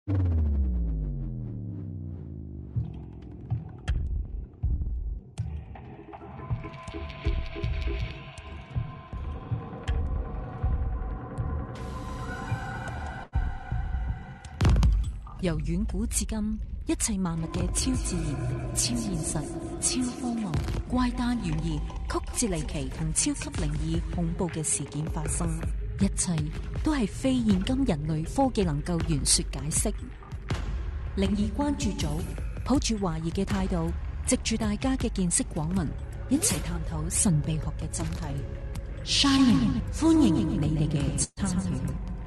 由遠古至今，一切萬物嘅超自然、超現實、超荒謬、怪誕懸疑、曲折離奇同超級靈異恐怖嘅事件發生，一切都係非現今人類科技能夠言說解釋。靈異關注組抱住懷疑嘅態度，藉住大家嘅見識廣聞，一齊探討神秘學嘅真諦。Shining， 歡迎你哋嘅參與。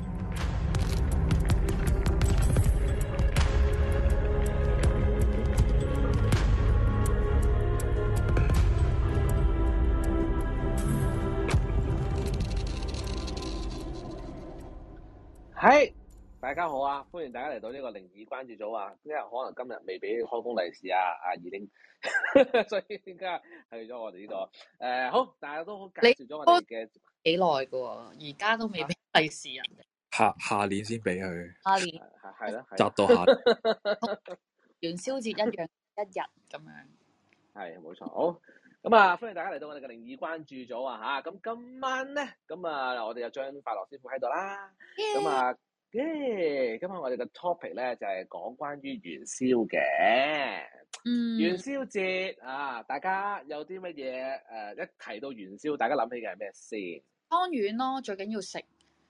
係，大家好啊！歡迎大家嚟到呢個靈異關注組啊！因為可能今日未俾開工利是啊，二零，所以點解去咗我哋呢個好，大家都好介紹咗我哋嘅幾耐㗎喎，而家都未俾利是人哋， 下年先俾佢， 下年係啦， 集到下元宵節一樣一日咁樣， 係冇錯，好。咁啊，歡迎大家嚟到我哋嘅靈異關注組啊嚇！咁今晚咧，我哋有張快樂師傅喺度啦。咁啊，今日我哋嘅 topic 咧就係講關於元宵嘅。元宵節啊，大家有啲乜嘢一提到元宵，大家諗起嘅係咩先？ 湯圓咯，最緊要食。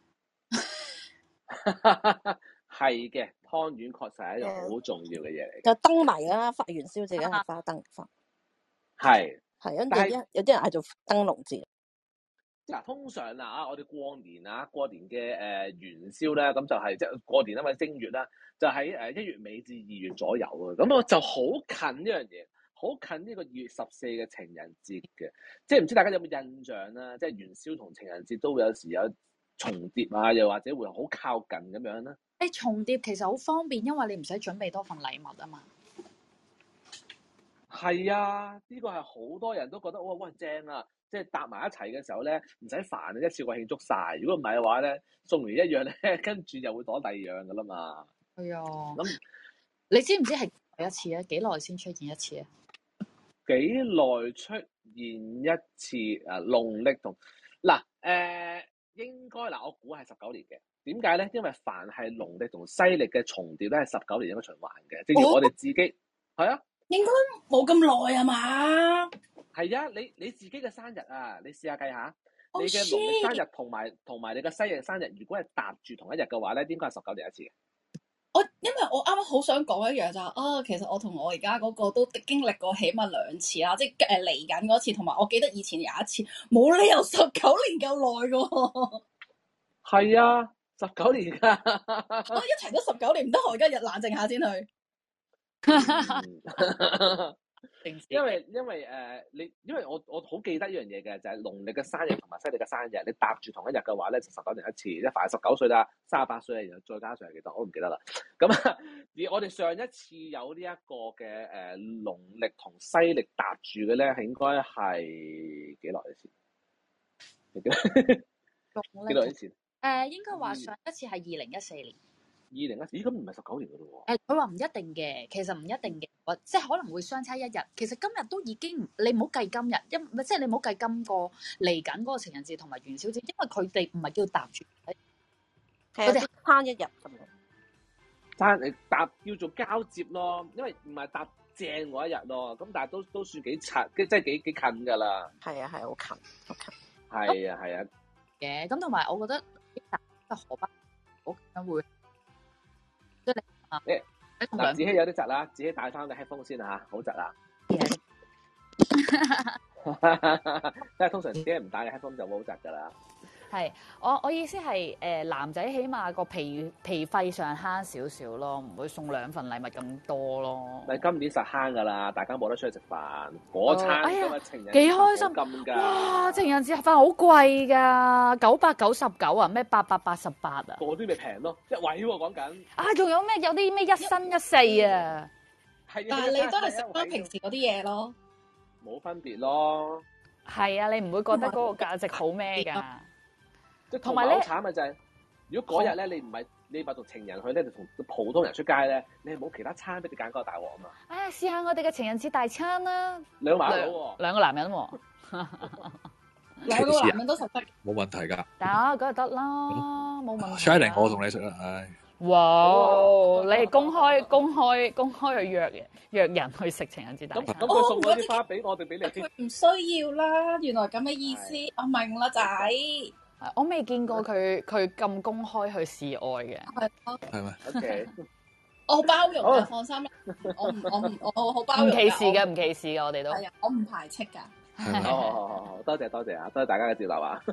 係嘅，湯圓確實係一樣好重要嘅嘢嚟。 就燈謎啦，發元宵節梗係花燈花。係。係，有啲人係做燈籠節。 嗱，通常我哋過年嘅元宵咧，咁就係即係過年因為正月啦，就喺1月尾至2月左右啊。咁我就好近呢樣嘢，好近呢個2月14嘅情人節嘅。即係唔知大家有冇印象啦？即係元宵同情人節都會有時有重疊啊，又或者會好靠近咁樣啦。 重疊其實好方便，因為你唔使準備多份禮物啊嘛。 係啊，呢個係好多人都覺得哇正啊！即係搭埋一齊嘅時候咧，唔使煩，一次過慶祝晒。如果唔係嘅話咧，送完一樣咧，跟住又會攞第二樣噶啦嘛。 係啊。 咁你知唔知係一次啊？幾耐先出現一次啊？ 幾耐出現一次農曆同應該我估係19年嘅。點解咧？因為凡係農曆同西曆嘅重疊咧，係19年一個循環嘅。正如我哋自己係啊。 應該冇咁耐啊嘛？係啊，你自己嘅生日啊，你試下計下，你嘅農曆生日同埋你嘅西曆生日，如果係搭住同一日嘅話咧，應該係19年一次嘅。 因為我啱啱好想講一樣就係其實我同我而家嗰個都經歷過起碼2次啦，即係嚟緊嗰次，同埋我記得以前有一次，冇理由19年夠耐㗎。 係啊，19年㗎。 我一齊都19年唔得，我而家冷靜下先去。 因為我好記得呢樣嘢嘅，就係農曆嘅生日同埋西曆嘅生日，你搭住同一日嘅話咧，就19年一次，即係凡係19歲啦，38歲然後再加上係幾多，我唔記得啦。咁而我哋上一次有呢一個嘅農曆同西曆搭住嘅咧，係應該係幾耐先？幾耐先？ 應該話上一次係2014年。 2014，咦咁唔係19年噶咯喎？佢話唔一定嘅，其實唔一定嘅，即係可能會相差1日。其實今日都已經，你唔好計今日，即係你唔好計今個嚟緊嗰個情人節同埋元宵節，因為佢哋唔係叫搭住，佢哋慳1日咁樣。 你搭叫做交接咯，因為唔係搭正嗰一日咯。咁但係都算幾近，即係幾近噶啦。 係啊，係好近，好近。 係啊，係啊。 嘅咁同埋，我覺得搭荷包好會。 嗱，子希有啲窒啦，子希帶翻個 headphone 先嚇，好窒啊！即係通常自己唔帶嘅 headphone 就會好窒噶啦。 係，我意思係男仔起碼個皮費上慳少少咯，唔會送2份禮物咁多咯。 咪今年實慳噶啦，大家冇得出去食飯，嗰餐今日情人節幾開心㗎！ 哇，情人節盒飯好貴㗎，999啊，咩888啊？ 嗰啲咪平咯，一位喎講緊。 啊，仲有咩？有啲咩1生1世啊？ 係，但係你都係食翻平時嗰啲嘢咯， 冇分別咯。 係啊，你唔會覺得嗰個價值好咩㗎？ 即係同埋好慘嘅就係，如果嗰日咧你唔係你咪同情人去咧，就同普通人出街咧，你係冇其他餐俾你揀嗰個大鑊啊嘛。 哎呀，試下我哋嘅情人節大餐啦， 兩個麻佬喎， 兩個男人喎， 兩個男人都食得， 冇問題㗎。 得梗係得啦，冇問題。 Shining，我同你食啦，唉。 哇！你係公開去約人去食情人節大餐。 咁佢送嗰啲花俾我哋俾你先。 佢唔需要啦，原來咁嘅意思，我明啦仔。 我未見過佢咁公開去示愛嘅。 係咪 ？OK， 我好包容嘅，放心。我好包容。 唔歧視嘅，唔歧視嘅，我哋都係啊，我唔排斥㗎。 好，多謝啊，多謝大家嘅接納啊。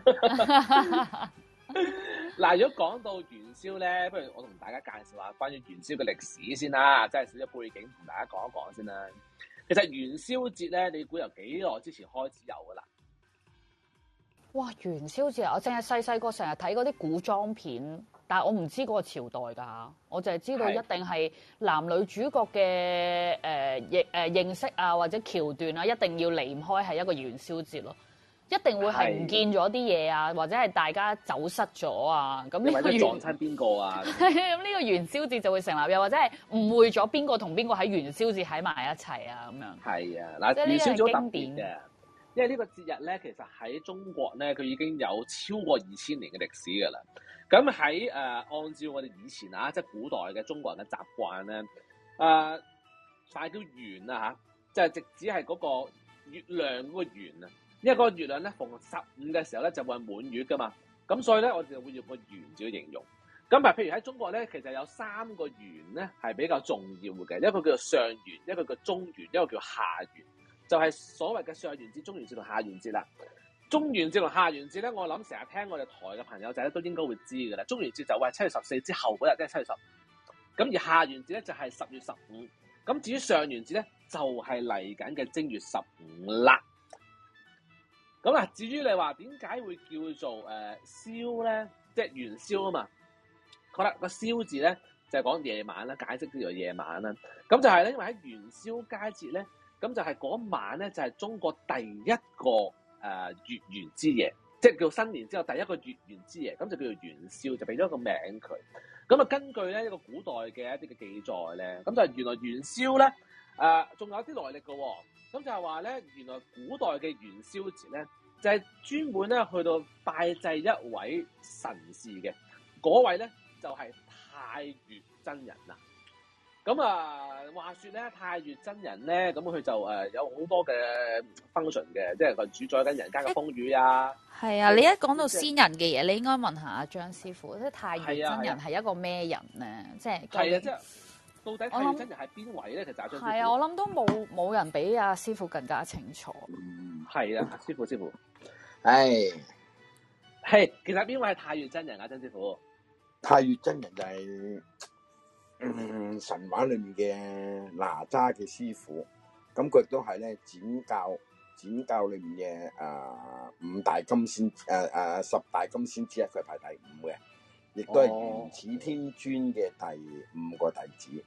嗱，如果講到元宵咧，不如我同大家介紹下關於元宵嘅歷史先啦，即係少少背景同大家講一講先啦。其實元宵節咧，你估由幾耐之前開始有噶啦？ 哇！元宵節啊，我淨係細個成日睇嗰啲古裝片，但係我唔知嗰個朝代㗎，我淨係知道一定係男女主角嘅認識啊，或者橋段啊，一定要離唔開係一個元宵節咯。一定會係唔見咗啲嘢啊，或者係大家走失咗啊。咁呢個撞親邊個啊？ 咁呢個元宵節就會成立，又或者係誤會咗邊個同邊個喺元宵節喺埋一齊啊咁樣。 係啊，嗱，元宵節好特別嘅，因為呢個節日咧，其實喺中國咧，佢已經有超過2000年嘅歷史㗎啦。咁喺按照我哋以前啊，即係古代嘅中國人嘅習慣咧，快叫圓啊嚇，即係直指係嗰個月亮嗰個圓啊。因為嗰個月亮咧逢15嘅時候咧就會係滿月噶嘛，咁所以咧我哋就會用個圓字去形容。咁譬如喺中國咧，其實有3個圓咧係比較重要嘅，一個叫做上元，一個叫中元，一個叫下元，就係所謂嘅上元節、中元節同下元節啦。中元節同下元節咧，我諗成日聽我哋台嘅朋友仔咧都應該會知㗎啦。中元節就係7月14之後嗰日，即係7月10。咁而下元節咧就係10月15。咁至於上元節咧，就係嚟緊嘅正月15啦。咁嗱，至於你話點解會叫做宵咧，即係元宵啊嘛？好啦，個宵字咧就係講夜晚啦，解釋叫做夜晚啦。咁就係咧，因為喺元宵佳節咧，咁就係嗰晚咧就係中國第一個月圓之夜，即係叫新年之後第一個月圓之夜，咁就叫做元宵，就俾咗個名佢。咁啊，根據咧一個古代嘅一啲嘅記載咧，咁就係原來元宵咧仲有啲來歷嘅喎。咁就係話咧，原來古代嘅元宵節咧，就係專門咧去到拜祭一位神士嘅，嗰位咧就係太乙真人啦。咁話說咧，太乙真人咧，咁佢就有好多嘅 function 嘅，即係佢主宰緊人間嘅風雨啊。 係啊，你一講到先人嘅嘢，你應該問下阿張師傅，即係太乙真人係一個咩人咧？即係係啊，即係。到底太乙真人係邊位咧？其實阿張師傅係啊，我諗都冇人比阿師傅更加清楚。 係啊，師傅， 係其實邊位係太乙真人啊？張師傅， 太乙真人就係、神話裏面嘅哪吒嘅師傅，咁佢亦都係咧剪教裏面嘅5大金仙10大金仙之一，佢排第5嘅，亦都係元始天尊嘅第5個弟子。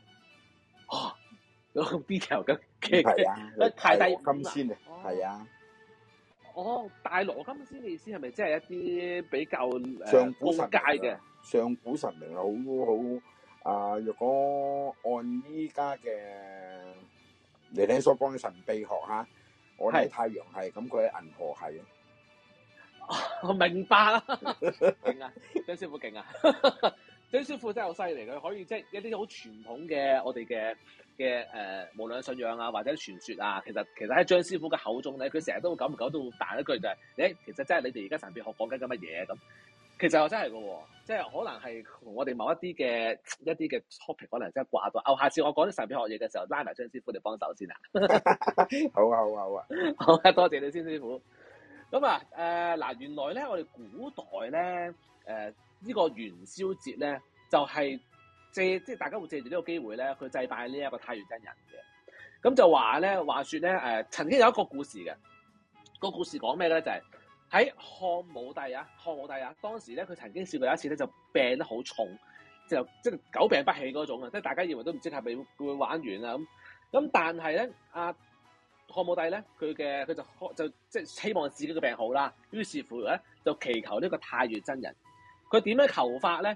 咁 detail 嘅係啊， 排第金仙啊，係啊。 大羅金仙嘅意思係咪即係一啲比較上古神階嘅上古神明好若果按依家嘅你聽所講嘅神秘學嚇，我喺太陽系，咁佢喺銀河系我明白啦，勁啊，張師傅勁啊！張師傅真係好犀利，佢可以即係一啲好傳統嘅我哋嘅無論信仰啊或者傳說啊，其實喺張師傅嘅口中咧，佢成日都久唔久都會彈一句就係其實真係你哋而家神秘學講緊乜嘢咁。其實又真係嘅喎，即係可能係同我哋某一啲嘅 topic 可能真係掛到。下次我講啲神秘學嘢嘅時候，拉埋張師傅嚟幫手先啊！ 好啊， 好啊，多謝你先師傅。咁嗱，原來咧我哋古代咧呢個元宵節咧就係即係大家會借住呢個機會咧，去祭拜呢一個太乙真人嘅。咁就話說咧曾經有一個故事嘅，個故事講咩咧？就係喺漢武帝啊，當時咧佢曾經試過有一次咧就病得好重，即係久病不起嗰種啊，即係大家以為都唔知係咪會玩完啊咁，但係咧漢武帝咧佢就即係希望自己嘅病好啦，於是乎咧就祈求呢個太乙真人。佢點樣求法咧？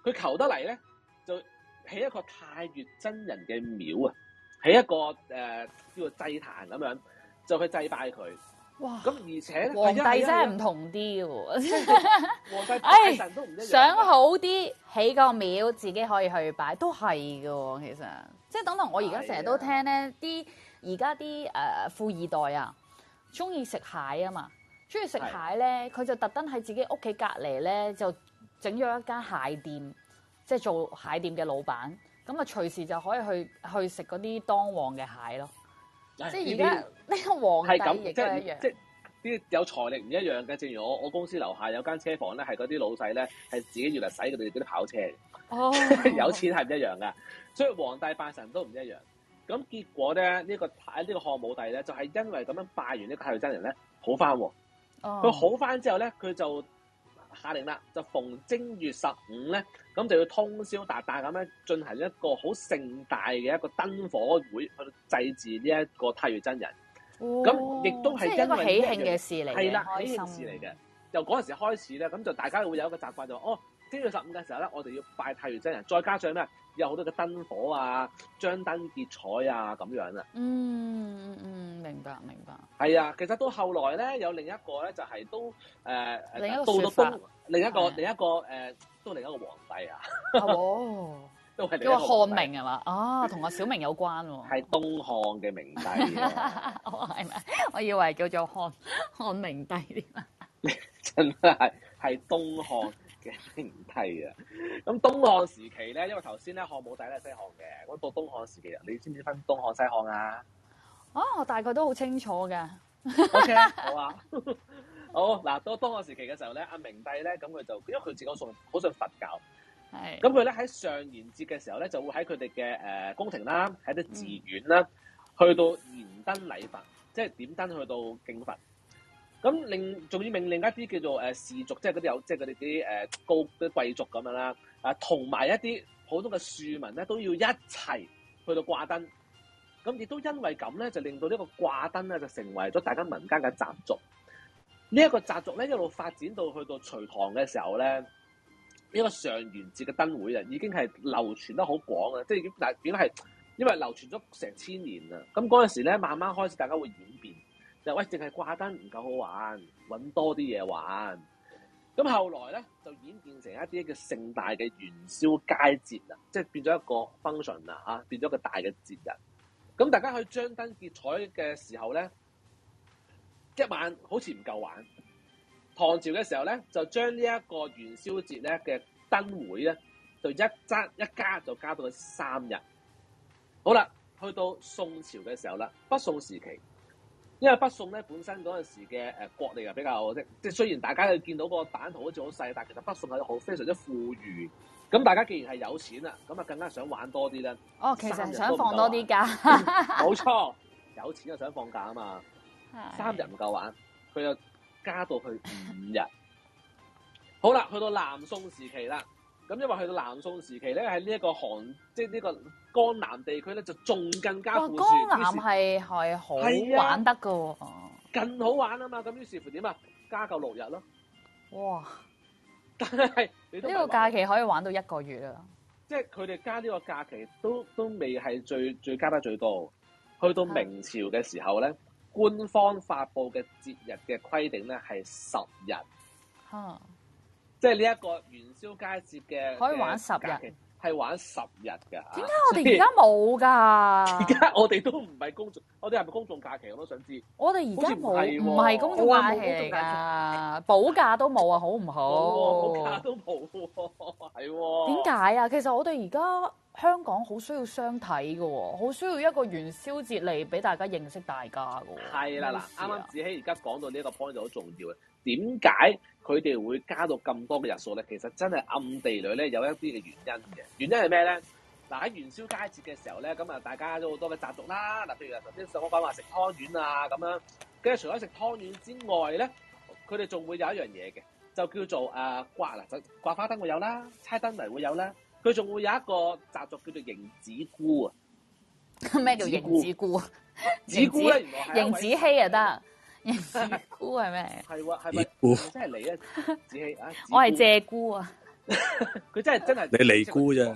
佢求得嚟咧，就起一個太乙真人嘅廟啊，起一個叫做祭壇咁樣，就去祭拜佢。 哇！ 咁而且呢皇帝真係唔同啲嘅喎， 皇帝拜神都唔一樣。 想好啲起個廟，自己可以去拜，都係嘅喎。其實即係等同我而家成日都聽咧，啲而家啲富二代啊，中意食蟹啊嘛，中意食蟹咧，佢就特登喺自己屋企隔離咧，就整咗一間蟹店，即係做蟹店嘅老闆，咁啊隨時就可以去食嗰啲當旺嘅蟹咯。即係而家呢個皇帝亦都一樣， 即係啲有財力唔一樣嘅。正如我公司樓下有間車房咧，係嗰啲老細咧係自己要嚟洗佢哋嗰啲跑車嘅。哦，有錢係唔一樣噶，所以皇帝拜神都唔一樣。咁結果咧，呢個漢武帝咧就係因為咁樣拜完呢個太乙真人咧好翻喎。佢好翻之後咧，佢就下令啦，就逢正月15咧，咁就要通宵達旦咁樣進行一個好盛大嘅一個燈火會去祭祀呢一個太乙真人。咁亦都係因為喜慶嘅事嚟嘅， 係啦，喜慶事嚟嘅。由嗰陣時開始咧，咁就大家會有一個習慣就正月15嘅時候咧，我哋要拜太乙真人，再加上咩有好多嘅燈火啊、張燈結彩啊咁樣啊。 明白。 係啊，其實到後來咧，有另一個咧就係都另一個說法， 另一個都另一個皇帝啊。都係另一個漢明係嘛？同阿小明有關喎。 係東漢嘅明帝啊。 係咪？我以為叫做漢明帝添啊。 真係東漢嘅明帝啊！咁東漢時期咧，因為頭先咧漢武帝咧西漢嘅，咁到東漢時期，你知唔知分東漢西漢啊？ 我大概都好清楚嘅。 OK， 好啊。好嗱，到東漢時期嘅時候咧，阿明帝咧，咁佢就因為佢自己好信佛教，係咁佢咧喺上元節嘅時候咧，就會喺佢哋嘅宮廷啦，喺啲寺院啦，去到燃燈禮佛，即係點燈去到敬佛。咁仲要命令一啲叫做士族，即係嗰啲即係佢哋啲高啲貴族咁樣啦，同埋一啲普通嘅庶民咧，都要一齊去到掛燈。咁亦都因為咁咧，就令到呢個掛燈咧，就成為咗大家民間嘅習俗。呢一個習俗咧，一路發展到去到隋唐嘅時候咧，呢個上元節嘅燈會啊，已經係流傳得好廣啊，即係已經變咗係因為流傳咗成1000年啦。咁嗰陣時咧，慢慢開始大家會演變。就喂，淨係掛燈唔夠好玩，揾多啲嘢玩。咁後來咧就演變成一啲叫盛大嘅元宵佳節啦，即係變咗一個 function 啦嚇，變咗一個大嘅節日。咁大家去張燈結彩嘅時候咧，一晚好似唔夠玩。唐朝嘅時候咧，就將呢一個元宵節咧嘅燈會咧，就一加就加到去3日。好啦，去到宋朝嘅時候啦，北宋時期。因為北宋咧本身嗰陣時嘅國力又比較即係雖然大家去見到個版圖好似好細，但係其實北宋係非常之富裕。咁大家既然係有錢啦，咁啊更加想玩多啲咧。 其實係想放多啲假。 冇錯，有錢就想放假啊嘛。3日唔夠玩，佢又加到去5日。好啦，去到南宋時期啦。咁因為去到南宋時期咧，喺呢一個即係呢個江南地區咧，就仲更加富庶。 江南係好玩得噶喎， 更好玩啊嘛！咁於是乎點啊？加夠6日咯。哇！但係呢個假期可以玩到1個月啊！ 即係佢哋加呢個假期都未係最加得最多。去到明朝嘅時候咧，官方發布嘅節日嘅規定咧係10日。即係呢一個元宵佳節嘅可以玩10日， 係玩10日㗎。點解我哋而家冇㗎？ 而家我哋都唔係公眾，我哋係咪公眾假期？我都想知。 我哋而家唔係公眾假期嚟㗎，補假都冇啊，好唔好？ 補假都冇喎，係喎。 點解啊？其實我哋而家香港好需要相睇㗎喎，好需要一個元宵節嚟俾大家認識大家㗎喎。 係啦，嗱，啱啱子希而家講到呢一個 point 就好重要嘅。點解佢哋會加到咁多嘅日數咧？其實真係暗地裏咧有一啲嘅原因嘅。原因係咩咧？嗱，喺元宵佳節嘅時候咧，咁啊大家都好多嘅習俗啦。嗱，譬如頭先我講話食湯圓啊咁樣，跟住除咗食湯圓之外咧，佢哋仲會有一樣嘢嘅，就叫做掛花燈會有啦，猜燈謎會有啦。佢仲會有一個習俗叫做迎子姑啊。 咩叫迎子姑啊？ 子姑咧，原來係迎子希啊得。迎子姑係咩？ 係喎，係咪真係你啊？子希啊！ 我係謝姑啊！ 佢真係你尼姑啫，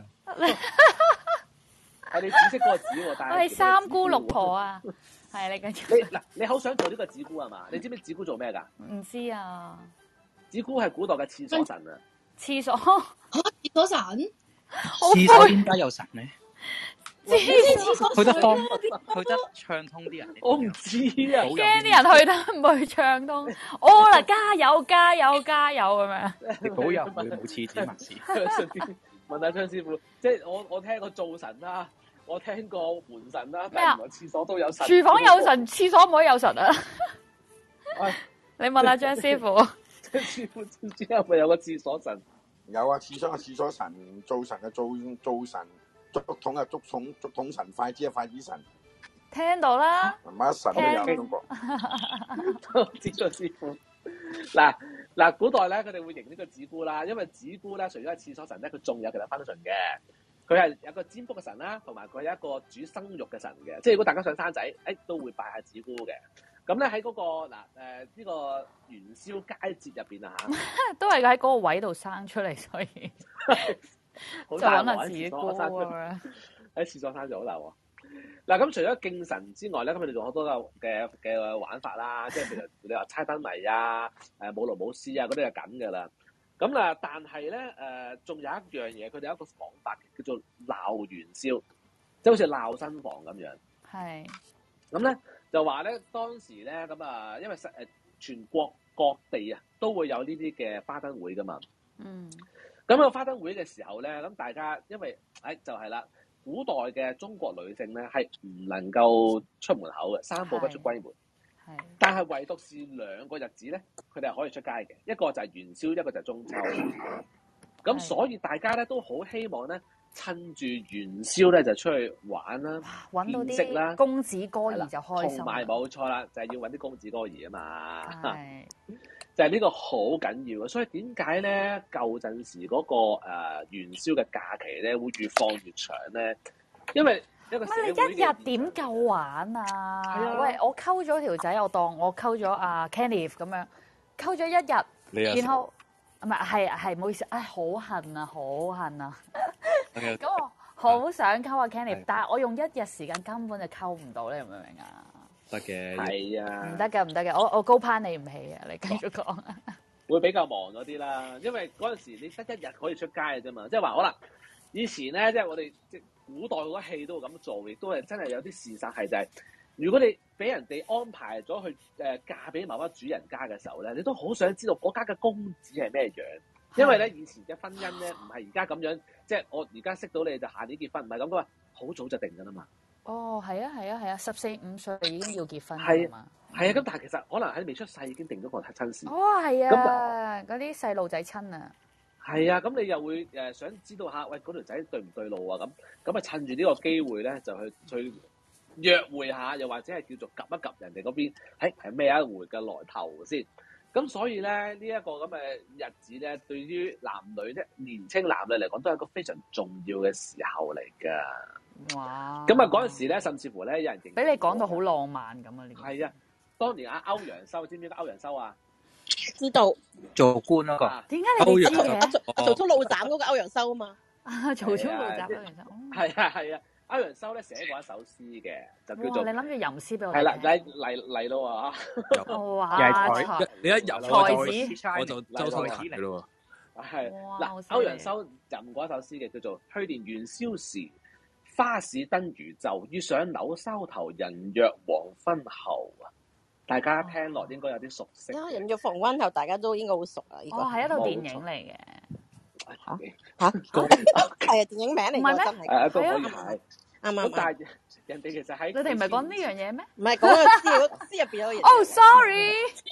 係你只識嗰個子喎，但係我係三姑六婆啊，係你繼續。 你好想做呢個子姑係嘛？你知唔知子姑做咩㗎？ 唔知啊， 子姑係古代嘅廁所神啊！ 廁所廁所神， 廁所點解有神咧？ 廁所去得方，去得暢通啲人。 我唔知啊， 驚啲人去得唔去暢通，哦啦，加油加油加油咁樣。 你保佑佢冇廁紙密事。 順便問下張師傅，即係我聽過灶神啦，我聽過門神啦，但係原來廁所都有神。 廚房有神，廁所唔可以有神啊！ 喂， 你問下張師傅。 張師傅知唔知係咪有個廁所神？ 有啊，廁所嘅廁所神，灶神嘅灶神，竹筒嘅竹筒神，筷子嘅筷子神。 聽到啦， 乜神都有中國。 多謝張師傅。嗱，古代咧，佢哋會認呢個子姑啦，因為子姑咧，除咗係廁所神咧，佢仲有其他 function 嘅。佢係有個占卜嘅神啦，同埋佢有一個主生育嘅神嘅。即係如果大家想生仔，都會拜下子姑嘅。咁咧喺嗰個呢個元宵佳節入邊啊嚇， 都係喺嗰個位度生出嚟，所以就揾下子姑啊。 喺廁所生就好大喎。嗱，咁除咗敬神之外咧，咁佢哋仲好多嘅玩法啦，即係譬如你話猜燈謎啊、舞龍舞獅啊嗰啲係緊㗎啦。咁啊，但係咧仲有一樣嘢，佢哋有一個講法叫做鬧元宵，即係好似鬧新房咁樣。 係。 咁咧就話咧當時咧咁啊，因為全國各地啊都會有呢啲嘅花燈會㗎嘛。嗯。咁個花燈會嘅時候咧，咁大家因為就係啦。古代嘅中國女性咧係唔能夠出門口嘅，三步不出閨門。係，但係唯獨是兩個日子咧，佢哋係可以出街嘅，一個就係元宵，一個就係中秋。咁所以大家咧都好希望咧，趁住元宵咧就出去玩啦， 揾到見識啦， 公子哥兒就開心。 同埋冇錯啦，就係要揾啲公子哥兒啊嘛。 係。 就係呢個好緊要嘅，所以點解咧舊陣時嗰個元宵嘅假期咧會越放越長咧？因為一個社會嘅你一日點夠玩啊？喂，我溝咗條仔，我當我溝咗阿 Kenneth 咁樣，溝咗一日，然後唔係唔好意思，好恨啊，好恨啊！咁我好想溝阿 Kenneth，但係我用一日時間根本就溝唔到，你明唔明啊？ 得嘅， 係啊， 唔得嘅，我高攀你唔起啊！你繼續講， 會比較忙咗啲啦，因為嗰陣時你得一日可以出街嘅啫嘛，即係話可能以前咧，即係我哋即係古代好多戲都會咁做，亦都係真係有啲事實係就係，如果你俾人哋安排咗去嫁俾某一主人家嘅時候咧，你都好想知道嗰家嘅公子係咩樣，因為咧以前嘅婚姻咧唔係而家咁樣，即係我而家識到你就下年結婚，唔係咁噶嘛，好早就定㗎啦嘛。 哦，係啊，14、15歲已經要結婚係嘛？ 係啊，咁但係其實可能喺未出世已經定咗個親事。 哦，係啊，嗰啲細路仔親啊。係啊，咁你又會想知道下，喂嗰條仔對唔對路啊？咁啊趁住呢個機會咧，就去約會下，又或者係叫做及一及人哋嗰邊，係咩一回嘅來頭先。咁所以咧呢一個咁嘅日子咧，對於男女咧年青男女嚟講，都係一個非常重要嘅時候嚟㗎。哇！咁啊嗰陣時咧，甚至乎咧有人認俾你講到好浪漫咁啊！呢個係啊，當年阿歐陽修，知唔知歐陽修啊？ 知道做官嗰個。 點解你哋知嘅？ 曹操怒斬嗰個歐陽修啊嘛。 曹操怒斬歐陽修。 係啊，歐陽修咧寫過一首詩嘅，就叫做你諗住吟詩俾我係啦，嚟咯喎！ 哇！ 你一吟我就周身痕嘅咯喎。 係嗱，歐陽修吟過一首詩嘅，叫做去年元宵時，花市燈如晝，遇上柳梢頭，人約黃昏後啊！大家聽落應該有啲熟悉。 人約黃昏後，大家都應該好熟啊！呢個係一套電影嚟嘅。 嚇係啊，電影名嚟嘅真係。 都可以係。 啱。 但係人哋其實喺你哋唔係講呢樣嘢咩？ 唔係講個詩入邊有嘢。 Oh sorry。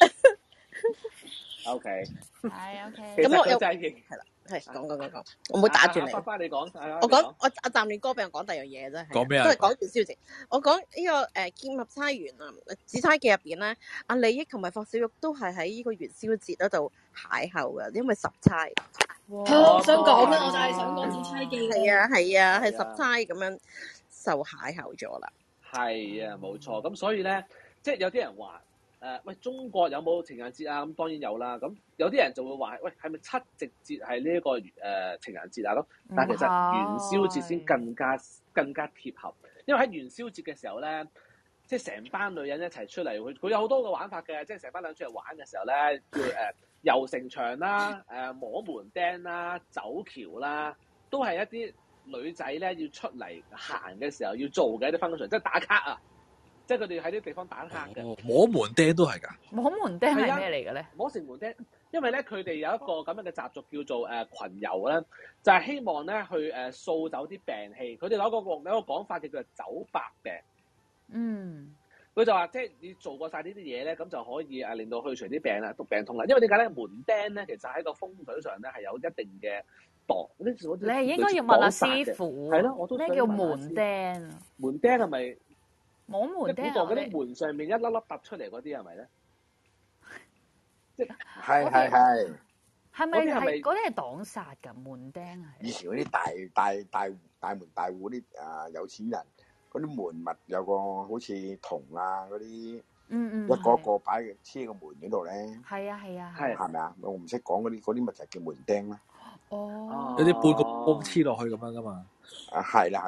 OK。 係 OK。 咁我又係啦。 係講，我唔會打住你。 翻你講， 我講我暫亂歌俾我講第二樣嘢啫。 講咩啊？ 都係講元宵節。我講呢個劍合釵圓啊，《紫釵記》入邊咧，阿李益同埋霍小玉都係喺呢個元宵節嗰度邂逅嘅，因為十釵。 我想講咩？我就係想講《紫釵記》。係啊，係十釵咁樣就邂逅咗啦。 係啊，冇錯。咁所以咧，即係有啲人話喂，中國有冇情人節啊？咁當然有啦。咁有啲人就會話，喂，係咪七夕節係呢一個情人節啊？咁但係其實元宵節先更加貼合，因為喺元宵節嘅時候咧，即係成班女人一齊出嚟，佢有好多個玩法嘅，即係成班女人出嚟玩嘅時候咧，叫遊城牆啦、摸門釘啦、走橋啦，都係一啲女仔咧要出嚟行嘅時候要做嘅一啲 function， 即係打卡啊！即係佢哋喺啲地方打卡嘅。 摸門釘都係㗎。 摸門釘係咩嚟嘅咧？ 摸城門釘，因為咧佢哋有一個咁樣嘅習俗叫做群遊咧，就係希望咧去掃走啲病氣。佢哋有一個講法叫做走百病。 嗯。 佢就話即係你做過晒呢啲嘢咧，咁就可以令到去除啲病啦、毒病痛啦。因為點解咧？門釘咧其實喺個風水上咧係有一定嘅度。你係應該要問阿師傅。 係咯，我都咩叫門釘？ 門釘係咪？ 摸門釘嗰啲門上面一粒粒突出嚟嗰啲係咪咧？即係。 係咪嗰啲係擋煞㗎？門釘係。 以前嗰啲大門大戶啲有錢人，嗰啲門物有個好似銅啊嗰啲，一個擺黐個門嗰度咧。 係啊。 係咪啊？我唔識講嗰啲咪就叫門釘啦。 哦。 有啲半個波黐落去咁樣㗎嘛。 係啦。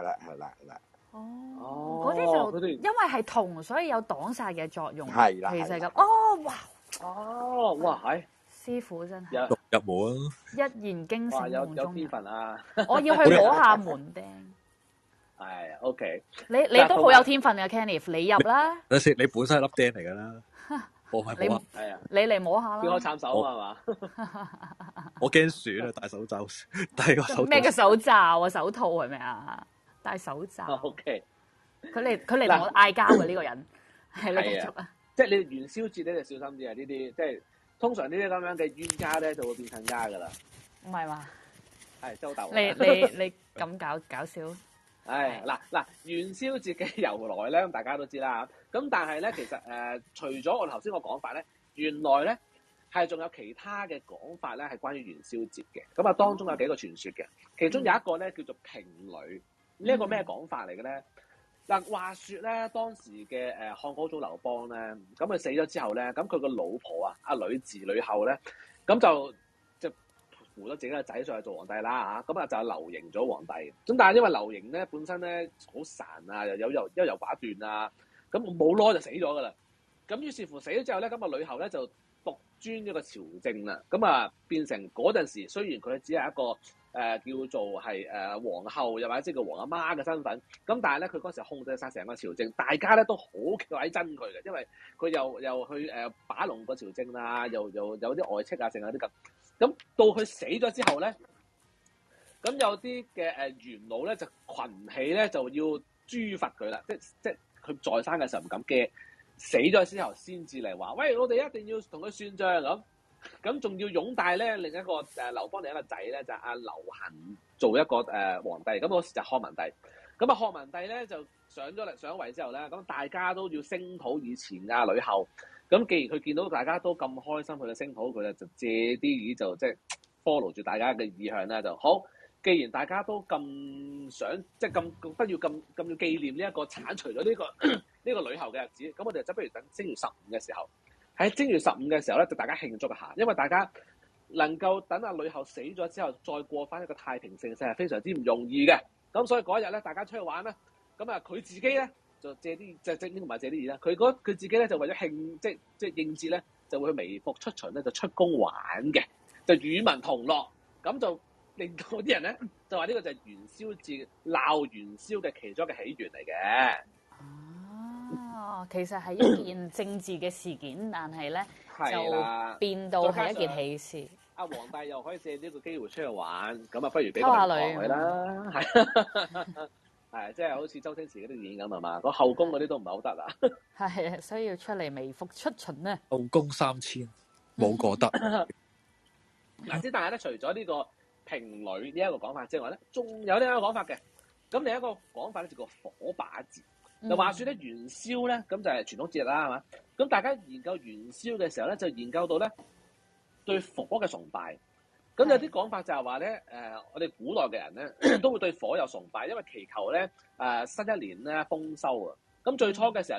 嗰啲就因為係銅，所以有擋煞嘅作用。 係啦， 其實咁。 哇，係師傅真係入門一言驚醒夢中人。 有天分啊！ 我要去摸下門釘。 係 OK。 你都好有天分嘅 Kenneth， 你入啦。 等先，你本身係粒釘嚟㗎啦。我係摸。 係啊。 你嚟摸下啦。 叫我撐手啊嘛。 我驚損啊！戴手罩，戴個手。 咩嘅手罩啊？手套係咪啊？戴手罩。 OK。 佢嚟同我嗌交嘅呢個人，係你繼續啊！ 即係你元宵節咧就小心啲啊！呢啲即係通常呢啲咁樣嘅冤家咧就會變親家噶啦。 唔係嘛？ 係周豆。 你咁搞笑？ 嗱元宵節嘅由來咧，咁大家都知啦。咁但係咧，其實除咗我頭先個講法咧，原來咧係仲有其他嘅講法咧，係關於元宵節嘅。咁啊，當中有幾個傳說嘅，其中有一個咧叫做平女。呢一個咩講法嚟嘅咧？嗱，話説咧，當時嘅漢高祖劉邦咧，咁佢死咗之後咧，咁佢個老婆啊，阿呂雉呂后咧，咁就扶咗自己個仔上去做皇帝啦嚇，咁啊就劉盈做皇帝。咁但係因為劉盈咧本身咧好孱啊，又優柔寡斷啊，咁冇耐就死咗噶啦。咁於是乎死咗之後咧，咁啊呂后咧就獨尊一個朝政啦，咁啊變成嗰陣時，雖然佢只係一個叫做係皇后，又或者即係個皇阿媽嘅身份，咁但係咧佢嗰時控制晒成個朝政，大家咧都好鬼憎佢嘅，因為佢又去把龍個朝政啊，又有啲外戚啊，剩有啲咁。咁到佢死咗之後咧，咁有啲嘅元老咧就群起咧就要誅罰佢啦，即係佢在生嘅時候唔敢驚，死咗之後先至嚟話，喂，我哋一定要同佢算賬咁仲要擁戴咧另一個劉邦另一個仔咧就係阿劉恒做一個皇帝，咁嗰時就漢文帝。咁啊漢文帝咧就上位之後咧，咁大家都要聲討以前啊呂后。咁既然佢見到大家都咁開心，佢就聲討佢就借啲意就即係 follow 住大家嘅意向咧就好。既然大家都咁想即係咁不要咁要紀念呢一個剷除咗呢個呂后嘅日子，咁我哋就不如等正月15嘅時候。喺正月15嘅時候咧，就大家慶祝一下，因為大家能夠等阿呂后死咗之後，再過翻一個太平盛世係非常之唔容易嘅。咁所以嗰日咧，大家出去玩啦。咁啊，佢自己咧就借啲即係唔係借啲嘢啦。佢自己咧就為咗慶即係應節咧，就會去微服出巡咧，就出宮玩嘅，就與民同樂。咁就令到啲人咧就話呢個就係元宵節鬧元宵嘅其中一個起源嚟嘅。 其實係一件政治嘅事件，但係咧就變到係一件喜事。 阿皇帝又可以借呢個機會出去玩，咁啊不如俾個名堂佢啦，係即係好似周星馳嗰啲電影咁係嘛？個後宮嗰啲都唔係好得啊。 係啊，所以要出嚟微服出巡咧。 後宮3000冇個得。 嗱，之但係咧，除咗呢個平女呢一個講法之外咧，仲有另一個講法嘅。咁另一個講法咧就叫火把節。就話説咧元宵咧，咁就係傳統節日啦，係嘛？咁大家研究元宵嘅時候咧，就研究到咧對火嘅崇拜。咁有啲講法就係話咧，我哋古代嘅人咧都會對火有崇拜，因為祈求咧新一年咧豐收啊。咁最初嘅時候咧，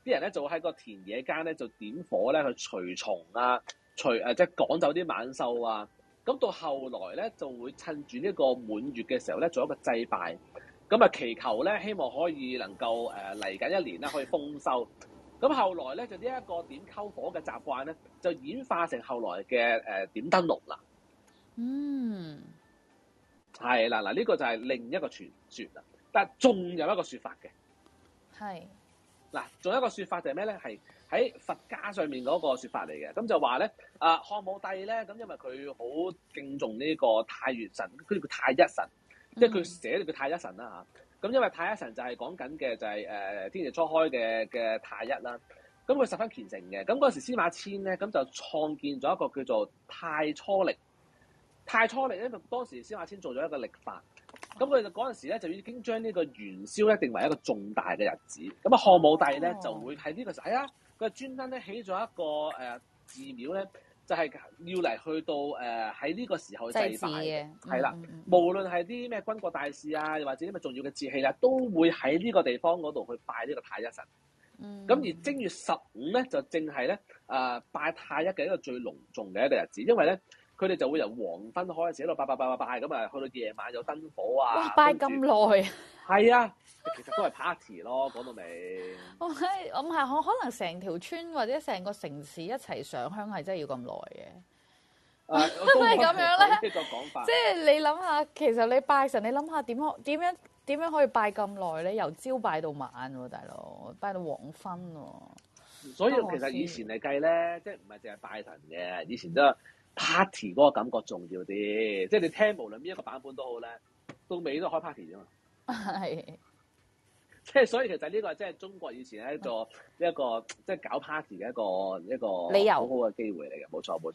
啲人咧就會喺個田野間咧就點火咧去除蟲啊，即係趕走啲猛獸啊。咁到後來咧就會趁住呢個滿月嘅時候咧做一個祭拜，咁啊祈求咧希望可以能夠嚟緊一年咧可以豐收。咁後來咧就呢一個點篝火嘅習慣咧就演化成後來嘅點燈籠啦。 嗯， 係啦，嗱呢個就係另一個傳說啦。但係仲有一個説法嘅， 係嗱，仲有一個説法就係咩咧？係喺佛家上面嗰個説法嚟嘅。咁就話咧，漢武帝咧，咁因為佢好敬重呢個太乙神，佢叫太一神，即係佢寫咗叫太一神啦嚇。咁因為太一神就係講緊嘅就係天地初開嘅太一啦。咁佢十分虔誠嘅。咁嗰時司馬遷咧，咁就創建咗一個叫做太初曆。太初曆咧，就當時司馬遷做咗一個曆法。咁佢就嗰陣時咧，就已經將呢個元宵咧定為一個重大嘅日子。咁啊，漢武帝咧就會喺呢個時候，佢專登咧起咗一個寺廟咧，就係要嚟去到喺呢個時候祭拜嘅。係啦，無論係啲咩軍國大事啊，又或者啲咩重要嘅節氣啦，都會喺呢個地方嗰度去拜呢個太一神。咁而正月15咧，就正係咧拜太一嘅一個最隆重嘅一個日子，因為咧。佢哋就會由黃昏開始喺度拜咁啊，去到夜晚有燈火啊！ 哇，拜咁耐！ 係啊，其實都係 party 咯，講到尾。我可能成條村或者成個城市一齊上香係真係要咁耐嘅。 都係咁樣咧， 呢個講法。 即係你諗下，其實你拜神，你諗下點樣可以拜咁耐咧？由朝拜到晚喎，大佬，拜到黃昏喎。 所以其實以前嚟計咧，即係唔係淨係拜神嘅，以前都。party 嗰個感覺重要啲，即係你聽無論邊一個版本都好咧，到尾都係開 party 啫嘛。 係， 即係所以其實呢個即係中國以前一個即係搞 party 嘅一個理由， 好好嘅機會嚟嘅，冇錯。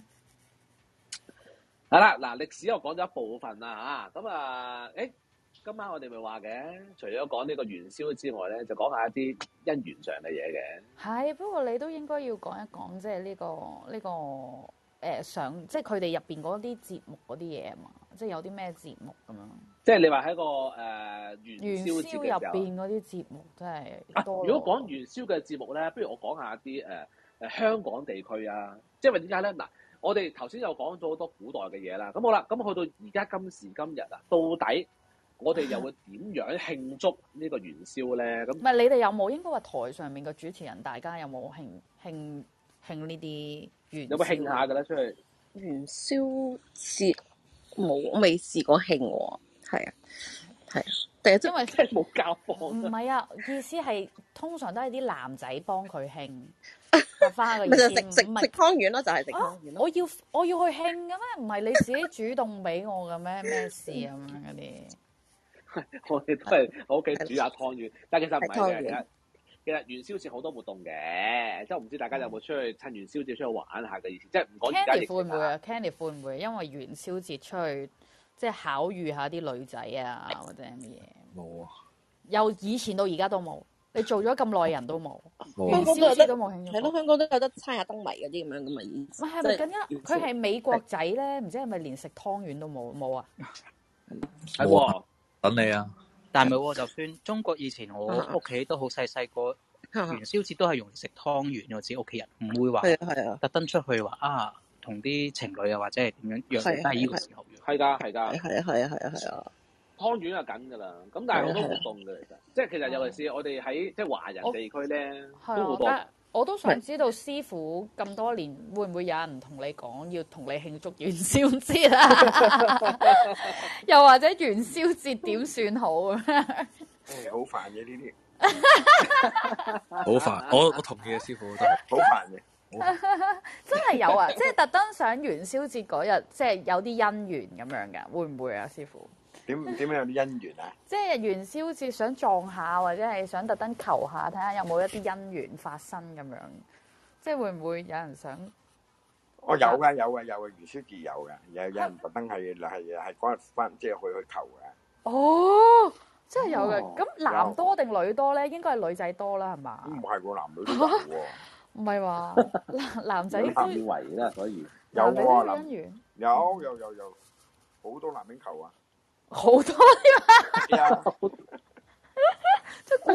係啦，嗱歷史我講咗一部分啦嚇，咁今晚我哋咪話嘅，除咗講呢個元宵之外咧，就講下一啲姻緣上嘅嘢嘅。 係，不過你都應該要講一講，即係呢個。即係佢哋入邊嗰啲節目嗰啲嘢啊嘛，即係有啲咩節目咁樣。即係你話喺個元宵入邊嗰啲節目真係多。如果講元宵嘅節目咧，不如我講下啲香港地區啊，即係話點解咧？嗱，我哋頭先又講咗好多古代嘅嘢啦，咁好啦，咁去到而家今時今日啊，到底我哋又會點樣慶祝呢個元宵咧？咁唔係你哋有冇應該話台上面嘅主持人，大家有冇慶呢啲？有冇慶下㗎咧？出去元宵節冇，我未試過慶喎。係啊，但係因為真係冇教課。 唔係啊，意思係通常都係啲男仔幫佢慶，翻個意思。 食湯圓咯，就係食湯圓咯。 我要去慶嘅咩？唔係你自己主動俾我嘅咩？咩事咁樣嗰啲？ 我哋都係喺屋企煮下湯圓，但係其實唔係嘅。其實元宵節好多活動嘅，即係唔知大家有冇出去趁元宵節出去玩下嘅意思，即係唔講而家疫情。Candy 會唔會啊？Candy 會唔會因為元宵節出去即係巧遇下啲女仔啊，或者乜嘢？冇啊！由以前到而家都冇，你做咗咁耐人都冇。元宵節都冇慶祝。係咯，香港都有得猜下燈謎嗰啲咁樣噶嘛？唔係咪更加？佢係美國仔咧，唔知係咪連食湯圓都冇啊？ 係喎， 等你啊！但係唔係喎，就算中國以前我屋企都好細個，元宵節都係用嚟食湯圓，我自己屋企人唔會話特登出去話同啲情侶啊或者係點樣約，都係呢個時候約。係㗎。 係啊。 湯圓係緊㗎啦，咁但係好多活動嘅其實，即係其實尤其是我哋喺即係華人地區咧，都好多。 我都想知道師傅咁多年會唔會有人同你講要同你慶祝元宵節啊？又或者元宵節點算好啊？ 好煩嘅呢啲， 好煩。我同意嘅師傅都係好煩嘅。 真係有啊！即係特登想元宵節嗰日，即係有啲姻緣咁樣㗎，會唔會啊，師傅？ 點樣有啲姻緣啊？即係元宵節想撞下，或者係想特登求下，睇下有冇一啲姻緣發生咁樣。即係會唔會有人想？ 有嘅，元宵節有嘅，有人特登係嗰日翻，即係去求嘅。 哦，真係有嘅。咁男多定女多咧？應該係女仔多啦，係嘛？ 唔係喎，男女都有喎。 唔係話男仔都以為啦，所以有喎， 姻緣有，好多男人求啊！ 好多添啊！即係估唔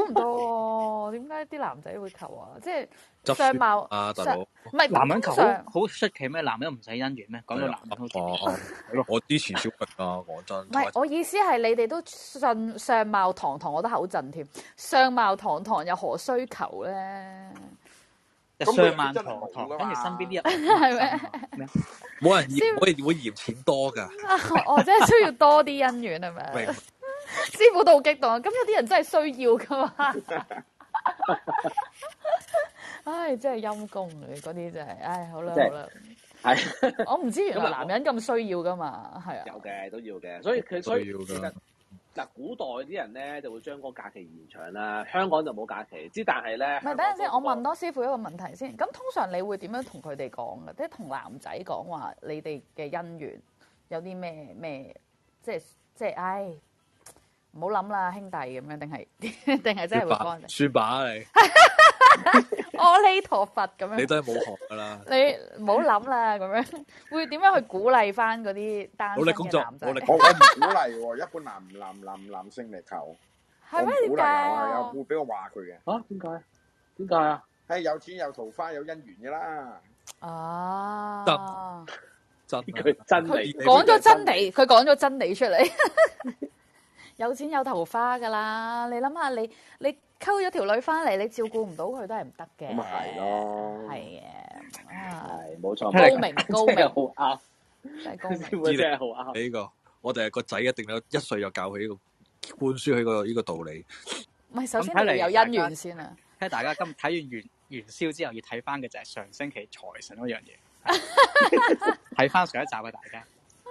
唔到喎，點解啲男仔會求啊？即係相貌啊，大佬， 唔係男人求通常好出奇咩？男人唔使姻緣咩？講到男人好似係咯，我支持小明啊，講真。 唔係，我意思係你哋都信相貌堂堂，我都口震添。相貌堂堂又何須求咧？ 相貌堂堂，跟住身邊啲人係咩？ 冇人嫌，我哋會嫌錢多㗎。 哦，真係需要多啲姻緣係咪？師傅都好激動啊！咁有啲人真係需要㗎嘛？唉，真係陰公嚟嗰啲真係，唉，好啦好啦。 係， 我唔知原來男人咁需要㗎嘛，係啊。 有嘅都要嘅，所以其實嗱，古代啲人咧就會將嗰個假期延長啦，香港就冇假期。但係咧， 唔係，等陣先，我問多師傅一個問題先。咁通常你會點樣同佢哋講嘅？即係同男仔講話，你哋嘅姻緣有啲咩？即係，唉，唔好諗啦，兄弟咁樣，定係真係會講？ 算吧你。 阿彌陀佛咁樣， 你都係冇學㗎啦。 你唔好諗啦，咁樣會點樣去鼓勵翻嗰啲單身嘅男仔？ 我唔鼓勵喎，一般男性嚟求， 係咩？點解啊？ 會俾我話佢嘅。 嚇？點解？點解啊？ 係有錢有桃花有姻緣㗎啦。 啊！ 真佢真理， 講咗真理，佢講咗真理出嚟。有錢有桃花㗎啦，你諗下，你溝咗條女翻嚟，你照顧唔到佢都係唔得嘅。 咁咪係咯， 係嘅， 係冇錯， 高明， 真係好啱， 真係高明， 真係好啱。 呢個我哋係個仔一定有1歲就教佢呢個灌輸佢呢個道理。 唔係，首先你有姻緣先啊。 睇大家今睇完元宵之後，要睇翻嘅就係上星期財神嗰樣嘢。睇翻上一集嘅大家。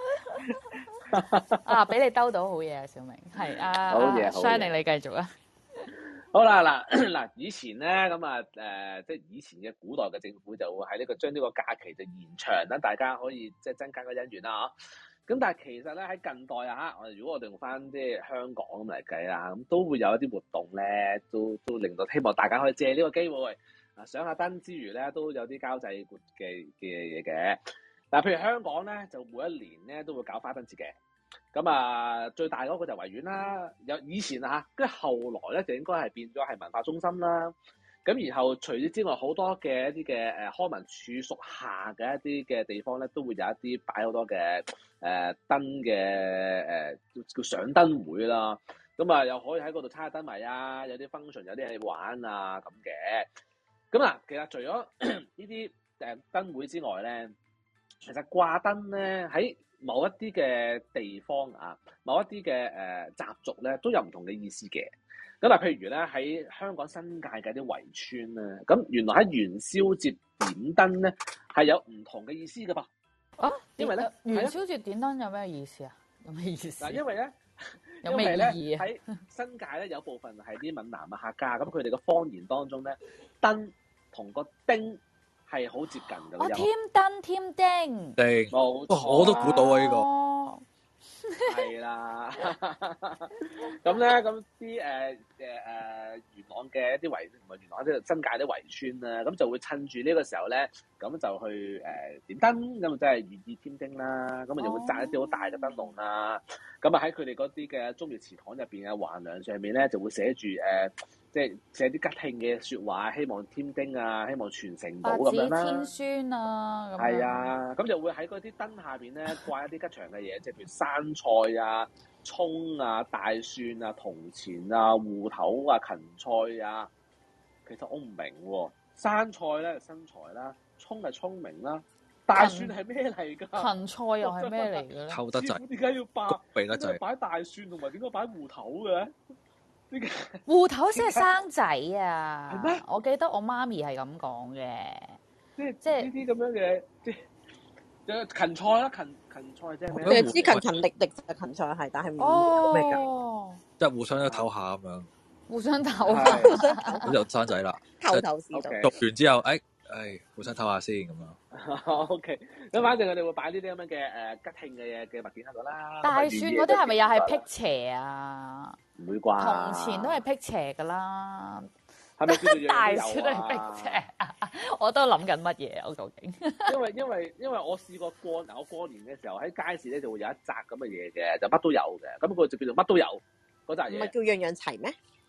啊！俾你兜到好嘢啊，小明係啊， 好嘢 ，Shining 你繼續啊。 好啦，嗱，以前咧咁啊，即係以前嘅古代嘅政府就會喺呢個將呢個假期就延長，等大家可以即係增加個姻緣啦，咁但係其實咧喺近代啊，如果我哋用翻即係香港咁嚟計啦，咁都會有一啲活動咧，都令到希望大家可以借呢個機會上下燈之餘咧，都有啲交際活嘅嘢嘅。嗱，譬如香港咧，就每一年咧都會搞花燈節嘅。咁啊，最大嗰個就維園啦。有以前啊，跟住後來咧就應該係變咗係文化中心啦。咁然後除此之外，好多嘅一啲嘅康文署屬下嘅一啲嘅地方咧，都會有一啲擺好多嘅燈嘅叫上燈會啦。咁啊，又可以喺嗰度猜下燈謎啊，有啲 function， 有啲嘢玩啊咁嘅。咁嗱，其實除咗呢啲燈會之外咧，其實掛燈咧喺某一啲嘅地方啊，某一啲嘅習俗咧，都有唔同嘅意思嘅。咁啊，譬如咧喺香港新界嘅啲圍村咧，咁原來喺元宵節點燈咧係有唔同嘅意思㗎噃。啊，因為咧元宵節點燈有咩意思啊？有咩意思？ 嗱，因為咧有咩意義啊？ 喺新界咧有部分係啲閩南嘅客家，咁佢哋嘅方言當中咧，燈同個丁係好接近嘅。 哦，添燈添丁， 冇錯， 我都估到啊呢個。 係啦，咁咧咁啲元朗嘅一啲圍，唔係元朗即係新界啲圍村啦，咁就會趁住呢個時候咧，咁就去點燈，咁即係寓意添丁啦，咁啊又會紮一啲好大嘅燈籠啦，咁啊喺佢哋嗰啲嘅中廟祠堂入邊嘅橫梁上面咧，就會寫住即係寫啲吉慶嘅説話，希望添丁啊，希望傳承到咁樣啦。 百子千孫啊，咁係啊，咁就會喺嗰啲燈下邊咧掛一啲吉祥嘅嘢，即係譬如生菜啊、葱啊、大蒜啊、銅錢啊、芋頭啊、芹菜啊。其實我唔明喎，生菜咧身材啦，葱係聰明啦，大蒜係咩嚟㗎？ 芹菜又係咩嚟嘅咧？ 臭得滯， 點解要得滯擺大蒜同埋點解擺芋頭嘅？ 芋頭先係生仔啊！ 係咩？ 我記得我媽咪係咁講嘅， 即係呢啲咁樣嘅，即係芹菜啦，芹菜即係咩？ 你知勤勤力力就係芹菜係，但係唔咩㗎？ 即係互相都唞下咁樣， 互相唞下， 咁就生仔啦。 頭是道。 讀完之後，互相唞下先咁樣。 OK，咁反正佢哋會擺呢啲咁樣嘅吉慶嘅嘢嘅物件喺度啦。 大蒜嗰啲係咪又係辟邪啊？ 唔會啩？ 銅錢都係辟邪㗎啦。 係咪叫做大蒜都係辟邪？我都諗緊乜嘢我究竟？ 因為我試過我過年嘅時候喺街市咧就會有一紮咁嘅嘢嘅，就乜都有嘅。咁佢就叫做乜都有嗰紮嘢。 唔係叫樣樣齊咩？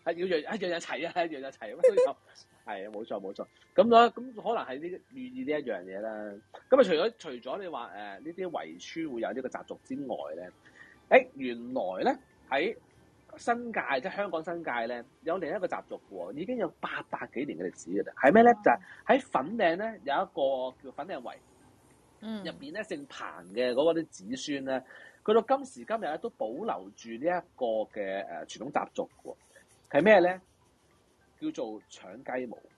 係要樣樣齊啊，樣樣齊乜都有。係啊，冇錯。咁可能係呢寓意呢一樣嘢啦。咁啊，除咗你話呢啲圍村會有呢個習俗之外咧，原來咧喺新界即係香港新界咧有另一個習俗喎，已經有800幾年嘅歷史嘅啦。係咩咧？就係喺粉嶺咧有一個叫粉嶺圍，入邊咧姓彭嘅嗰啲子孫咧，佢到今時今日咧都保留住呢一個嘅傳統習俗喎。係咩咧？叫做搶雞毛。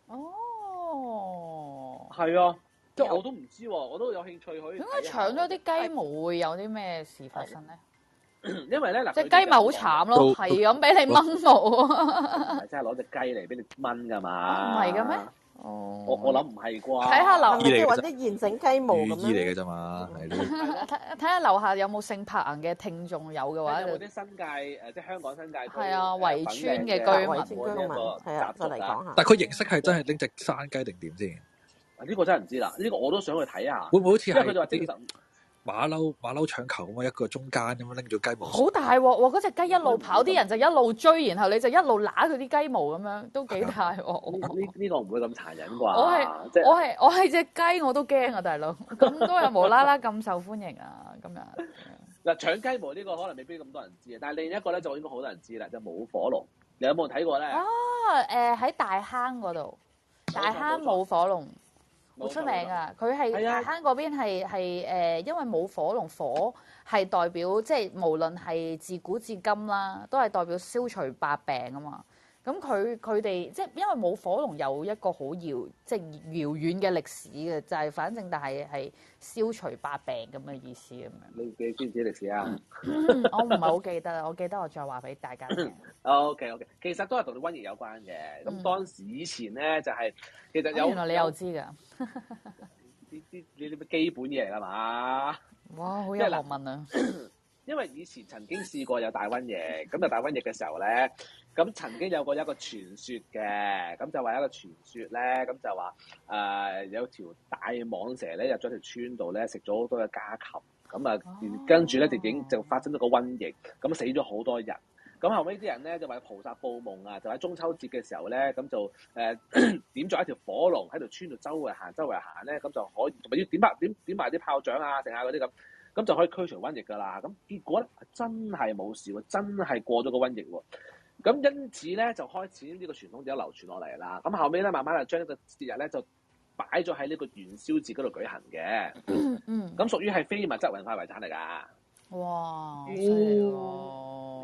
哦， 係啊，即係我都唔知喎，我都有興趣去。 點解搶咗啲雞毛會有啲咩事發生咧？ 因為咧嗱， 隻雞咪好慘咯，係咁俾你掹毛啊！ 唔係真係攞隻雞嚟俾你掹㗎嘛？ 唔係嘅咩？ 哦，我諗唔係啩？ 睇下樓， 即係揾啲現成雞毛咁樣。 寓意嚟嘅啫嘛，係咯。 睇下樓下有冇姓彭嘅聽眾有嘅話， 有冇啲新界即係香港新界係啊圍村嘅居民係啊，就嚟講下。 但係佢形式係真係拎隻山雞定點先？ 呢個真係唔知啦，呢個我都想去睇下。 會唔會好似係佢就話精神馬騮搶球咁樣一個中間咁樣拎咗雞毛？ 好大鑊喎！嗰隻雞一路跑，啲人就一路追，然後你就一路揦佢啲雞毛咁樣，都幾大鑊。 呢個唔會咁殘忍啩？ 我係隻雞我都驚啊，大佬！咁都有無啦啦咁受歡迎啊，咁樣。 嗱，搶雞毛呢個可能未必咁多人知啊，但係另一個咧就應該好多人知啦，就舞火龍。你有冇睇過咧？ 喺大坑嗰度，大坑舞火龍。好出名啊！佢係大坑嗰邊係因為冇火龍，火係代表即係無論係自古至今啦，都係代表消除百病啊嘛。咁佢哋即係因為冇火龍有一個好遙遠嘅歷史嘅，就係反正但係消除百病咁嘅意思咁樣。 你知唔知歷史啊？ 我唔係好記得啦，我記得我再話俾大家聽。 OK，其實都係同你瘟疫有關嘅。咁當時以前咧就係其實有原來你又知㗎？ 呢啲基本嘢嚟㗎嘛？ 哇，好有學問啊！ 因為以前曾經試過有大瘟疫，咁就大瘟疫嘅時候咧，咁曾經有過一個傳說嘅，咁就話一個傳說咧，咁就話有條大蟒蛇咧入咗條村度咧，食咗好多嘅家禽，咁啊跟住咧就發生咗個瘟疫，咁死咗好多人。咁後尾啲人咧就為菩薩報夢啊，就喺中秋節嘅時候咧，咁就點咗一條火龍喺條村度周圍行咧，咁就可以同埋要點埋啲炮仗啊，剩下嗰啲咁就可以驅除瘟疫㗎啦。咁結果咧真係冇事喎，真係過咗個瘟疫喎。咁因此咧就開始呢個傳統就流傳落嚟啦。咁後尾咧慢慢就將呢個節日咧就擺咗喺呢個元宵節嗰度舉行嘅。咁屬於係非物質文化遺產嚟㗎。 哇！犀利喎！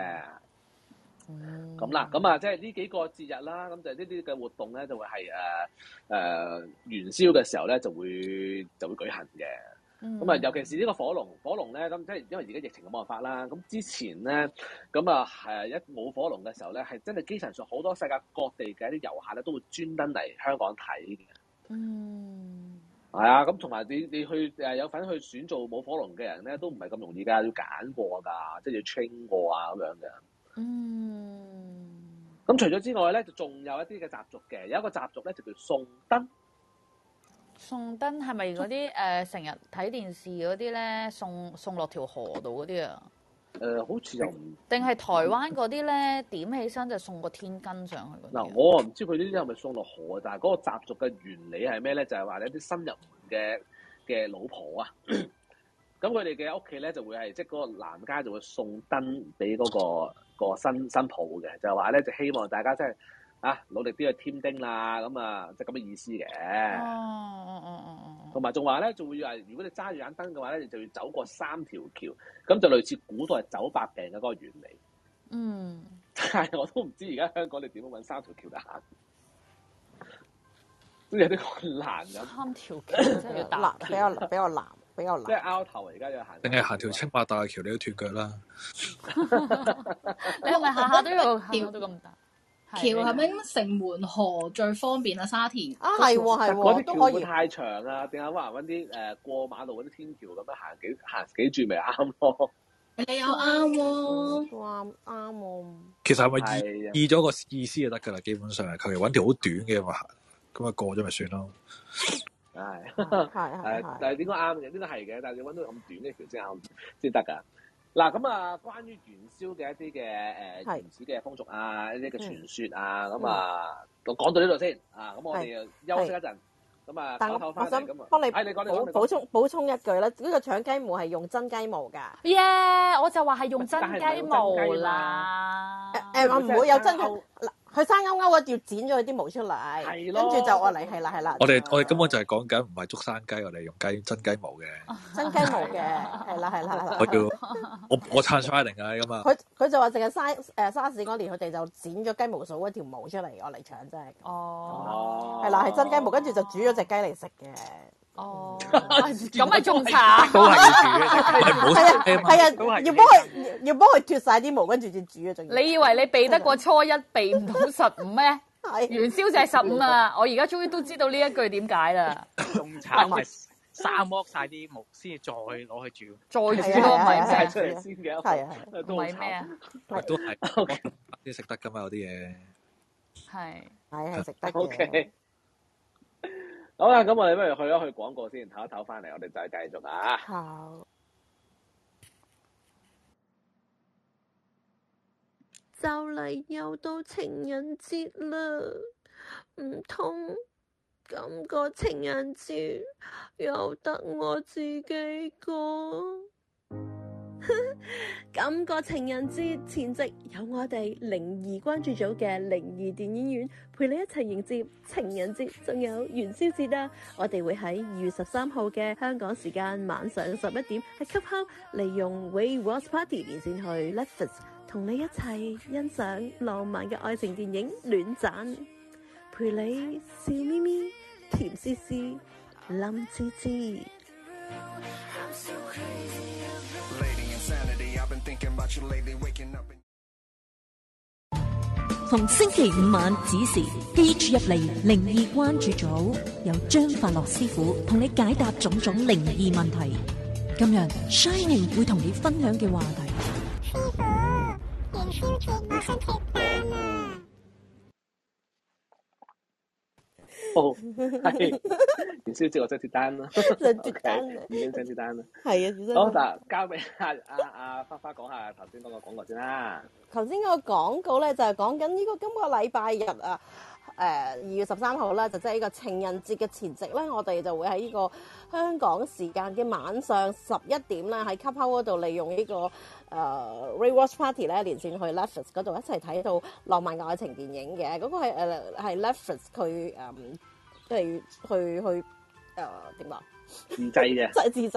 咁啦，咁啊，即係呢幾個節日啦，咁就呢啲嘅活動咧，就會係元宵嘅時候咧，就會舉行嘅。咁啊，尤其是呢個火龍咧，咁即係因為而家疫情冇辦法啦。咁之前咧，咁啊一舞火龍嘅時候咧，係真係基層上好多世界各地嘅一啲遊客咧，都會專登嚟香港睇嘅。係啊，咁同埋你去有份去選做舞火龍嘅人咧，都唔係咁容易㗎，要揀過㗎，即係要 train 過啊咁樣嘅。咁除咗之外咧，就仲有一啲嘅習俗嘅，有一個習俗咧就叫送燈。 送燈係咪嗰啲成日睇電視嗰啲咧，送落條河度嗰啲啊？ 好似又唔定係台灣嗰啲咧，點起身就送個天根上去嗰啲。 嗱，我唔知佢呢啲係咪送落河，但係嗰個習俗嘅原理係咩咧？就係話你啲新入門嘅老婆啊，咁佢哋嘅屋企咧就會係即係嗰個男家就會送燈俾嗰個新抱嘅，就係話咧就希望大家真係努力啲去添丁啦，咁啊即係咁嘅意思嘅。同埋仲話咧，就會話如果你揸住盞燈嘅話咧，你就要走過3條橋，咁就類似古代走百病嘅嗰個原理。但係我都唔知而家香港你點樣揾3條橋嚟行，都有啲困難咁。 3條橋真係要打比較難。 即係拗頭而家要行。 定係行條青馬大橋，你都斷腳啦。 你係咪下下都要橋都咁大？ 橋係咪咁城門河最方便啊？沙田係嗰啲都可以。 橋會太長啊，定係話揾啲過馬路嗰啲天橋咁樣行幾轉咪啱咯？ 你又啱喎， 啱喎。 其實係咪意咗個意思就得㗎啦？基本上係求其揾條好短嘅咁行，咁啊過咗咪算咯。 係，但係點解啱嘅？呢個係嘅，但係你揾到咁短嘅橋先啱先得㗎。 嗱咁啊，關於元宵嘅一啲嘅原始嘅風俗啊，一啲嘅傳說啊，咁啊，我講到呢度先啊，咁我哋休息一陣，咁啊，唞唞翻嚟咁啊， 幫你你講補充一句啦，呢個搶雞毛係用真雞毛㗎。 我就話係用真雞毛啦。 唔會有真雞。佢生勾勾啊，要剪咗佢啲毛出嚟，跟住就愛嚟係啦。 我哋根本就係講緊唔係竹山雞，我哋用真雞毛嘅。 真雞毛嘅，係啦。 我撐 Shining 㗎咁啊！ 佢就話淨係沙士嗰年，佢哋就剪咗雞毛掃一條毛出嚟，我嚟搶啫。係啦，係真雞毛，跟住就煮咗隻雞嚟食嘅。 咁咪仲慘。 都係要煮嘅， 係啊，要幫佢脫晒啲毛，跟住先煮嘅。仲你以為你避得過初一，避唔到15咩？元宵就係15啊！我而家終於都知道呢一句點解啦。 仲慘係生剝晒啲毛，先至再攞去煮， 再煮咯，唔係晒出嚟先嘅。 係唔係咩啊？ 都係啲食得㗎嘛，有啲嘢係食得嘅。 OK。好啦，咁我哋不如去一去廣告先，唞一唞翻嚟，我哋再繼續啊。 好。 就嚟又到情人節啦，唔通今個情人節又得我自己過？今個情人節前夕，有我哋靈異關注組嘅靈異電影院陪你一齊迎接情人節，仲有元宵節啊！我哋會喺2月13號嘅香港時間晚上11點喺 Clubhouse 利用 We Watch Party 連線去 Netflix 同你一齊欣賞浪漫嘅愛情電影《戀讚》，陪你笑咪咪、甜絲絲、冧吱吱。 逢星期5晚子時，記住入嚟靈異關注組，由張法樂師傅同你解答種種靈異問題。今日 Shining 會同你分享嘅話題，師傅，元宵節我想脫單啊！ 係元宵節我想脫單啦，已經想脫單啦。 係啊， 好嗱，交俾阿花花講下頭先嗰個廣告先啦。 頭先嗰個廣告咧就係講緊呢個今個禮拜日啊，2月13號啦，就即係呢個情人節嘅前夕咧，我哋就會喺呢個香港時間嘅晚上11點啦，喺 Clubhouse 嗰度利用呢個Rewatch Party 咧連線去 Netflix 嗰度一齊睇到浪漫嘅愛情電影嘅，嗰個係Netflix 佢即係去點講？ 自製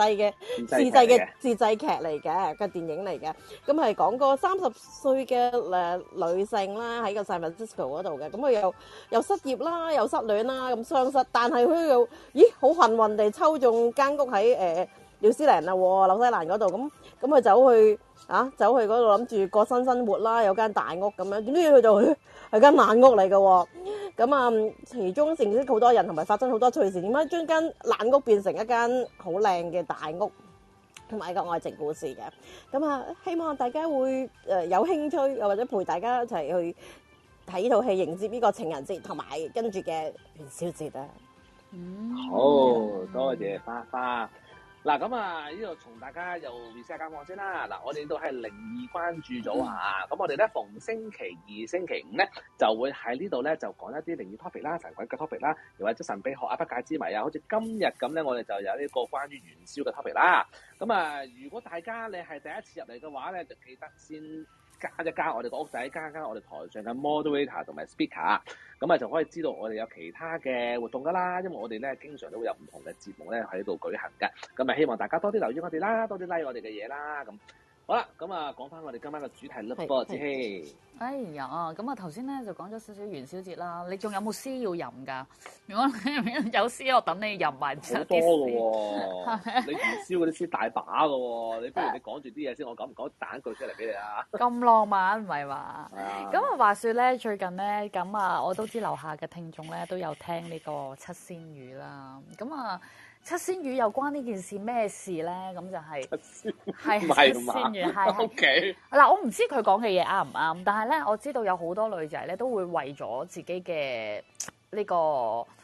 劇嚟嘅電影嚟嘅，咁係講個30歲嘅女性啦，喺個 San Francisco 嗰度嘅，咁佢又失業啦，又失戀啦，咁雙失，但係佢又好幸運地抽中間屋喺紐西蘭紐西蘭嗰度，咁佢走去嗰度諗住過新生活啦，有間大屋咁樣，點知佢就係間爛屋嚟嘅喎。咁其中認識好多人，同埋發生好多趣事。點解將間爛屋變成一間好靚嘅大屋，同埋一個愛情故事嘅？咁希望大家會有興趣，又或者陪大家一齊去睇呢套戲，迎接呢個情人節，同埋跟住嘅元宵節啊！ 好多謝花花。嗱咁呢度同大家又 reset 間房先啦。嗱，我哋都係靈異關注組啊。咁我哋咧逢星期2、星期5咧就會喺呢度咧就講一啲靈異 topic 啦、神鬼嘅 topic 啦，又或者神秘學啊、不解之謎啊。好似今日咁咧，我哋就有呢個關於元宵嘅 topic 啦。咁如果大家你係第一次入嚟嘅話咧，就記得先加一加我哋個屋仔，加我哋台上嘅 moderator 同埋 speaker， 咁就可以知道我哋有其他嘅活動噶啦。因為我哋咧經常都會有唔同嘅節目咧喺度舉行嘅，咁希望大家多啲留意我哋啦，多啲 like 我哋嘅嘢啦。咁好啦，咁講翻我哋今晚嘅主題啦噃，子希。 哎呀，咁頭先咧就講咗少少元宵節啦，你仲有冇詩要飲㗎？如果有詩，我等你飲埋啲詩。 好多嘅喎，你元宵嗰啲詩大把嘅喎，你不如你講住啲嘢先，我講唔講彈句出嚟俾你啊？ 咁浪漫唔係嘛？咁話說咧，最近咧我都知樓下嘅聽眾咧都有聽呢個七仙魚啦，七仙魚又關呢件事咩事咧？咁就係七仙魚係 OK 嗱，我唔知佢講嘅嘢啱唔啱，但係咧我知道有好多女仔咧都會為咗自己嘅呢個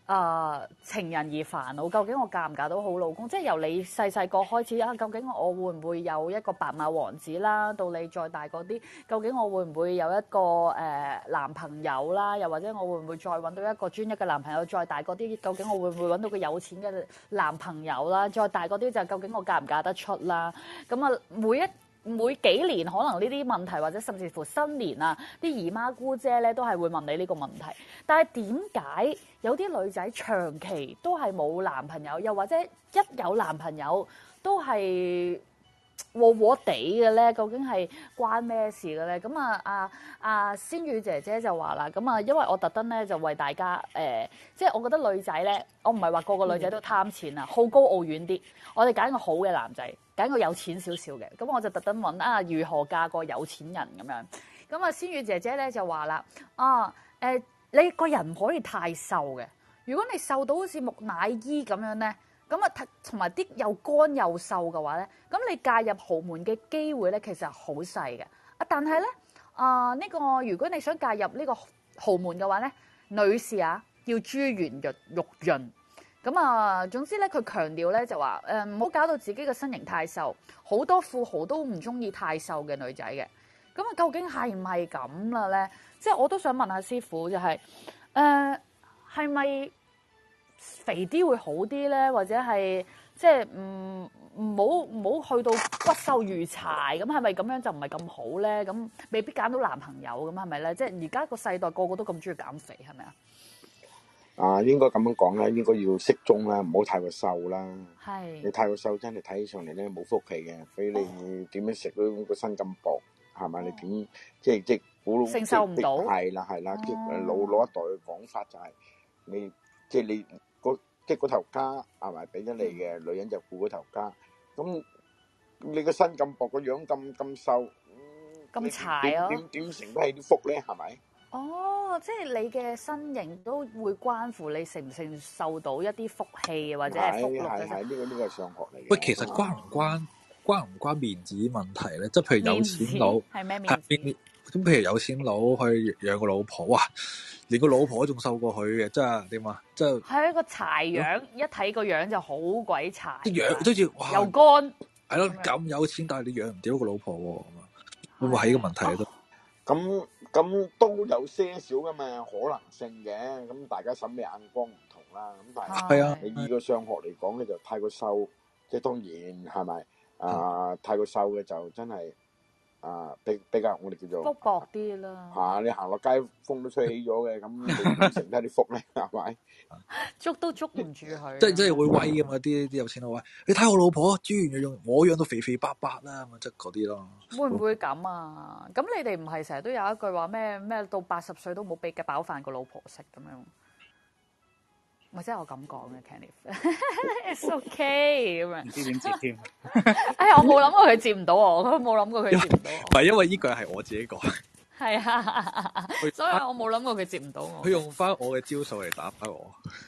情人而煩惱，究竟我嫁唔嫁到好老公？即係由你細細個開始啊，究竟我會唔會有一個白馬王子啦？到你再大嗰啲，究竟我會唔會有一個男朋友啦？又或者我會唔會再揾到一個專一嘅男朋友？再大嗰啲，究竟我會唔會揾到個有錢嘅男朋友啦？再大嗰啲就究竟我嫁唔嫁得出啦？咁啊，每幾年可能呢啲問題，或者甚至乎新年啊，啲姨媽姑姐咧都係會問你呢個問題。但係點解有啲女仔長期都係冇男朋友，又或者一有男朋友都係和和地嘅咧？究竟係關咩事嘅咧？咁仙羽姐姐就話啦，咁啊，因為我特登咧就為大家即係我覺得女仔咧，我唔係話個個女仔都貪錢啊，好高騖遠啲，我哋揀個好嘅男仔，揀個有錢少少嘅，咁我就特登揾如何嫁個有錢人咁樣。咁啊，仙羽姐姐咧就話啦，你個人唔可以太瘦嘅，如果你瘦到好似木乃伊咁樣咧，咁啊同埋啲又乾又瘦嘅話咧，咁你嫁入豪門嘅機會咧其實係好細嘅。但係咧呢個如果你想嫁入呢個豪門嘅話咧，女士啊要珠圓玉潤。咁啊，總之咧，佢強調咧就話唔好搞到自己嘅身形太瘦，好多富豪都唔中意太瘦嘅女仔嘅。咁啊，究竟係唔係咁啦咧？即係我都想問下師傅，就係係咪肥啲會好啲咧？或者係即係唔好去到骨瘦如柴咁，係咪咁樣就唔係咁好咧？咁未必揀到男朋友咁係咪咧？即係而家個世代個個都咁中意減肥，係咪啊？ 應該咁樣講啦，應該要適中啦，唔好太過瘦啦。 係。 你太過瘦真係睇起上嚟咧冇福氣嘅，俾你點樣食都個身咁薄，係咪？你點即估承受唔到。 係啦，即係老一代嘅講法就係你即係你嗰頭家係咪俾咗你嘅女人就顧嗰頭家，咁你個身咁薄，個樣咁瘦， 咁柴啊！ 點承得起啲福咧？係咪？ 即係你嘅身形都會關乎你承唔承受到一啲福氣或者係福祿嘅。 係呢個係上學嚟嘅。 喂，其實關唔關面子問題咧？即係譬如有錢佬係咩面子？ 咁譬如有錢佬去養個老婆，哇！連個老婆都仲瘦過佢嘅，真係點啊？即係係一個柴樣，一睇個樣就好鬼柴。 啲樣都似哇， 又乾。 係咯，咁有錢，但係你養唔掂個老婆喎，會唔會係呢個問題都？ 咁都有些少嘅嘛可能性嘅，咁大家審美眼光唔同啦。咁但係你依個上學嚟講咧，就太過瘦，即係當然係咪太過瘦嘅就真係比較我哋叫做福薄啲啦。 你行落街風都吹起咗嘅，咁你點承得啲福咧？係咪？ 捉都捉唔住佢。 即係會威㗎嘛！啲有錢佬話：你睇我老婆豬圓養，我養到肥肥白白啦，咁即係嗰啲咯。 會唔會咁啊？咁你哋唔係成日都有一句話咩到80歲都冇俾嘅飽飯個老婆食咁樣？或者我咁講嘅 Kenneth，it's okay 咁樣。 唔知點接添？ 我冇諗過佢接唔到我，佢冇諗過佢接唔到我。 唔係因為呢句係我自己講。 係啊，所以我冇諗過佢接唔到我。 佢用翻我嘅招數嚟打翻我。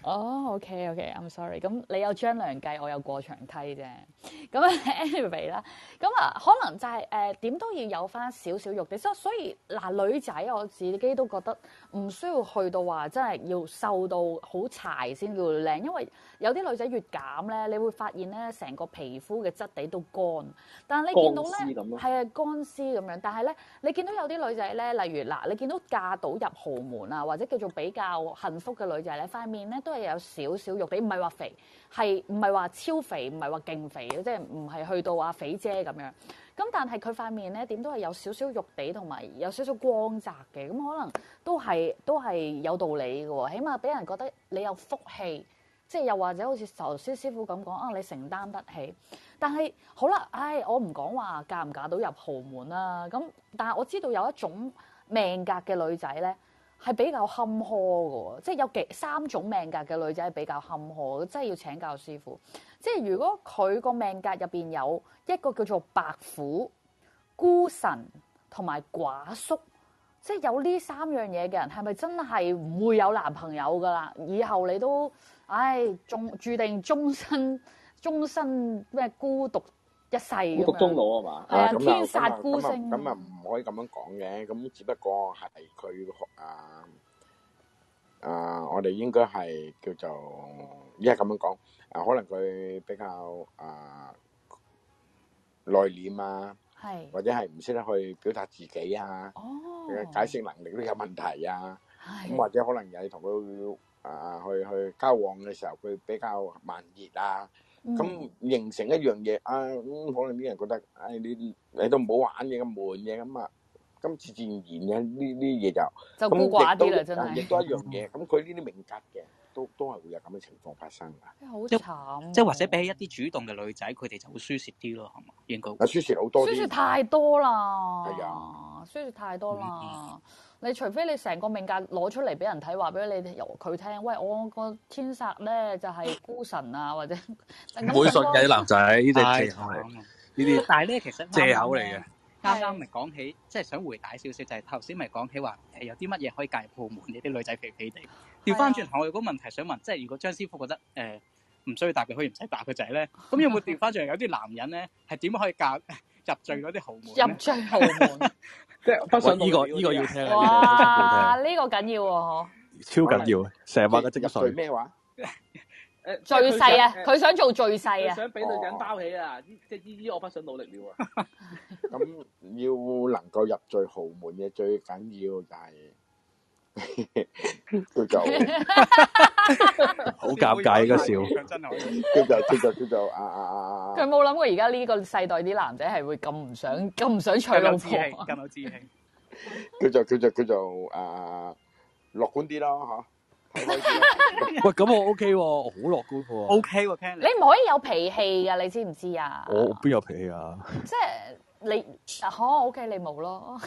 OK，I'm sorry。咁你有張良計，我有過牆梯啫。咁 anyway 啦，咁可能就係點都要有翻少少肉地。所以女仔我自己都覺得唔需要去到話真係要瘦到好柴先叫靚，因為有啲女仔越減咧，你會發現咧成個皮膚嘅質地都乾。但係你見到咧係乾絲咁樣，但係咧你見到有啲女仔咧，例如你見到嫁到入豪門啊，或者叫做比較幸福嘅女仔咧，塊面咧都係有少少肉地，唔係話肥，係唔係話超肥，唔係話勁肥，即係唔係去到肥姐咁樣。咁但係佢塊面咧點都係有少少肉地，同埋有少少光澤嘅，咁可能都係有道理嘅喎。起碼俾人覺得你有福氣，即係又或者好似頭先師傅咁講你承擔得起。但係好啦，我唔講話嫁唔嫁到入豪門啦。咁但係我知道有一種命格嘅女仔咧係比較坎坷嘅喎，即係有3種命格嘅女仔係比較坎坷，真係要請教師傅。即係如果佢個命格入邊有一個叫做白虎、孤神同埋寡宿，即係有呢3樣嘢嘅人，係咪真係唔會有男朋友噶啦？以後你都注定終身咩孤獨一世咁樣。 孤獨終老啊嘛？ 天煞孤星。 咁唔可以咁樣講嘅，咁只不過係佢我哋應該係叫做依家咁樣講，可能佢比較內斂啊，或者係唔識得去表達自己啊，解釋能力都有問題啊，咁或者可能有同佢去交往嘅時候，佢比較慢熱啊，咁形成一樣嘢可能啲人覺得，你都唔好玩嘢咁悶嘅咁啊。咁自然嘅呢啲嘢就孤寡啲啦，真係。 亦都一樣嘢，咁佢呢啲命格嘅都係會有咁嘅情況發生㗎。 好慘。 即係或者比起一啲主動嘅女仔，佢哋就會輸蝕啲咯，係嘛？應該。 輸蝕好多啲。輸蝕太多啦。 係啊。 輸蝕太多啦。你除非你成個命格攞出嚟俾人睇，話俾你由佢聽，喂，我個天煞咧就係孤神啊，或者唔會信嘅啲男仔，呢啲借口嚟。呢啲但係咧，其實借口嚟嘅。 啱啱咪講起，即係想回帶少少，就係頭先咪講起話有啲乜嘢可以介鋪門呢啲女仔肥肥地。調翻轉頭，我有個問題想問，即係如果張師傅覺得唔需要答佢，可以唔使答佢仔咧，咁有冇調翻轉有啲男人咧係點可以入贅嗰啲豪門？ 入贅豪門， 即係不信呢個要聽。 哇！呢個緊要喎， 超緊要，成晚嘅積水咩話？ 最細啊！佢想做最細啊！ 想俾女人包起啊！即係依我不想努力了啊！ 咁要能夠入贅豪門嘅最緊要就係叫做好尷尬呢個笑， 叫做佢冇諗過而家呢個世代啲男仔係會咁唔想娶老婆， 咁有志氣， 叫做樂觀啲咯嚇。 喂，咁我 OK 喎，我好樂觀喎。 OK 喎，Ken， 你唔可以有脾氣㗎，你知唔知啊？ 我邊有脾氣啊？ 即係你OK，你冇咯。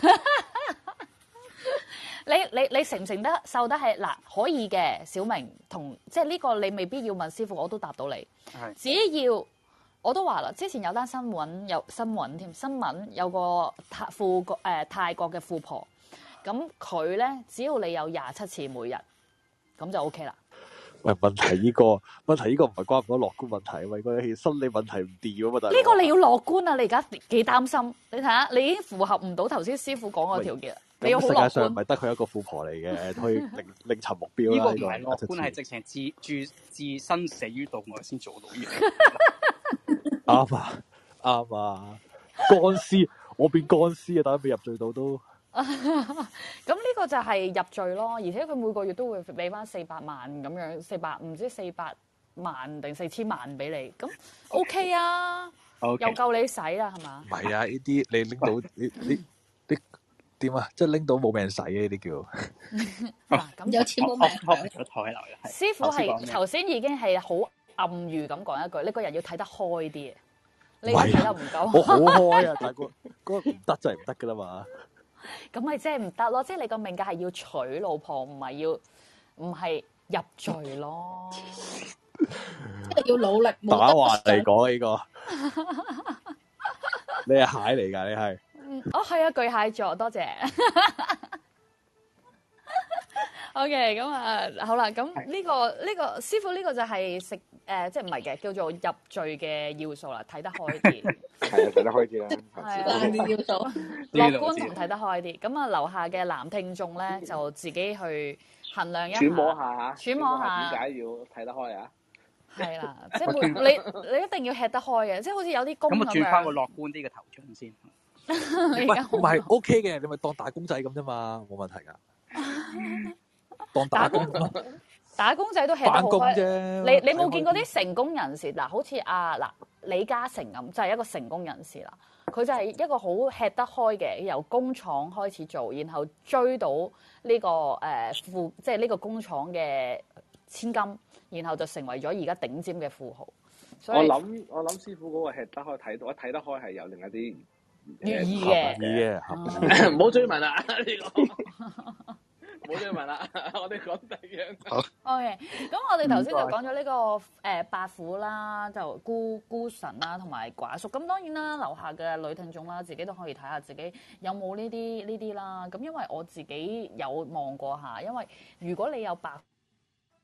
你承唔承得受得係嗱？可以嘅，小明同即係呢個你未必要問師傅，我都答到你。只要我都話啦，之前有單新聞有個泰國嘅富婆，咁佢咧只要你有27次每日。咁就 OK 啦。 喂，問題呢個唔係關唔關樂觀問題，喂，個心理問題唔掂啊嘛，大佬。 呢個你要樂觀啊！你而家幾擔心？你睇下，你已經符合唔到頭先師傅講個條件，你要好樂觀。世界上唔係得佢一個富婆嚟嘅，可以另尋目標啦。 呢個唔係樂觀，係直情置身死於度外先做到呢樣。 啱啊！乾屍，我變乾屍啊！大家未入罪到都。 咁呢個就係入罪咯，而且佢每個月都會俾翻400萬咁樣，400萬定4000萬俾你，咁 OK 啊，又夠你使啦，係嘛？ 唔係啊，呢啲你拎到你點啊？即係拎到冇命使嘅呢啲叫。 嗱，咁有錢冇命使。師傅係頭先已經係好暗喻咁講一句，你個人要睇得開啲，你而家睇得唔夠。 我好開啊，但係嗰個唔得就係唔得噶啦嘛。 咁咪即係唔得咯，即係你個命格係要娶老婆，唔係入贅咯。 即係要努力。 打橫嚟講呢個，你係蟹嚟㗎，你係。 係啊，巨蟹座，多謝。OK， 咁好啦，咁呢個師傅呢個就係食即係唔係嘅，叫做入贅嘅要素啦，睇得開啲。 係啊，睇得開啲啦。 係啲要素。 樂觀同睇得開啲，咁啊樓下嘅男聽眾咧就自己去衡量一下。揣摩下點解要睇得開啊？ 係啦，即係你一定要吃得開嘅，即係好似有啲工咁樣。 咁啊，轉翻個樂觀啲嘅頭像先。 唔係 OK 嘅，你咪當打工仔咁啫嘛，冇問題㗎。當打工打工仔都吃得好開啫。 你冇見過啲成功人士嗱，好似李嘉誠咁，就係一個成功人士啦。佢就係一個好吃得開嘅，由工廠開始做，然後追到呢個即係呢個工廠嘅千金，然後就成為咗而家頂尖嘅富豪。所以我諗師傅嗰個吃得開睇得開係有另一啲寓意嘅， 唔好追問啦呢個。冇嘢問啦，我哋講第二樣。好。OK， 咁我哋頭先就講咗呢個白虎啦，就孤神啦，同埋寡宿。咁當然啦，樓下嘅女聽眾啦，自己都可以睇下自己有冇呢啲啦。咁因為我自己有望過下，因為如果你有白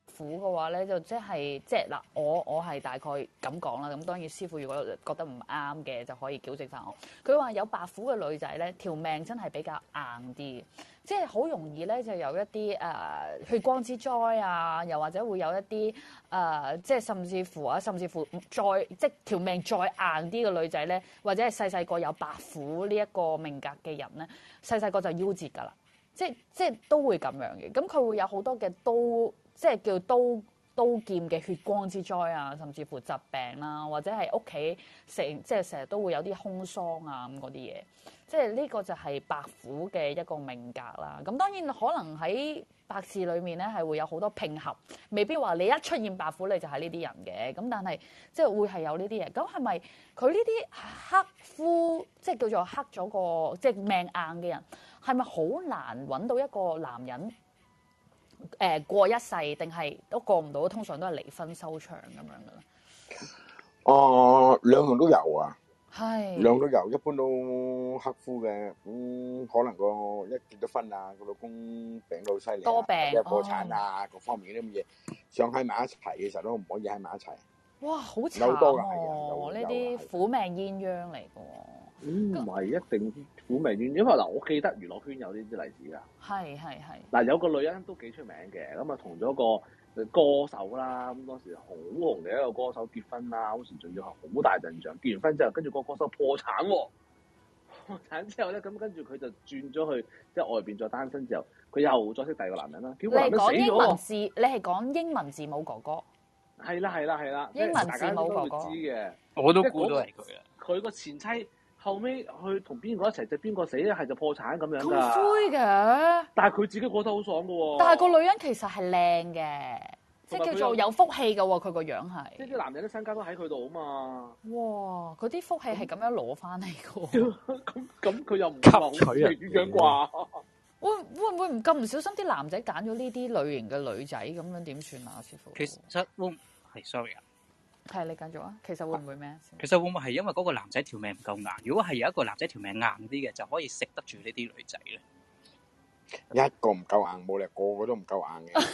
虎嘅話咧，就即係嗱，我係大概咁講啦。咁當然師傅如果覺得唔啱嘅，就可以矯正翻我。佢話有白虎嘅女仔咧，條命真係比較硬啲，即係好容易咧就有一啲血光之災啊，又或者會有一啲即係甚至乎再即係條命再硬啲嘅女仔咧，或者係細個有白虎呢一個命格嘅人咧，細個就夭折㗎啦。即係都會咁樣嘅，咁佢會有好多嘅即係叫刀劍嘅血光之災啊，甚至乎疾病啦，或者係屋企即係成日都會有啲空喪啊咁嗰啲嘢，即係呢個就係白虎嘅一個命格啦。咁當然可能喺八字裏面咧係會有好多拼合，未必話你一出現白虎你就係呢啲人嘅，咁但係即係會係有呢啲嘢。咁係咪佢呢啲克夫即係叫做克咗個即係命硬嘅人，係咪好難揾到一個男人？過一世定係都過唔到，通常都係離婚收場咁樣嘅啦。 兩樣都有啊， 係兩樣都有，一般都克夫嘅，可能一結咗婚啊，個老公病到犀利， 多病， 或者破產啊，各方面啲咁嘢，想喺埋一齊嘅時候都唔可以喺埋一齊。 哇，好慘喎！ 呢啲苦命鴛鴦嚟嘅喎。 唔係一定苦命鴛鴦，因為嗱，我記得娛樂圈有呢啲例子㗎。 係。 嗱，有個女人都幾出名嘅，咁啊同咗個歌手啦，咁當時好紅嘅一個歌手結婚啦，好似仲要係好大陣仗。結完婚之後，跟住個歌手破產喎，破產之後咧，咁跟住佢就轉咗去即係外邊再單身之後，佢又再識第二個男人啦。 你係講英文字，你係講英文字母哥哥。 係啦， 英文字母哥哥。 知嘅， 我都估到係佢啊。 佢個前妻。後尾去同邊個一齊就邊個死咧，係就破產咁樣㗎。 咁灰嘅， 但係佢自己過得好爽㗎喎。 但係個女人其實係靚嘅，即係叫做有福氣㗎喎。佢個樣係。 即係啲男人啲身家都喺佢度啊嘛。 哇！佢啲福氣係咁樣攞翻嚟㗎喎。 咁佢又唔係好吸取啊樣啩？ 會唔會唔咁唔小心啲男仔揀咗呢啲類型嘅女仔咁樣點算啊，師傅？ 其實係 sorry 啊。 係你繼續啊！其實會唔會咩？ 其實會唔會係因為嗰個男仔條命唔夠硬？如果係有一個男仔條命硬啲嘅，就可以食得住呢啲女仔咧。 一個唔夠硬，冇理由個個都唔夠硬嘅。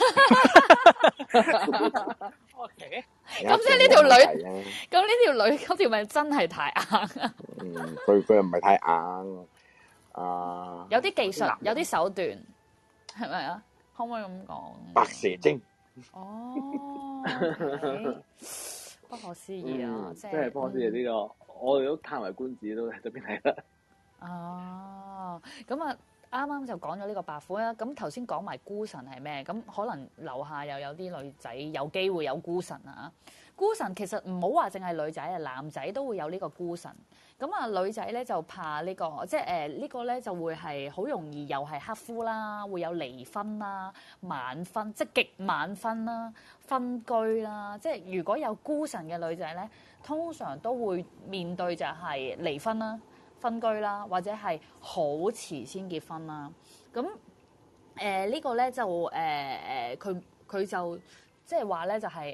OK。 咁即係呢條女，咁呢條女嗰條命真係太硬啊！ 佢又唔係太硬啊。 有啲技術，有啲手段，係咪啊？可唔可以咁講？ 白蛇精。 不可思議啊！ 即係不可思議呢個，我哋都歎為觀止，都喺度邊睇啦。 咁啊，啱啱就講咗呢個白虎啦。咁頭先講埋孤神係咩？咁可能樓下又有啲女仔有機會有孤神啊。孤神其實唔好話淨係女仔啊，男仔都會有呢個孤神。咁啊，女仔咧就怕呢個，即係呢個咧就會係好容易又係克夫啦，會有離婚啦、晚婚，即係極晚婚啦、分居啦。即係如果有孤神嘅女仔咧，通常都會面對就係離婚啦、分居啦，或者係好遲先結婚啦。咁呢個咧就佢就即係話咧就係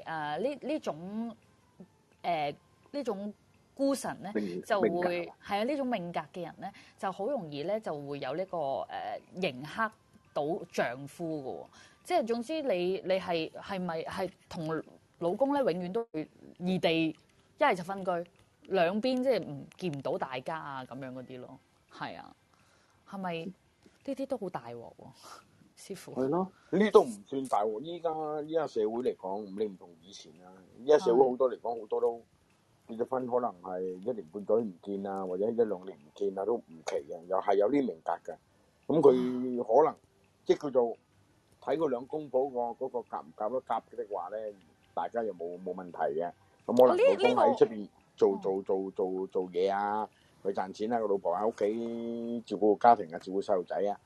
呢種孤神咧就會係啊，呢種命格嘅人咧就好容易咧就會有呢個刑克到丈夫嘅喎。即係總之你係咪係同老公咧永遠都會異地，一係就分居，兩邊即係見唔到大家啊咁樣嗰啲咯。係啊，係咪呢啲都好大鑊喎？師傅係咯，呢啲都唔算大鑊。依家社會嚟講，你唔同以前啦。依家社會好多嚟講，好多都結咗婚，可能係1年半載唔見啊，或者1-2年唔見啊，都唔奇嘅。又係有啲命格嘅。咁佢可能即係叫做睇佢兩公婆嗰個夾唔夾得夾嘅話咧，大家又冇問題嘅。咁可能老公喺出邊做嘢啊，去賺錢啊，個老婆喺屋企照顧家庭啊，照顧細路仔啊。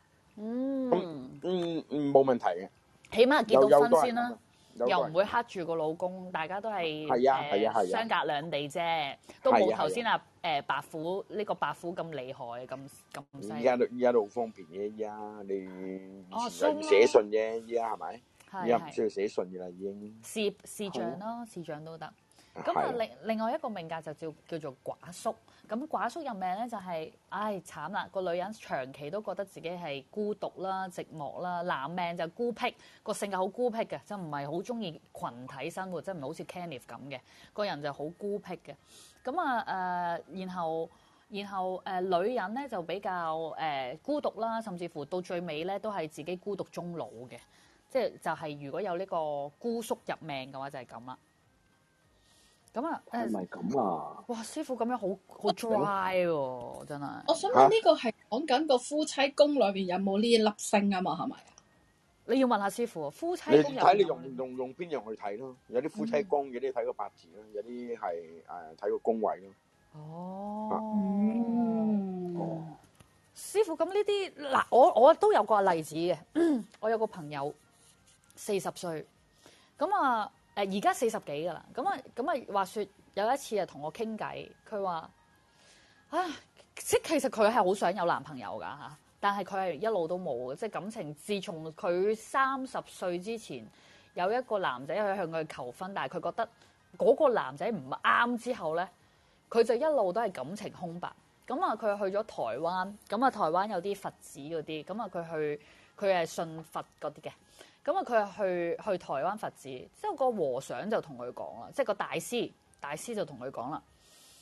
冇問題嘅， 起碼結到婚先啦，又唔會黑住個老公，大家都係相隔兩地啫，都冇頭先白虎呢個白虎咁厲害咁犀利。 依家都好方便嘅，依家你以前要寫信啫，依家係咪？依家唔需要寫信嘅啦，已經。 視像咯，視像都得。 咁啊，另外一個命格就叫做寡宿。咁寡宿入命咧就係、慘啦！個女人長期都覺得自己係孤獨啦、寂寞啦。男命就孤僻，個性格好孤僻嘅，即係唔係好中意群體生活，即係唔係好似 Kenneth 咁嘅個人就好孤僻嘅。咁啊然後女人咧就比較孤獨啦，甚至乎到最尾咧都係自己孤獨終老嘅。即係就係如果有呢個孤宿入命嘅話就係咁啦。咁啊， 係咪咁啊？ 哇！師傅咁樣好 dry 喎，真係。 我想問呢個係講緊個夫妻宮裏邊有冇呢一粒星啊嘛？係咪啊？ 你要問下師傅，夫妻你宮睇你用邊樣去睇咯？有啲夫妻宮，有啲睇個八字咯，有啲係睇個宮位咯。 師傅咁呢啲嗱，我都有個例子嘅。我有個朋友40歲，咁啊。而家40幾㗎啦，咁啊話説有一次啊同我傾偈，佢話即其實佢係好想有男朋友㗎嚇，但係佢係一路都冇嘅，即係感情。自從佢30歲之前有一個男仔去向佢求婚，但係佢覺得嗰個男仔唔啱之後咧，佢就一路都係感情空白。咁啊佢去咗台灣，咁啊台灣有啲佛寺嗰啲，咁啊佢係信佛嗰啲嘅。咁啊，佢去台灣佛寺，之後個和尚就同佢講啦，即係個大師就同佢講啦，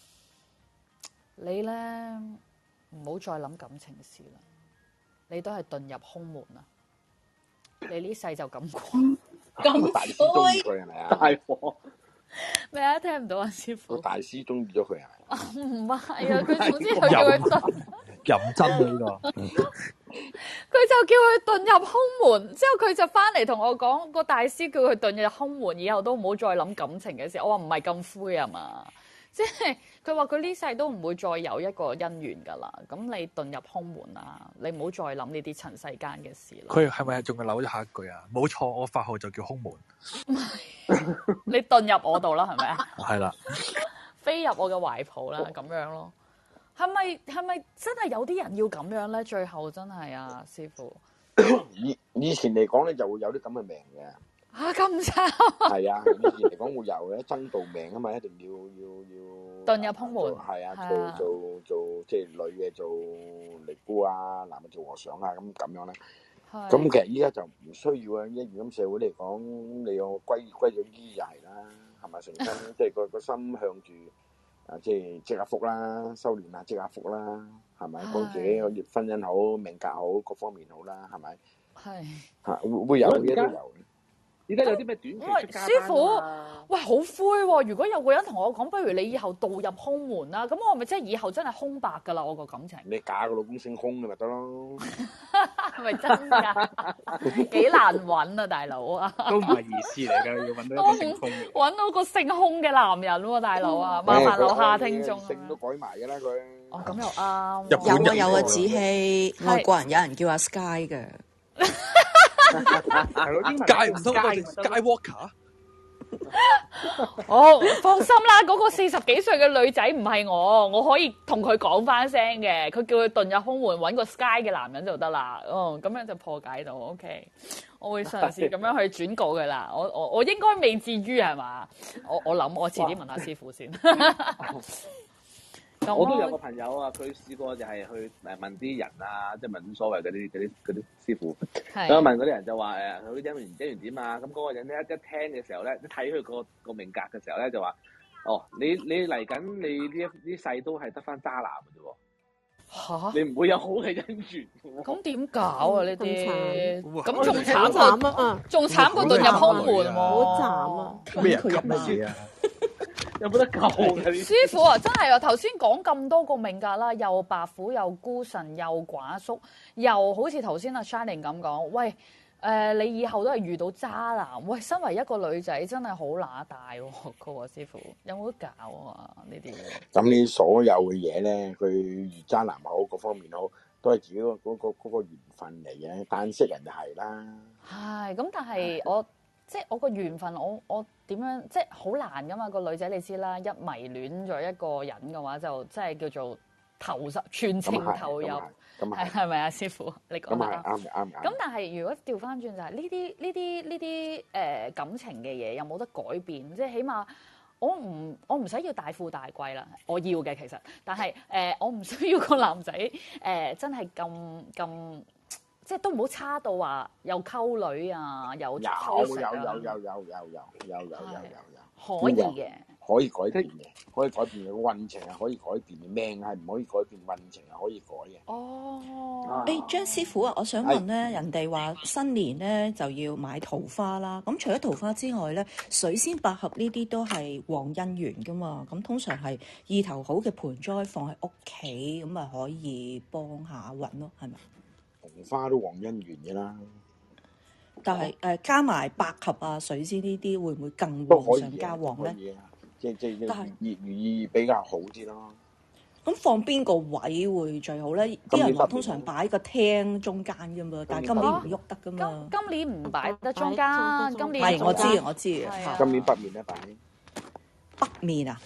你咧唔好再諗感情事啦，你都係遁入空門啦，你呢世就咁過。 咁大師中意佢係咪啊？大鑊咩啊？聽唔到啊，師傅。 個大師中意咗佢係咪？ 唔係啊，佢總之佢叫佢遁。 認真啊呢個。 佢就叫佢遁入空門，之後佢就翻嚟同我講，個大師叫佢遁入空門，以後都唔好再諗感情嘅事。我話唔係咁灰啊嘛，即係佢話佢呢世都唔會再有一個姻緣噶啦。咁你遁入空門啊，你唔好再諗呢啲塵世間嘅事啦。 佢係咪仲係扭咗下一句啊？冇錯，我法號就叫空門。 你遁入我度啦，係咪啊？ 係啦， 飛入我嘅懷抱啦，咁樣咯。係咪真係有啲人要咁樣咧？最後真係啊，師傅。 以前嚟講咧，就會有啲咁嘅命嘅。 咁慘。 係啊，以前嚟講會有嘅，爭道命啊嘛，一定要遁入空門。 係啊，做即係女嘅做尼姑啊，男嘅做和尚啊，咁樣咧。咁其實依家就唔需要啊！一如咁社會嚟講，你有歸咗依就係啦，係咪成身即係個心向住。即係積下福啦，修煉下積下福啦，係咪？幫自己個婚姻好、命格好、各方面好啦，係咪？係會有嘅都有。 而家有啲咩短期出家班啊？ 師傅，喂，好灰喎！如果有個人同我講，不如你以後遁入空門啦，咁我咪即係以後真係空白㗎啦，我個感情。 你嫁個老公姓空嘅咪得咯？ 係咪真㗎？幾難揾啊，大佬啊！ 都唔係意思嚟㗎，要揾到一個姓空嘅。 揾到個姓空嘅男人喎，大佬啊！麻煩樓下聽眾。 姓都改埋㗎啦佢。 哦，咁又啱。 有啊，子希，外國人有人叫阿 Sky 嘅。 Sky 唔通係 Skywalker？ 放心啦，嗰個40幾歲嘅女仔唔係我可以同佢講翻聲嘅，佢叫佢遁入空門揾個 Sky 嘅男人就得啦。咁樣就破解到 OK。我會嘗試咁樣去轉告佢啦。我應該未至於係嘛？我諗我遲啲問下師傅先。 我都有個朋友啊，佢試過就係去問啲人啊，即係問所謂嗰啲師傅，咁問嗰啲人就話佢姻緣點啊？咁嗰個人咧一聽嘅時候咧，一睇佢個命格嘅時候咧，就話：你嚟緊你呢世都係得翻渣男嘅啫喎，你唔會有好嘅姻緣喎。 咁點搞啊？呢啲咁仲慘啊！ 仲慘過遁入空門喎， 好慘啊！ 咩人咁乜嘢啊？ 有冇得救嘅？ 師傅啊，真係啊！頭先講咁多個命格啦，又白虎，又孤神，又寡宿，又好似頭先阿 Shining 咁講，喂，你以後都係遇到渣男，喂，身為一個女仔真係好乸大喎，個師傅有冇得搞啊？呢啲咁呢所有嘅嘢咧，佢遇渣男好，各方面好，都係自己嗰個緣分嚟嘅，但識人就係啦。 係咁，但係即係我個緣分，我點樣即係好難噶嘛？個女仔你知啦，一迷戀咗一個人嘅話，就即係叫做全情投入，係咪啊？師傅，你講得啱。咁但係如果調翻轉就係呢啲感情嘅嘢，有冇得改變？即係起碼我唔使要大富大貴啦，我要嘅其實，但係我唔需要個男仔真係咁，即係都唔好差到話又溝女啊，又偷食啊。有，可以嘅。 可以改變嘅，可以改變嘅運程係可以改變嘅，命係唔可以改變，運程係可以改嘅。 哦， 張師傅啊，我想問咧，人哋話新年咧就要買桃花啦。咁除咗桃花之外咧，水仙、百合呢啲都係旺姻緣噶嘛。咁通常係意頭好嘅盆栽放喺屋企，咁啊可以幫下運咯，係咪？ 桃花都旺姻緣嘅啦。 但係加埋百合啊、水仙呢啲，會唔會更旺上加旺咧？ 即如意比較好啲咯。 咁放邊個位會最好咧？啲人話通常擺個廳中間噶嘛，但係今年唔喐得噶嘛。 今年唔擺得中間，今年係我知。 今年北面咧擺北面啊？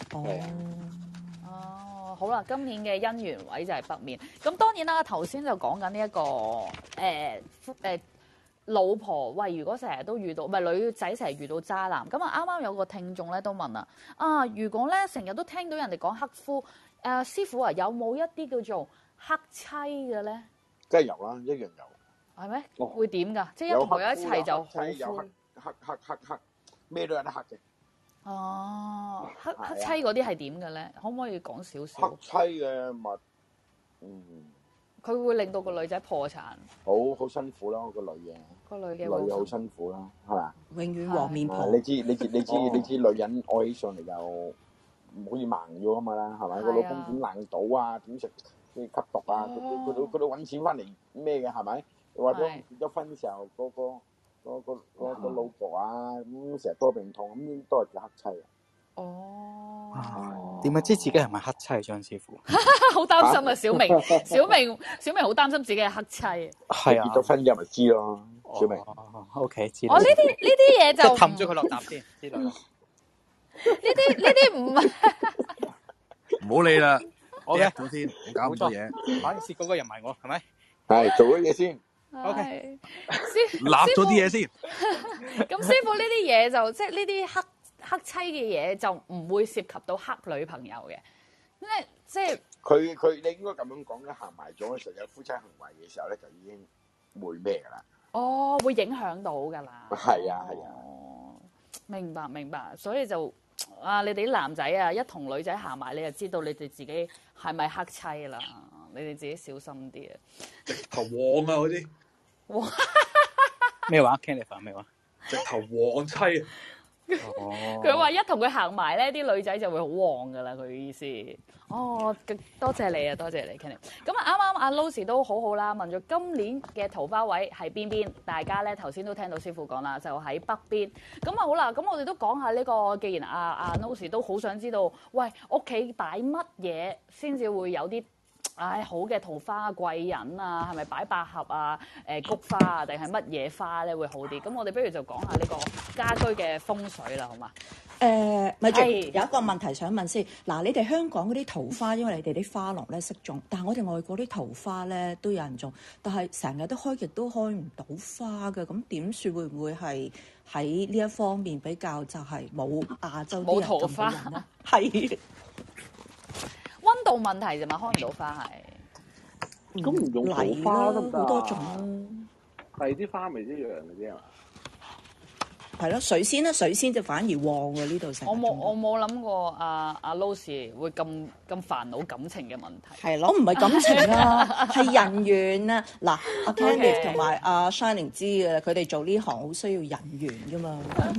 哦，好啦，今年嘅姻緣位就係北面。咁當然啦，頭先就講緊呢一個老婆喂，如果成日都遇到，唔係女仔成日遇到渣男，咁啊啱啱有個聽眾咧都問啦，如果咧成日都聽到人哋講剋夫，師傅啊，有冇一啲叫做剋妻嘅咧？ 梗係有啦，一樣有。 係咩？會點㗎？即係一同佢一齊就好有剋，咩都有得剋嘅。 哦，剋妻嗰啲係點嘅咧？可唔可以講少少？ 剋妻嘅咪佢會令到個女仔破產， 好辛苦咯，個女嘅。 個女嘅好辛苦啦，係嘛？ 永遠黃面婆。 你知女人愛起上嚟就好似盲咗啊嘛啦，係咪？個老公點爛賭啊？點食啲吸毒啊？佢都揾錢翻嚟咩嘅係咪？或者結咗婚嘅時候，個老婆啊咁成日多病痛，咁都係叫剋妻啊。 哦， 點解知自己係咪剋妻？張師傅好擔心啊！小明好擔心自己係剋妻。 係啊， 結咗婚之後咪知咯，小明。 OK， 知。 我呢啲嘢就氹咗佢落閘先，知道。呢啲唔係。 唔好理啦，我嘅咗先，唔搞咁多嘢。 反正蝕嗰個人唔係我，係咪？ 係做咗嘢先。 OK， 立咗啲嘢先。 咁師傅呢啲嘢就即係呢啲剋妻嘅嘢就唔會涉及到剋女朋友嘅，即係佢你應該咁樣講咧，行埋咗嘅時候有夫妻行為嘅時候咧，就已經會咩噶啦？ 哦，會影響到噶啦。 係啊。 明白，所以就你哋啲男仔啊，一同女仔行埋，你就知道你哋自己係咪剋妻啦？你哋自己小心啲啊！ 直頭旺啊嗰啲。 哇！ 咩話 ？Candice 咩話？ 直頭旺妻啊！ 佢話一同佢行埋咧，啲女仔就會好旺噶啦。佢意思，多謝你啊，多謝你 Kenny。咁啊，啱啱阿 Lucy 都好好啦，問咗今年嘅桃花位係邊邊？大家咧頭先都聽到師傅講啦，就喺北邊。咁啊好啦，咁我哋都講下呢個。既然阿 Lucy 都好想知道，喂，屋企擺乜嘢先至會有啲好嘅桃花貴人啊？係咪擺百合啊、菊花啊，定係乜嘢花咧會好啲？咁我哋不如就講下呢個家居嘅風水啦，好嘛？ 咪住有一個問題想問先。嗱，你哋香港嗰啲桃花，因為你哋啲花農咧識種，但係我哋外國啲桃花咧都有人種，但係成日都開極都開唔到花嘅，咁點算？會唔會係喺呢一方面比較就係冇亞洲啲人咁嘅人咧？係溫度問題啫嘛，開唔到花係。 咁唔用桃花得唔得啊？ 好多種。 第二啲花咪一樣嘅啫嘛。 係咯，水仙咧，水仙就反而旺喎呢度成。 我冇諗過阿 Lucy 會咁煩惱感情嘅問題。 係咯，唔係感情啊，係人緣啊。嗱，阿 Candice 同埋阿 Shining 知嘅，佢哋做呢行好需要人緣噶嘛。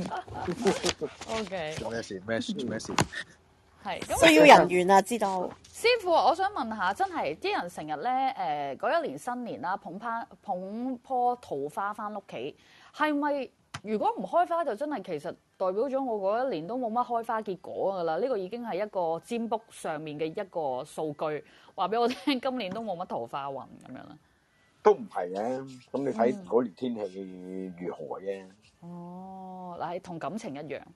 OK。 做咩事？咩事？ 係需要人緣啊，知道。 師傅，我想問下，真係啲人成日咧嗰一年新年啦，捧棵桃花翻屋企，係咪？如果唔開花就真係其實代表咗我嗰一年都冇乜開花結果㗎啦，呢個已經係一個占卜上面嘅一個數據，話俾我聽今年都冇乜桃花運咁樣啦。 都唔係嘅，咁你睇嗰年天氣如何啫。 嗱，係同感情一樣，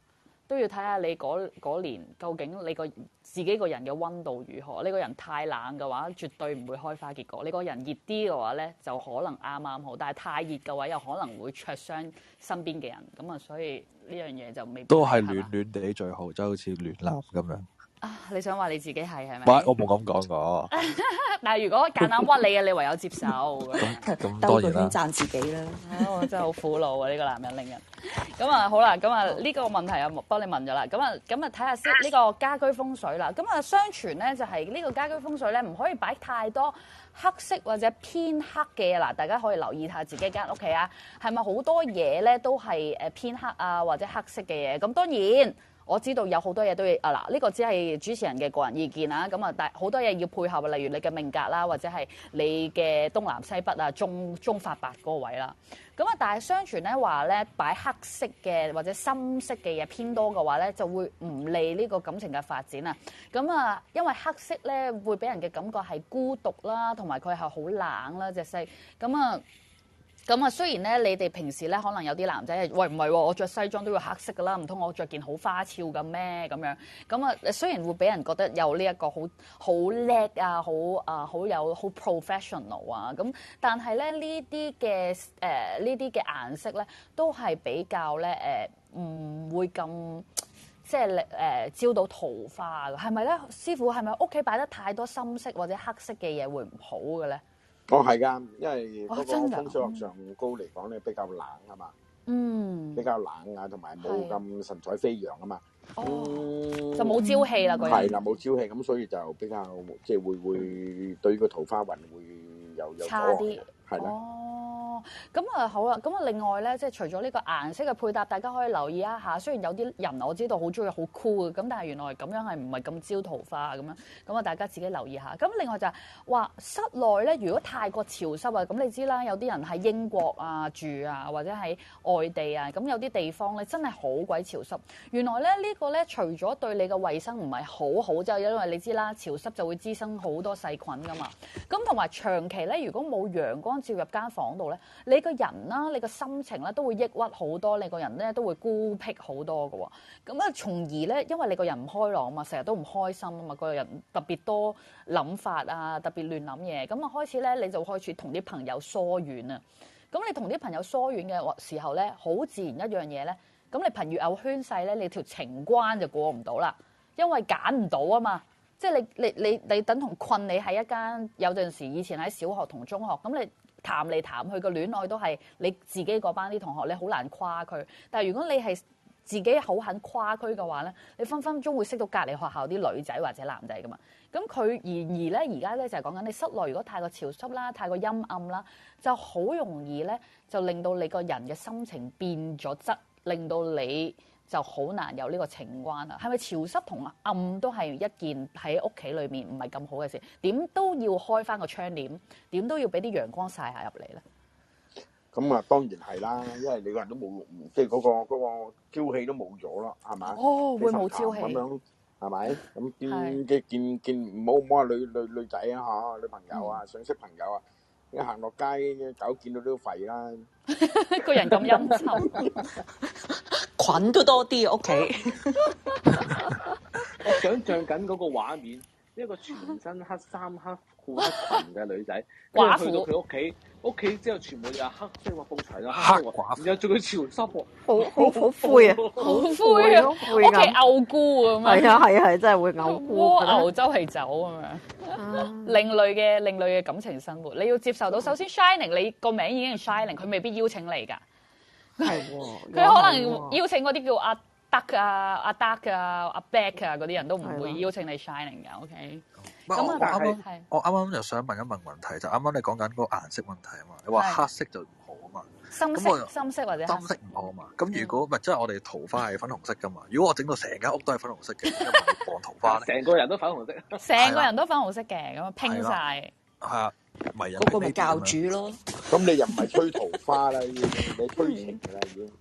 都要睇下你嗰年究竟你自己個人嘅溫度如何。你個人太冷嘅話，絕對唔會開花結果。你個人熱啲嘅話咧，就可能啱啱好。但係太熱嘅話，又可能會灼傷身邊嘅人。咁啊，所以呢樣嘢就未必都係暖暖地最好，就好似暖男咁樣。 啊！你想話你自己係咪？ 我冇咁講過。 但係如果夾硬屈你嘅，你唯有接受。 咁兜個圈讚自己啦。 我真係好苦惱啊！呢個男人令人。咁啊好啦，咁啊呢個問題啊幫你問咗啦。咁啊睇下先呢個家居風水啦。咁啊相傳咧就係呢個家居風水咧唔可以擺太多黑色或者偏黑嘅嘢嗱，大家可以留意下自己間屋企啊，係咪好多嘢咧都係偏黑啊或者黑色嘅嘢？咁當然。我知道有好多嘢都要嗱，呢個只係主持人嘅個人意見啦。咁啊，但好多嘢要配合，例如你嘅命格啦，或者係你嘅東南西北啊、中發白嗰個位啦。咁啊，但係相傳咧話咧，擺黑色嘅或者深色嘅嘢偏多嘅話咧，就會唔利呢個感情嘅發展啊。咁啊，因為黑色咧會俾人嘅感覺係孤獨啦，同埋佢係好冷啦隻色。咁啊，雖然咧，你哋平時咧可能有啲男仔係，喂唔係喎，我着西裝都要黑色噶啦，唔通我着件好花俏嘅咩咁樣？咁啊，雖然會俾人覺得有呢一個好叻啊，好有好 professional 啊，咁但係咧呢啲嘅顏色咧都係比較咧唔會咁即係招到桃花嘅，係咪咧？師傅係咪屋企擺得太多深色或者黑色嘅嘢會唔好嘅咧？ 係㗎，因為嗰個風水學上高嚟講咧比較冷啊嘛，比較冷啊，同埋冇咁神采飛揚啊嘛， 就冇朝氣啦，嗰係啦，冇朝氣，咁所以就比較即係會對個桃花運會有差啲， 係啦。 咁啊好啦，咁啊另外咧，即係除咗呢個顏色嘅配搭，大家可以留意一下。雖然有啲人我知道好中意好酷嘅，咁但係原來咁樣係唔係咁招桃花咁樣？咁啊大家自己留意下。咁另外就係話室內咧，如果太過潮濕啊，咁你知啦，有啲人喺英國啊住啊，或者喺外地啊，咁有啲地方咧真係好鬼潮濕。原來咧呢個咧除咗對你嘅衛生唔係好好，就因為你知啦，潮濕就會滋生好多細菌噶嘛。咁同埋長期咧，如果冇陽光照入間房度咧，你個人啦，你個心情咧都會抑鬱好多，你個人咧都會孤僻好多嘅喎。咁啊，從而咧，因為你個人唔開朗啊嘛，成日都唔開心啊嘛，個人特別多諗法啊，特別亂諗嘢。咁啊，開始咧你就開始同啲朋友疏遠啊。咁你同啲朋友疏遠嘅時候咧，好自然一樣嘢咧，咁你朋友圈細咧，你條情關就過唔到啦，因為揀唔到啊嘛。即係你等同困你喺一間，有陣時以前喺小學同中學，咁你談嚟談去個戀愛都係你自己嗰班啲同學，你好難跨區。但係如果你係自己好肯跨區嘅話咧，你分分鐘會識到隔離學校啲女仔或者男仔噶嘛。咁佢然而咧，而家咧就係講緊你室內如果太過潮濕啦、太過陰暗啦，就好容易咧就令到你個人嘅心情變咗質，令到你就好難有呢個情關啦。係咪潮濕同暗都係一件喺屋企裏面唔係咁好嘅事？點都要開翻個窗簾，點都要俾啲陽光曬下入嚟咧。 咁啊，當然係啦，因為你個人都冇，即係嗰個朝氣都冇咗咯，係咪？ 會冇朝氣咁樣係咪？咁見唔好話女仔啊嚇，女朋友啊，想識朋友啊，一行落街狗見到都吠啦。 個人咁陰沉， 菌都多啲屋企。 我想像緊嗰個畫面，一個全身黑衫黑褲黑裙嘅女仔，跟住去到佢屋企之後全部又黑色喎，布齊啊黑色喎，然後仲要潮濕喎， 好灰啊， 好灰啊，屋企嘔菇咁樣。 係啊，真係會嘔菇。 蝸牛周係走咁樣，另類嘅感情生活，你要接受到。首先 Shining， 你個名已經係 Shining， 佢未必邀請你㗎。係喎，佢可能邀請嗰啲叫阿德啊、阿德啊、阿 Beck 啊嗰啲人都唔會邀請你 Shining 㗎。OK。咁我啱啱就想問一問問題，就啱啱你講緊嗰個顏色問題啊嘛，你話黑色就唔好啊嘛， 深色或者深色唔好啊嘛。咁如果唔係即係我哋桃花係粉紅色噶嘛，如果我整到成間屋都係粉紅色嘅，咁咪放桃花咧？ 成個人都粉紅色， 成個人都粉紅色嘅，咁拼晒。 係啊，咪嗰個咪教主咯。 咁你又唔係吹桃花啦，你吹情㗎啦已經。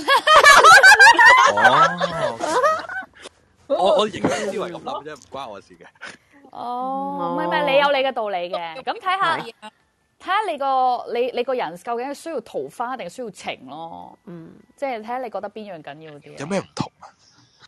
我認真思維咁諗啫，唔關我事嘅。 唔係，你有你嘅道理嘅。咁睇下你個人究竟係需要桃花定係需要情咯。即係睇下你覺得邊樣緊要啲。 有咩唔同啊？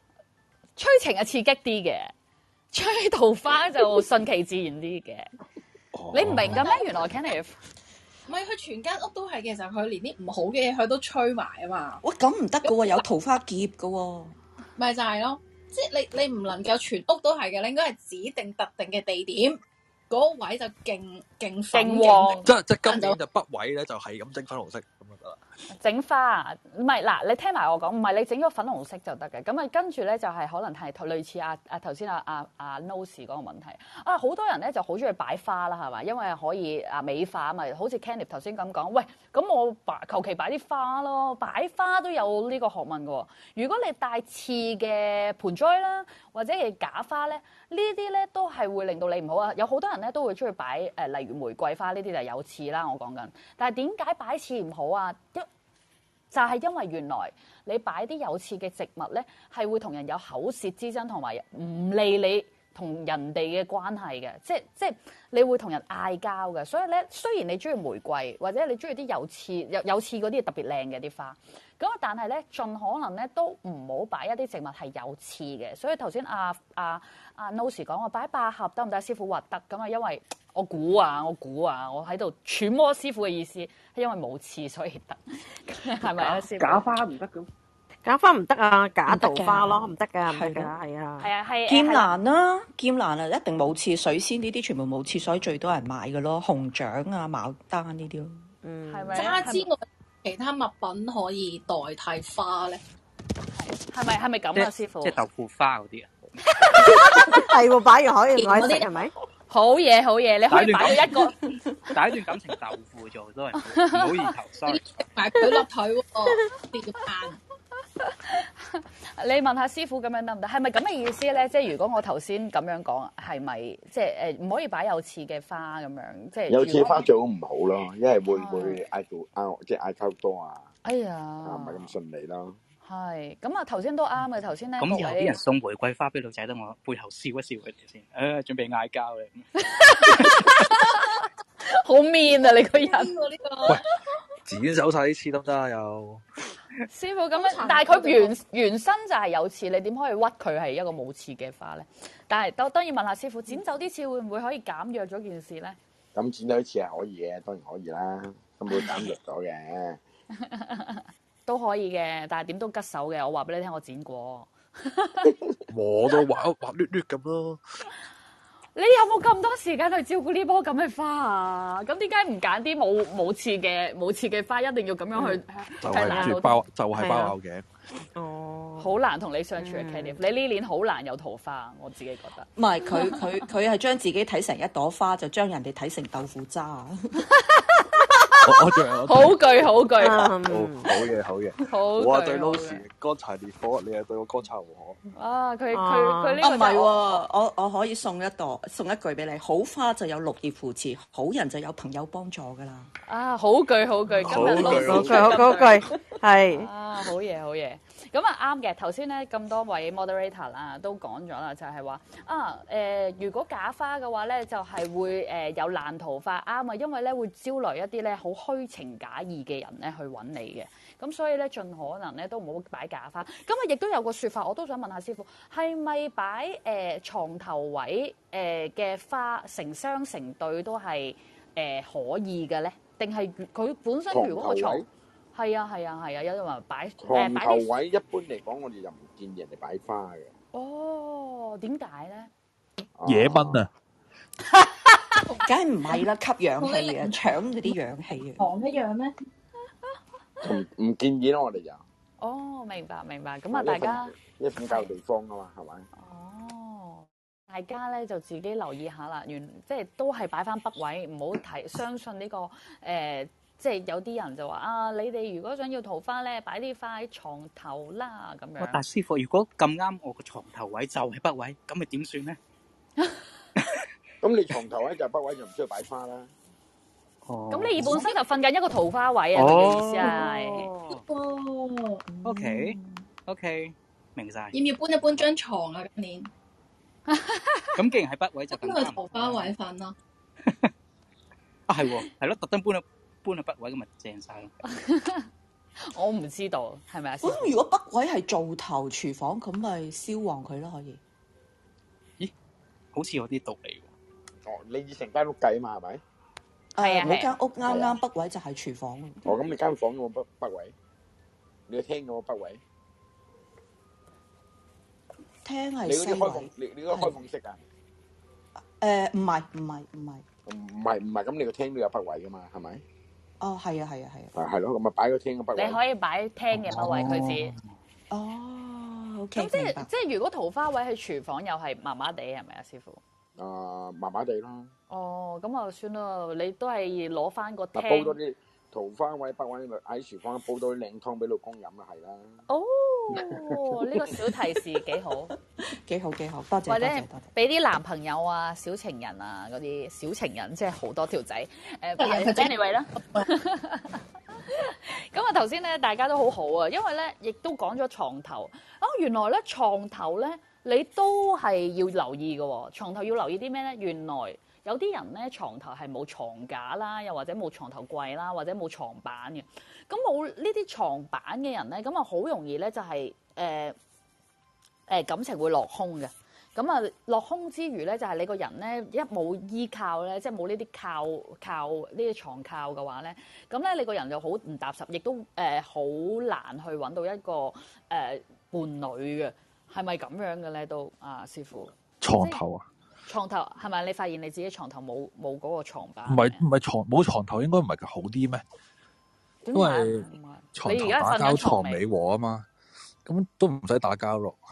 催情係刺激啲嘅，催桃花就順其自然啲嘅。你唔明㗎咩？原來 Kenneth 唔係佢全間屋都係嘅時候，佢連啲唔好嘅嘢佢都吹埋啊嘛。 哇，咁唔得㗎喎，有桃花劫㗎喎。 咪就係咯，即係你唔能夠全屋都係嘅，你應該係指定特定嘅地點。嗰個位就勁旺，即係今年就北位咧，就係咁整粉紅色咁就得啦。 整花唔係嗱，你聽埋我講，唔係你整咗粉紅色就得嘅。咁啊，跟住咧就係可能係類似頭先阿 Nose 嗰個問題啊，好多人咧就好中意擺花啦，係嘛？因為可以美化啊嘛，好似 Kenneth 頭先咁講，喂，咁我求其擺啲花咯，擺花都有呢個學問嘅喎。如果你帶刺嘅盆栽啦，或者係假花咧，呢啲咧都係會令到你唔好啊。有好多人咧都會中意擺例如玫瑰花呢啲就係有刺啦，我講緊。但係點解擺刺唔好啊？就係因為原來你擺啲有刺嘅植物咧，係會同人有口舌之爭，同埋唔利你同人哋嘅關係嘅，即係你會同人嗌交嘅。所以咧，雖然你中意玫瑰或者你中意啲有刺嗰啲特別靚嘅啲花，咁但係咧盡可能咧都唔好擺一啲植物係有刺嘅。所以頭先阿 Nose 講話擺百合得唔得？師傅話得咁啊，因為我估啊，我喺度揣摩師傅嘅意思，係因為冇刺所以得，係咪啊？師傅假花唔得咁， 假花唔得啊，假桃花咯，唔得噶，唔得噶，係啊， 係劍蘭啦，劍蘭啊，一定冇刺，水仙呢啲全部冇刺，所以最多人買嘅咯，紅掌啊、牡丹呢啲咯。 係咪？ 花之外，其他物品可以代替花咧？ 係咪咁啊，師傅？ 即係豆腐花嗰啲啊？ 係喎，擺完可以攞嚟食係咪？ 好嘢，你可以擺咗一個第一段感情豆腐做都係唔好意頭，sorry。 埋佢落腿喎，跌pan。 你問下師傅咁樣得唔得？係咪咁嘅意思咧？即係如果我頭先咁樣講，係咪即係唔可以擺有刺嘅花咁樣？即係有刺花最好唔好咯，因為會嗌到即係嗌交多啊。 哎呀， 唔係咁順利咯。 係咁啊！頭先都啱嘅，頭先咧咁有啲人送玫瑰花俾女仔，等我背後笑一笑佢哋先。準備嗌交咧， 好 mean 啊！你個人， 喂，剪走晒啲刺得唔得啊？又師傅咁樣，但係佢原身就係有刺，你點可以屈佢係一個冇刺嘅花咧？但係當然問下師傅，剪走啲刺會唔會可以減弱咗件事咧？ 咁剪走啲刺係可以嘅，當然可以啦，咁會減弱咗嘅。 都可以嘅，但係點都吉手嘅。我話俾你聽，我剪過， 我都滑捋捋咁咯。 你有冇咁多時間去照顧呢棵咁嘅花啊？咁點解唔揀啲冇刺嘅花，一定要咁樣去？ 就係包拗嘅。 哦，好難同你相處嘅 Kenneth，你呢年好難有桃花，我自己覺得。 唔係佢係將自己睇成一朵花，就將人哋睇成豆腐渣。 好句， 好嘢。我對 Lucy 乾柴烈火，你係對我乾柴烈火。 啊，佢呢個唔係喎，我可以送一句俾你，好花就有綠葉扶持，好人就有朋友幫助噶啦。 啊，好句，今日好句，係啊，好嘢。咁啊啱嘅，頭先咧咁多位 moderator 啦都講咗啦，就係話如果假花嘅話咧，就係會有爛桃花啱啊，因為咧會招來一啲咧好虛情假意嘅人咧去揾你嘅，咁所以咧盡可能咧都唔好擺假花。咁啊亦都有個説法，我都想問下師傅，係咪擺床頭位嘅花成雙成對都係可以嘅咧？定係佢本身如果個床係啊，有啲話擺床頭位一般嚟講，我哋就唔建議人哋擺花嘅。 哦，點解咧？ 野蚊啊！ 梗係唔係啦，吸氧氣啊，搶嗰啲氧氣啊。 糖一樣咩？ 唔建議咯，我哋就。 哦，明白。咁啊，大家一瞓覺地方啊嘛，係咪？ 哦，大家咧就自己留意下啦，即係都係擺翻北位，唔好相信呢個即係有啲人就話啊，你哋如果想要桃花咧，擺啲花喺床頭啦咁樣。 但師傅，如果咁啱我個床頭位就係北位，咁咪點算咧？ 咁你床頭位就係北位，就唔需要擺花啦。 哦。 咁你本身就瞓緊一個桃花位啊？嘅意思係。 哦。 OK， 明晒。 要唔要搬一搬張床啊？今年。 咁既然係北位就更加。 搬去桃花位瞓咯。 係咯，特登搬去北位咁咪正晒咯。 我唔知道係咪啊？ 咁如果北位係灶頭廚房，咁咪燒旺佢咯，可以。 咦？好似有啲道理喎。 哦，你以成間屋計嘛係咪？ 我間屋啱啱北位就係廚房。 哦，咁你間房有冇北位？你個廳有冇北位？ 廳係你嗰啲開放， 西你嗰個開放式啊？ 唔係， 咁你個廳都有北位噶嘛？係咪？ 哦，係啊。 係咯，咁咪擺個廳嘅北位。 你可以擺廳嘅北位，佢指。 哦，OK。 咁即係如果桃花位喺廚房又係麻麻地係咪啊，師傅？ 麻麻地啦。 哦，咁啊算啦，你都係攞翻個廳。 煲多啲桃花位、北位喺廚房煲多啲靚湯俾老公飲啊，係啦。 哦，呢個小提示幾好， 幾好，多謝。 或者俾啲男朋友啊、小情人啊嗰啲小情人，即係好多條仔anyway 啦。咁啊，頭先咧大家都好好啊，因為咧亦都講咗床頭啊，原來咧床頭咧你都係要留意嘅喎。床頭要留意啲咩咧？原來有啲人咧床頭係冇床架啦，又或者冇床頭櫃啦，或者冇床板嘅。咁冇呢啲床板嘅人咧，咁啊好容易咧就係感情會落空嘅。咁啊落空之餘咧，就係你個人咧一冇依靠咧，即係冇呢啲靠呢啲床靠嘅話咧，咁咧你個人就好唔踏實，亦都好難去揾到一個伴侶嘅，係咪咁樣嘅咧？都師傅床頭啊？ 床頭係咪你發現你自己床頭冇嗰個床板？ 唔係冇床頭應該唔係好啲咩？因為床頭打交床尾和啊嘛，咁都唔使打交咯。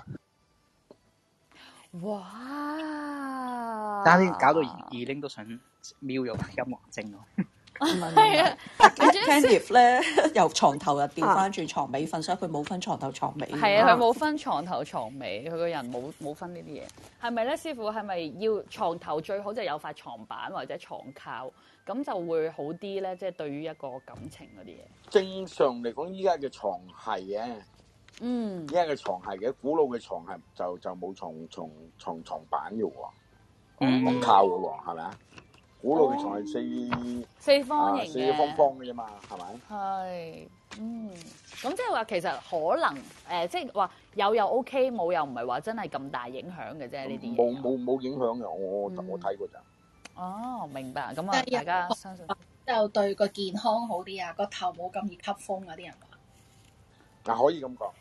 哇！ 差啲搞到二拎都想瞄咗音樂精咯。 係啊 ，Kenneth 咧由床頭又調翻轉床尾瞓，所以佢冇分床頭床尾。 係啊，佢冇分床頭床尾，佢個人冇分呢啲嘢。係咪咧，師傅？係咪要床頭最好就有塊床板或者床靠，咁就會好啲咧？即係對於一個感情嗰啲嘢。 正常嚟講，依家嘅床係嘅。依家嘅床係嘅，古老嘅床係就冇床板嘅喎，床靠嘅喎，係咪啊？古老嘅床係四方形嘅，四方方嘅啫嘛，係咪？ 係，咁即係話其實可能即係話有又 OK， 冇又唔係話真係咁大影響嘅啫，呢啲嘢。 冇影響嘅，我睇過咋。 哦，明白。咁啊，大家相信就對個健康好啲啊，個頭冇咁易吸風啊，啲人話。 可以咁講。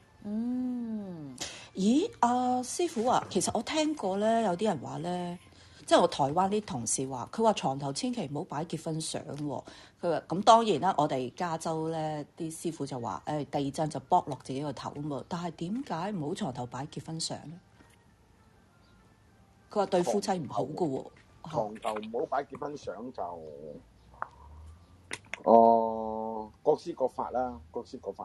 咦，師傅啊，其實我聽過咧，有啲人話咧，即係我台灣啲同事話，佢話床頭千祈唔好擺結婚相喎。佢話咁當然啦，我哋加州咧啲師傅就話，第二張就剝落自己個頭啊嘛。但係點解唔好床頭擺結婚相咧？佢話對夫妻唔好噶喎。 床頭唔好擺結婚相就，各施各法啦。各施各法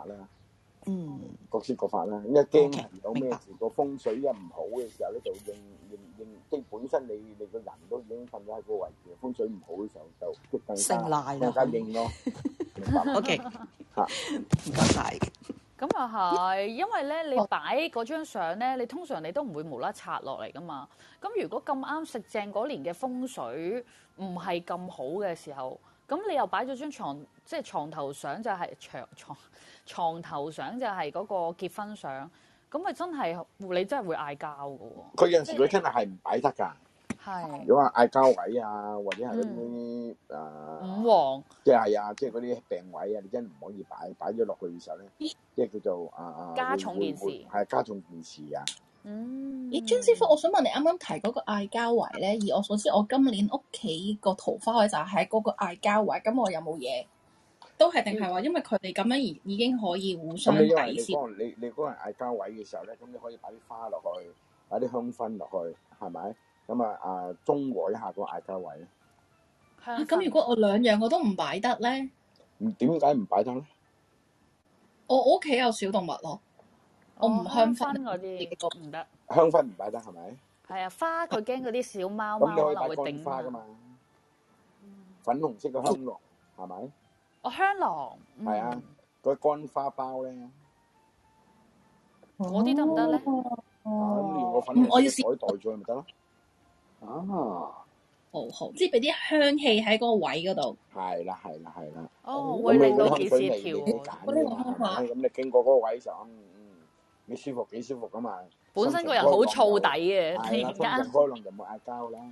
啦，因為驚有咩事個風水一唔好嘅時候咧，就應即係本身你個人都已經瞓咗喺個位置，風水唔好嘅時候就更加應咯。明白 ？OK， 唔該晒。 咁啊係，因為咧你擺嗰張相咧，你通常你都唔會無啦拆落嚟噶嘛。咁如果咁啱食正嗰年嘅風水唔係咁好嘅時候，咁你又擺咗張床，即係床頭相就係床頭相就係嗰個結婚相，咁咪真係你真係會嗌交嘅喎。 佢有陣時佢真係唔擺得㗎。 係。 如果話嗌交位啊，或者係嗰啲五黃， 即係即係嗰啲病位啊，你真係唔可以擺咗落去嘅時候咧，即係叫做加重件事。 係加重件事啊。 張師傅，我想問你啱啱提嗰個嗌交位咧，以我所知，我今年屋企個桃花位就喺嗰個嗌交位，咁我有冇嘢？都係定係話，因為佢哋咁樣而已經可以互相抵消。 你嗰個人嗌交位嘅時候咧，咁你可以擺啲花落去，擺啲香薰落去，係咪？咁中和一下個嗌交位。 咁如果我兩樣我都唔擺得咧？ 點解唔擺得咧？ 我屋企有小動物咯，我唔香薰嗰啲唔得。 香薰唔擺得係咪？ 係啊，花佢驚嗰啲小貓貓可能會頂花㗎嘛。粉紅色嘅香囊係咪？ 香囊係啊，嗰啲乾花包咧， 嗰啲得唔得咧？ 咁連個粉紅色袋袋住咪得咯。 好好，即係俾啲香氣喺嗰個位嗰度。 係啦。 哦，會令到件事你跳揀㗎嘛，係咪？咁你經過嗰個位嘅時候，你舒服幾舒服噶嘛？ 本身個人好燥底嘅，突然間開朗就冇嗌交啦。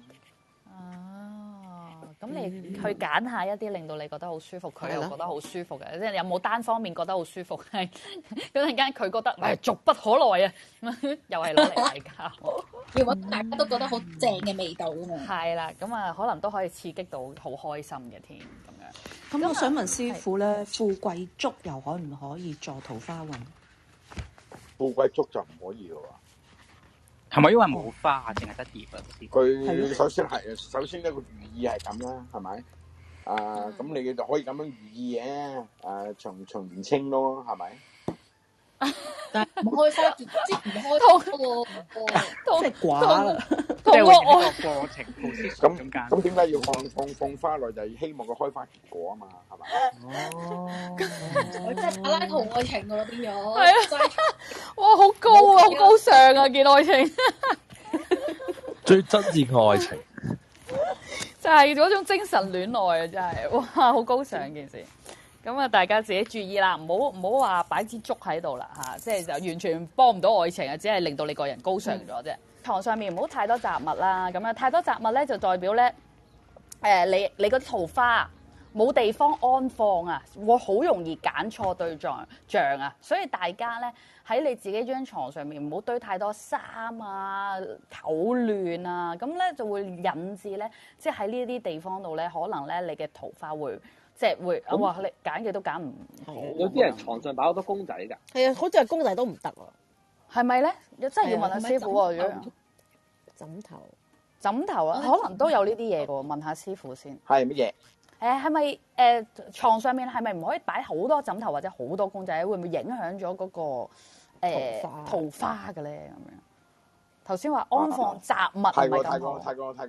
咁你去揀下一啲令到你覺得好舒服，佢又覺得好舒服嘅，即係有冇單方面覺得好舒服？係嗰陣間佢覺得俗不可耐啊，又係攞嚟嗌交。 要揾大家都覺得好正嘅味道㗎嘛。 係啦，咁啊可能都可以刺激到好開心嘅添咁樣。 咁我想問師傅咧，富貴竹又可唔可以助桃花運？ 富貴竹就唔可以嘅喎。 係咪因為冇花啊，淨係得葉啊？ 佢首先呢個寓意係咁啦，係咪？咁你就可以咁樣寓意嘅，長年青咯，係咪？ 但係唔開花結，即係唔開花喎， 即係寡啦。 即係會呢個過程咁點解要放花落？就係希望佢開花結果啊嘛，係咪？ 我真係柏拉圖愛情㗎啦，變咗。 係啊！哇，好高啊，好高尚啊，件愛情。 最真摯嘅愛情， 就係嗰種精神戀愛啊！真係，哇，好高尚件事。咁啊，大家自己注意啦，唔好話擺支竹喺度啦嚇，即係就完全幫唔到愛情啊，只係令到你個人高尚咗啫。床上面唔好太多雜物啦，咁樣太多雜物咧就代表咧你嗰啲桃花冇地方安放啊，會好容易揀錯對象啊，所以大家咧喺你自己張床上面唔好堆太多衫啊、狗亂啊，咁咧就會引致咧，即係喺呢啲地方度咧，可能咧你嘅桃花會。即係會哇！你揀嘅都揀唔好。 有啲人床上擺好多公仔㗎。 係啊，好似係公仔都唔得喎。 係咪咧？真係要問下師傅喎。枕頭啊，可能都有呢啲嘢嘅喎，問下師傅先。 係乜嘢？ 係咪牀上面係咪唔可以擺好多枕頭或者好多公仔？會唔會影響咗嗰個桃花嘅咧？咁樣頭先話安放雜物係咪咁好？ 太過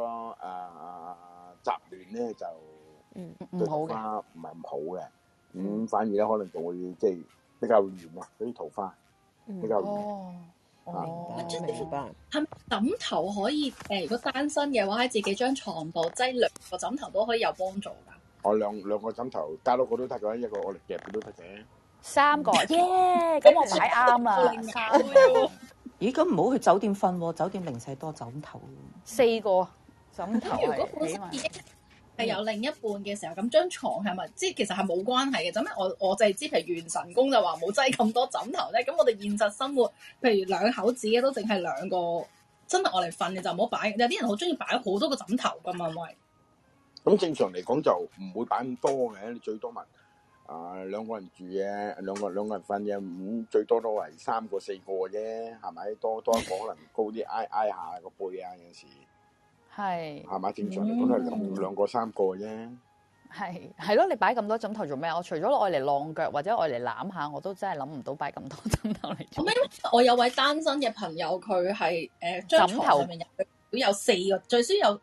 雜亂咧就。 唔好嘅， 唔係唔好嘅，反而咧可能仲會即係比較亂啊，嗰啲桃花比較亂。 明白。係咪枕頭可以如果單身嘅話喺自己張床度擠2個枕頭都可以有幫助㗎？ 我兩個枕頭加多個都得㗎，一個我嚟夾佢都得嘅。 3個耶！咁我買啱啦，3個。 咦？咁唔好去酒店瞓喎，酒店零舍多枕頭。 4個枕頭如果本身已經係有另一半嘅時候，咁張床係咪即係其實係冇關係嘅？咁我就係知，譬如元神宮就話冇擠咁多枕頭咧。咁我哋現實生活，譬如兩口子嘅都淨係2個，真係我嚟瞓嘅就唔好擺。有啲人好中意擺好多個枕頭㗎嘛，喂。咁正常嚟講就唔會擺咁多嘅，你最多咪2個人住嘅，兩個人瞓嘅，咁最多都係3個4個啫，係咪？多一個可能高啲挨下個背啊，有時。係嘛？正常嚟講都係兩個3個啫。 係咯，你擺咁多枕頭做咩？我除咗愛嚟晾腳或者愛嚟攬下，我都真係諗唔到擺咁多枕頭嚟做。 我有位單身嘅朋友，佢係張床上面有4個，最少有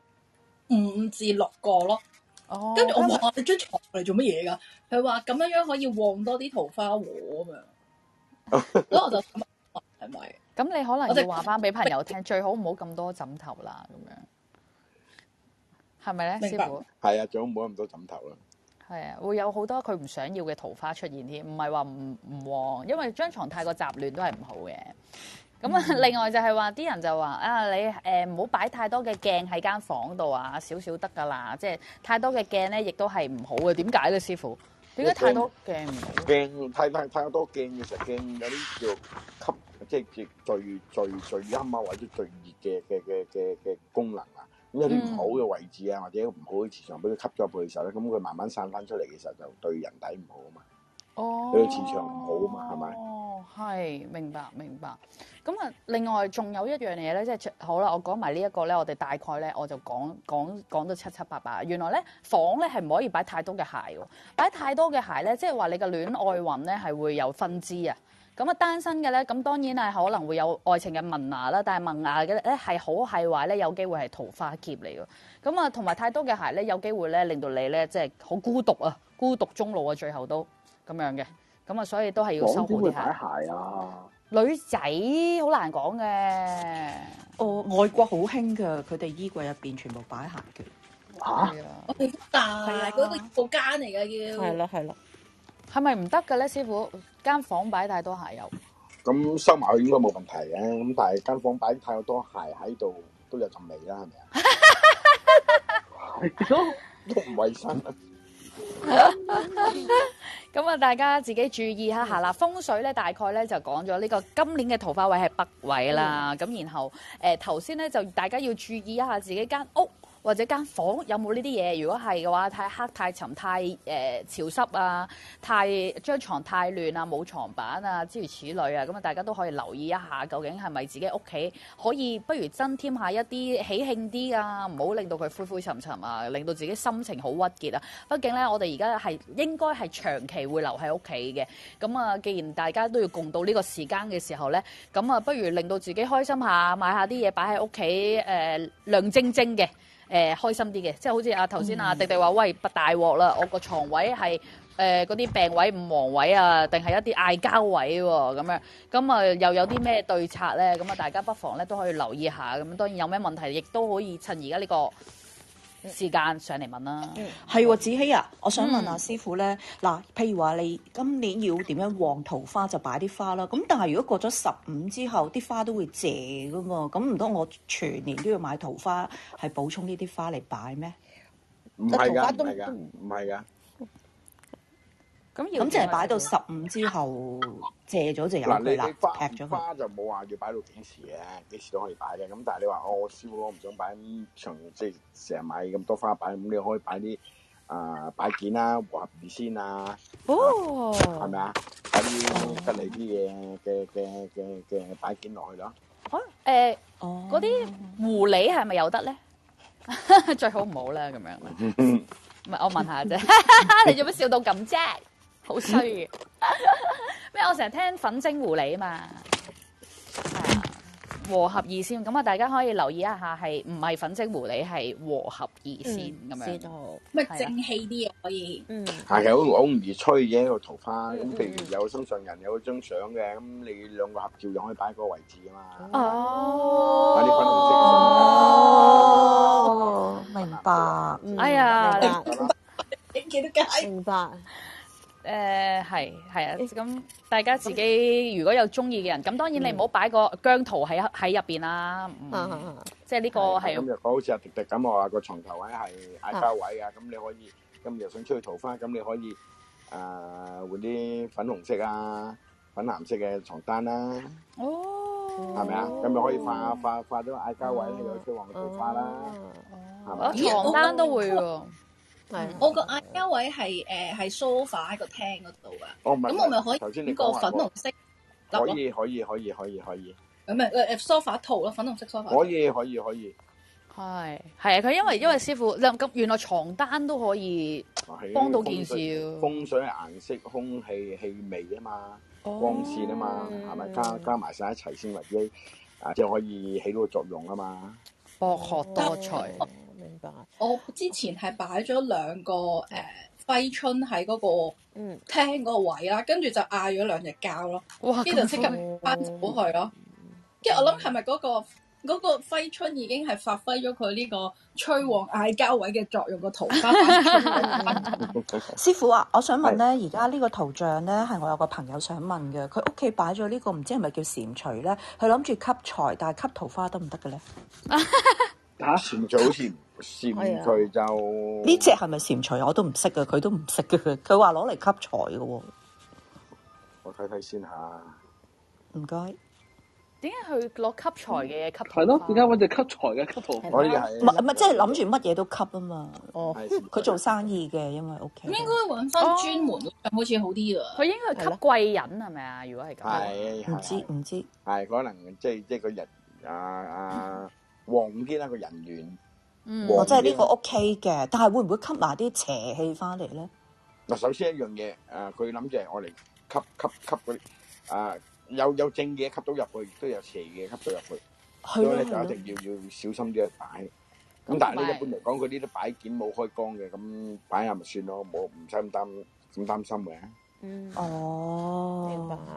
5至6個咯。哦，跟住我話你張床嚟做乜嘢㗎？佢話咁樣可以旺多啲桃花喎咁樣。所以我就諗係咪？ 咁你可能要話翻俾朋友聽，最好唔好咁多枕頭啦，咁樣。係咪咧，師傅？係啊，最好唔好咁多枕頭啦。 係啊，會有好多佢唔想要嘅桃花出現添，唔係話唔旺，因為張床太過雜亂都係唔好嘅。咁啊，另外就係話啲人就話啊，你唔好擺太多嘅鏡喺間房度啊，少少得㗎啦。即係太多嘅鏡咧，亦都係唔好嘅。點解咧，師傅？點解太多鏡唔好？ 鏡太多鏡嘅時候，鏡有啲叫吸，即係最陰啊，或者最熱嘅功能啊。咁有啲唔好嘅位置啊，或者唔好嘅磁場俾佢吸咗入去嘅時候咧，咁佢慢慢散翻出嚟嘅時候，就對人體唔好啊嘛。哦，對磁場唔好啊嘛，係咪？ 哦，係，明白。咁啊，另外仲有一樣嘢咧，即係好啦，我講埋呢一個咧，我哋大概咧我就講到七七八八。原來咧房咧係唔可以擺太多嘅鞋喎，擺太多嘅鞋咧，即係話你嘅戀愛運咧係會有分支啊。咁啊，單身嘅咧，咁當然係可能會有愛情嘅萌芽啦，但係萌芽嘅咧係好係壞咧，有機會係桃花劫嚟㗎。咁啊，同埋太多嘅鞋咧，有機會咧令到你咧即係好孤獨啊，孤獨終老啊，最後都咁樣嘅。咁啊，所以都係要收好啲鞋。 點會擺鞋啊？ 女仔好難講嘅。 哦，外國好興㗎，佢哋衣櫃入邊全部擺鞋嘅。 嚇！ 我哋大嗰個鋪間嚟嘅叫。 係啦。 係咪唔得嘅咧，師傅？間房擺太多鞋油。 咁收埋佢應該冇問題嘅，咁但係間房擺太多鞋喺度都有陣味啦，係咪啊？都唔衞生。 咁啊，大家自己注意一下啦。風水咧，大概咧就講咗呢個今年嘅桃花位係北位啦。咁然後頭先咧就大家要注意一下自己間屋或者間房有冇呢啲嘢。如果係嘅話，太黑、太沉、太潮濕啊，張床太亂啊，冇床板啊，諸如此類啊。咁啊，大家都可以留意一下，究竟係咪自己屋企可以不如增添下一啲喜慶啲啊，唔好令到佢灰灰沉沉啊，令到自己心情好鬱結啊。畢竟咧，我哋而家係應該係長期會留喺屋企嘅。咁啊，既然大家都要共度呢個時間嘅時候咧，咁啊，不如令到自己開心下，買下啲嘢擺喺屋企，亮晶晶嘅。開心啲嘅，即係好似頭先迪迪話，喂，大鑊啦！我個床位係嗰啲病位、五黃位啊，定係一啲嗌交位喎，咁樣咁啊，又有啲咩對策咧？咁啊，大家不妨咧都可以留意下。咁當然有咩問題，亦都可以趁而家呢個時間上嚟問啦。 係喎，子希啊，我想問下師傅咧，嗱，譬如話你今年要點樣旺桃花就擺啲花啦。咁但係如果過咗15之後，啲花都會謝噶嘛。咁唔通我全年都要買桃花，係補充呢啲花嚟擺咩？ 唔係㗎，唔係㗎。 咁即係擺到15之後謝咗就有佢啦，劈咗佢。 花就冇話要擺到幾時嘅，幾時都可以擺嘅。咁但係你話我師傅我唔想擺咁長，即係成日買咁多花擺，咁你可以擺啲擺件啦、和合二仙啊，係咪啊？擺啲吉利啲嘅擺件落去咯。 嗰啲狐狸係咪有得咧？最好唔好啦，咁樣。唔係，我問下啫。你做乜笑到咁啫？好衰嘅。咩？我成日聽粉晶狐狸啊嘛。係啊，和合二仙咁啊，大家可以留意一下，係唔係粉晶狐狸，係和合二仙咁樣。 知道。咪正氣啲可以。 係好容易吹嘅一個桃花。咁譬如有心上人有張相嘅，咁你兩個合照又可以擺嗰個位置啊嘛。 哦。 擺啲粉紅色嘅。 明白。 哎呀， 你幾多解？ 明白。 係啊，咁大家自己如果有中意嘅人，咁當然你唔好擺個姜濤喺入邊啦。即係呢個係。 咁若果好似阿迪迪咁，我話個床頭位係嗌交位啊，咁你可以今日想出去桃花，咁你可以換啲粉紅色啊、粉藍色嘅床單啦。哦。係咪啊？咁咪可以化咗嗌交位，又出旺桃花啦。係咪？ 床單都會喎。 我個嗌交位係sofa 喺個廳嗰度噶，咁我咪可以整個粉紅色。 可以。 咁咪sofa 套咯，粉紅色 sofa。 可以。 係啊，佢因為師傅咁原來床單都可以幫到件事。 風水顏色、空氣、氣味啊嘛，光線啊嘛，係咪加埋晒一齊先為之即係可以起到個作用啊嘛。 博學多才。 明白。 我之前係擺咗2個揮春喺嗰個廳嗰個位啦，跟住就嗌咗2隻交咯，跟住就即刻翻走去咯。跟住我諗係咪嗰個揮春已經係發揮咗佢呢個催旺嗌交位嘅作用，個桃花師傅啊，我想問咧，而家呢個圖像咧係我有個朋友想問嘅，佢屋企擺咗呢個唔知係咪叫蟾蜍咧？佢諗住吸財，但係吸桃花得唔得嘅咧？ 蟾蜍好似蟾蜍就呢隻係咪蟾蜍？我都唔識嘅，佢都唔識嘅。佢話攞嚟吸財嘅喎。 我睇睇先嚇。 唔該。 點解佢攞吸財嘅吸桃花？ 係咯，點解揾隻吸財嘅吸桃花？ 可以係。 唔係，即係諗住乜嘢都吸啊嘛。哦。佢做生意嘅，因為屋企。 應該揾翻專門好似好啲啊。 佢應該係吸貴人係咪啊？如果係咁。 係。唔知。係可能即係個人旺啲啦，個人緣。 我即係呢個 OK 嘅，但係會唔會吸埋啲邪氣翻嚟咧？ 嗱，首先一樣嘢，佢諗住係我嚟吸嗰啲有正嘢吸到入去，亦都有邪嘢吸到入去，所以咧就一定要小心啲去擺。咁但係咧一般嚟講，佢呢啲擺件冇開光嘅，咁擺下咪算咯，唔使咁擔心嘅。 哦，明白。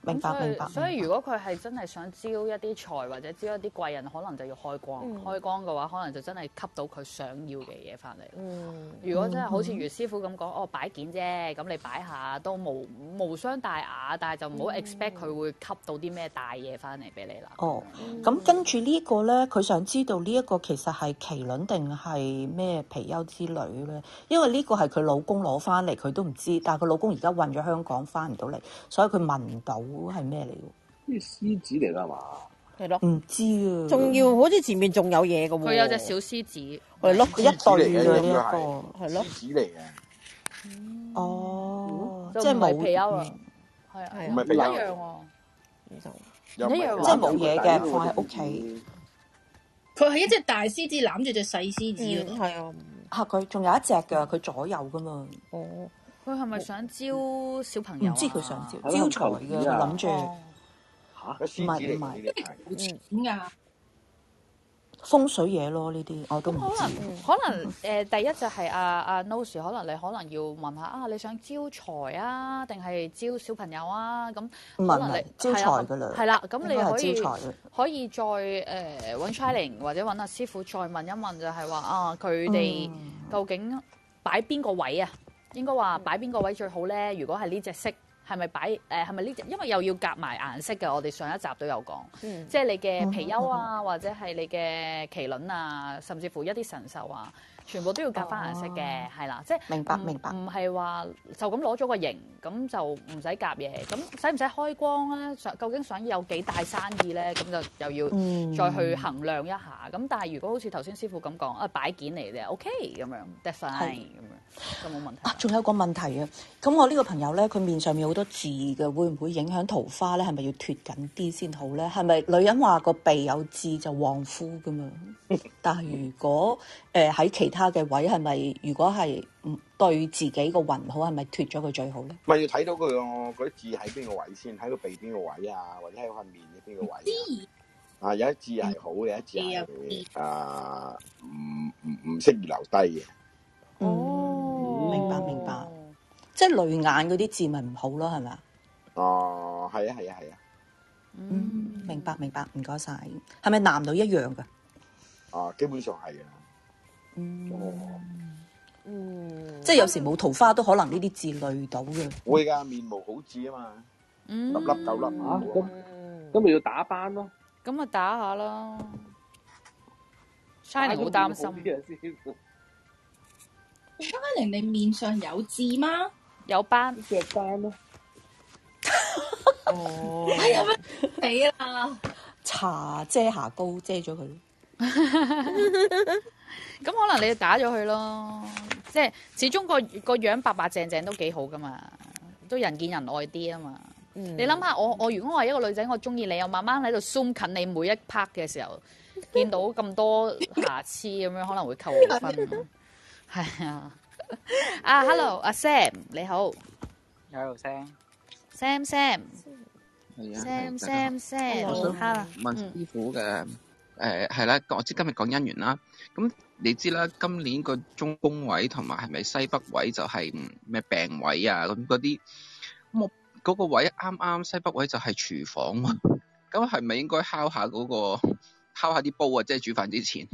明白。 所以如果佢係真係想招一啲財或者招一啲貴人，可能就要開光。開光嘅話，可能就真係吸到佢想要嘅嘢翻嚟。如果真係好似余師傅咁講，擺件啫，咁你擺下都無傷大雅，但係就唔好 expect 佢會吸到啲咩大嘢翻嚟俾你啦。 咁跟住呢個咧，佢想知道呢一個其實係麒麟定係咩貔貅之類咧？因為呢個係佢老公攞翻嚟，佢都唔知，但係佢老公而家運咗香港翻唔到嚟，所以佢問唔到係咩嚟嘅？ 呢獅子嚟㗎嘛？ 係咯， 唔知啊。 仲要好似前面仲有嘢嘅喎。 佢有隻小獅子， 係咯， 一對嘅呢一個， 係咯， 獅子嚟嘅。 哦，即係冇貔貅啊，係啊， 唔係貔貅一樣喎， 唔一樣，即係冇嘢嘅，放喺屋企。 佢係一隻大獅子攬住隻細獅子咯， 係啊。 佢仲有一隻㗎，佢左右㗎嘛。 佢係咪想招小朋友？ 唔知佢想招財嘅，佢諗住。 嚇，獅子嚟嘅， 點㗎？ 風水嘢咯，呢啲我都唔知。 可能第一就係阿 Nose，可能你可能要問下你想招財啊，定係招小朋友啊？咁可能你招財㗎啦。 係啦，咁你可以再揾 Shining 或者揾阿師傅再問一問，就係話佢哋究竟擺邊個位啊？應該話擺邊個位最好咧？如果係呢隻色。係咪擺係咪呢隻？因為又要夾埋顏色嘅，我哋上一集都有講，即係你嘅貔貅啊，或者係你嘅麒麟啊，甚至乎一啲神獸啊，全部都要夾翻顏色嘅，係啦，即係明白， 唔係話就咁攞咗個型，咁就唔使夾嘢，咁使唔使開光咧？究竟想有幾大生意咧？咁就又要再去衡量一下。咁但係如果好似頭先師傅咁講，擺件嚟嘅 OK 咁樣 that's fine 咁樣，就冇問題。 仲有個問題啊！咁我呢個朋友咧，佢面上面好多痣嘅，會唔會影響桃花咧？係咪要脫緊啲先好咧？係咪女人話個鼻有痣就旺夫噶嘛？但係如果喺其他嘅位，係咪如果係唔對自己個運好，係咪脫咗佢最好咧？ 咪要睇到佢嗰啲痣喺邊個位先，喺個鼻邊個位啊，或者喺塊面嘅邊個位啊？有一痣係好嘅，有一痣係唔適宜留低嘅。 明白。即係淚眼嗰啲痣咪唔好咯，係咪啊？ 係啊。 明白，唔該晒。係咪男女一樣㗎？ 基本上係啊。 即係有時冇桃花都可能呢啲痣累到嘅。 會㗎，面無好痣啊嘛，粒粒九粒啊。 咁咪要打斑咯。 咁咪打下啦。Shining 好擔心。 Shining 你面上有痣嗎？ 有斑。 隻斑咯。 哎呀咩？死啦！ 搽遮瑕膏遮咗佢。 咁可能你打咗佢咯，即係始終個樣白白淨淨都幾好噶嘛，都人見人愛啲啊嘛。你諗下，我如果我係一個女仔，我中意你，我慢慢喺度 zoom 近你每一 part 嘅時候，見到咁多瑕疵咁樣，可能會扣我分。係啊。Hello， 阿 Sam 你好。 Hello Sam。 Sam。 係啊。 Sam。 我想問師傅嘅。係啦，我知今日講姻緣啦。咁你知啦，今年個中宮位同埋係咪西北位就係咩病位啊？咁嗰啲，咁我嗰個位啱啱西北位就係廚房喎。咁係咪應該敲下啲煲啊？即係煮飯之前。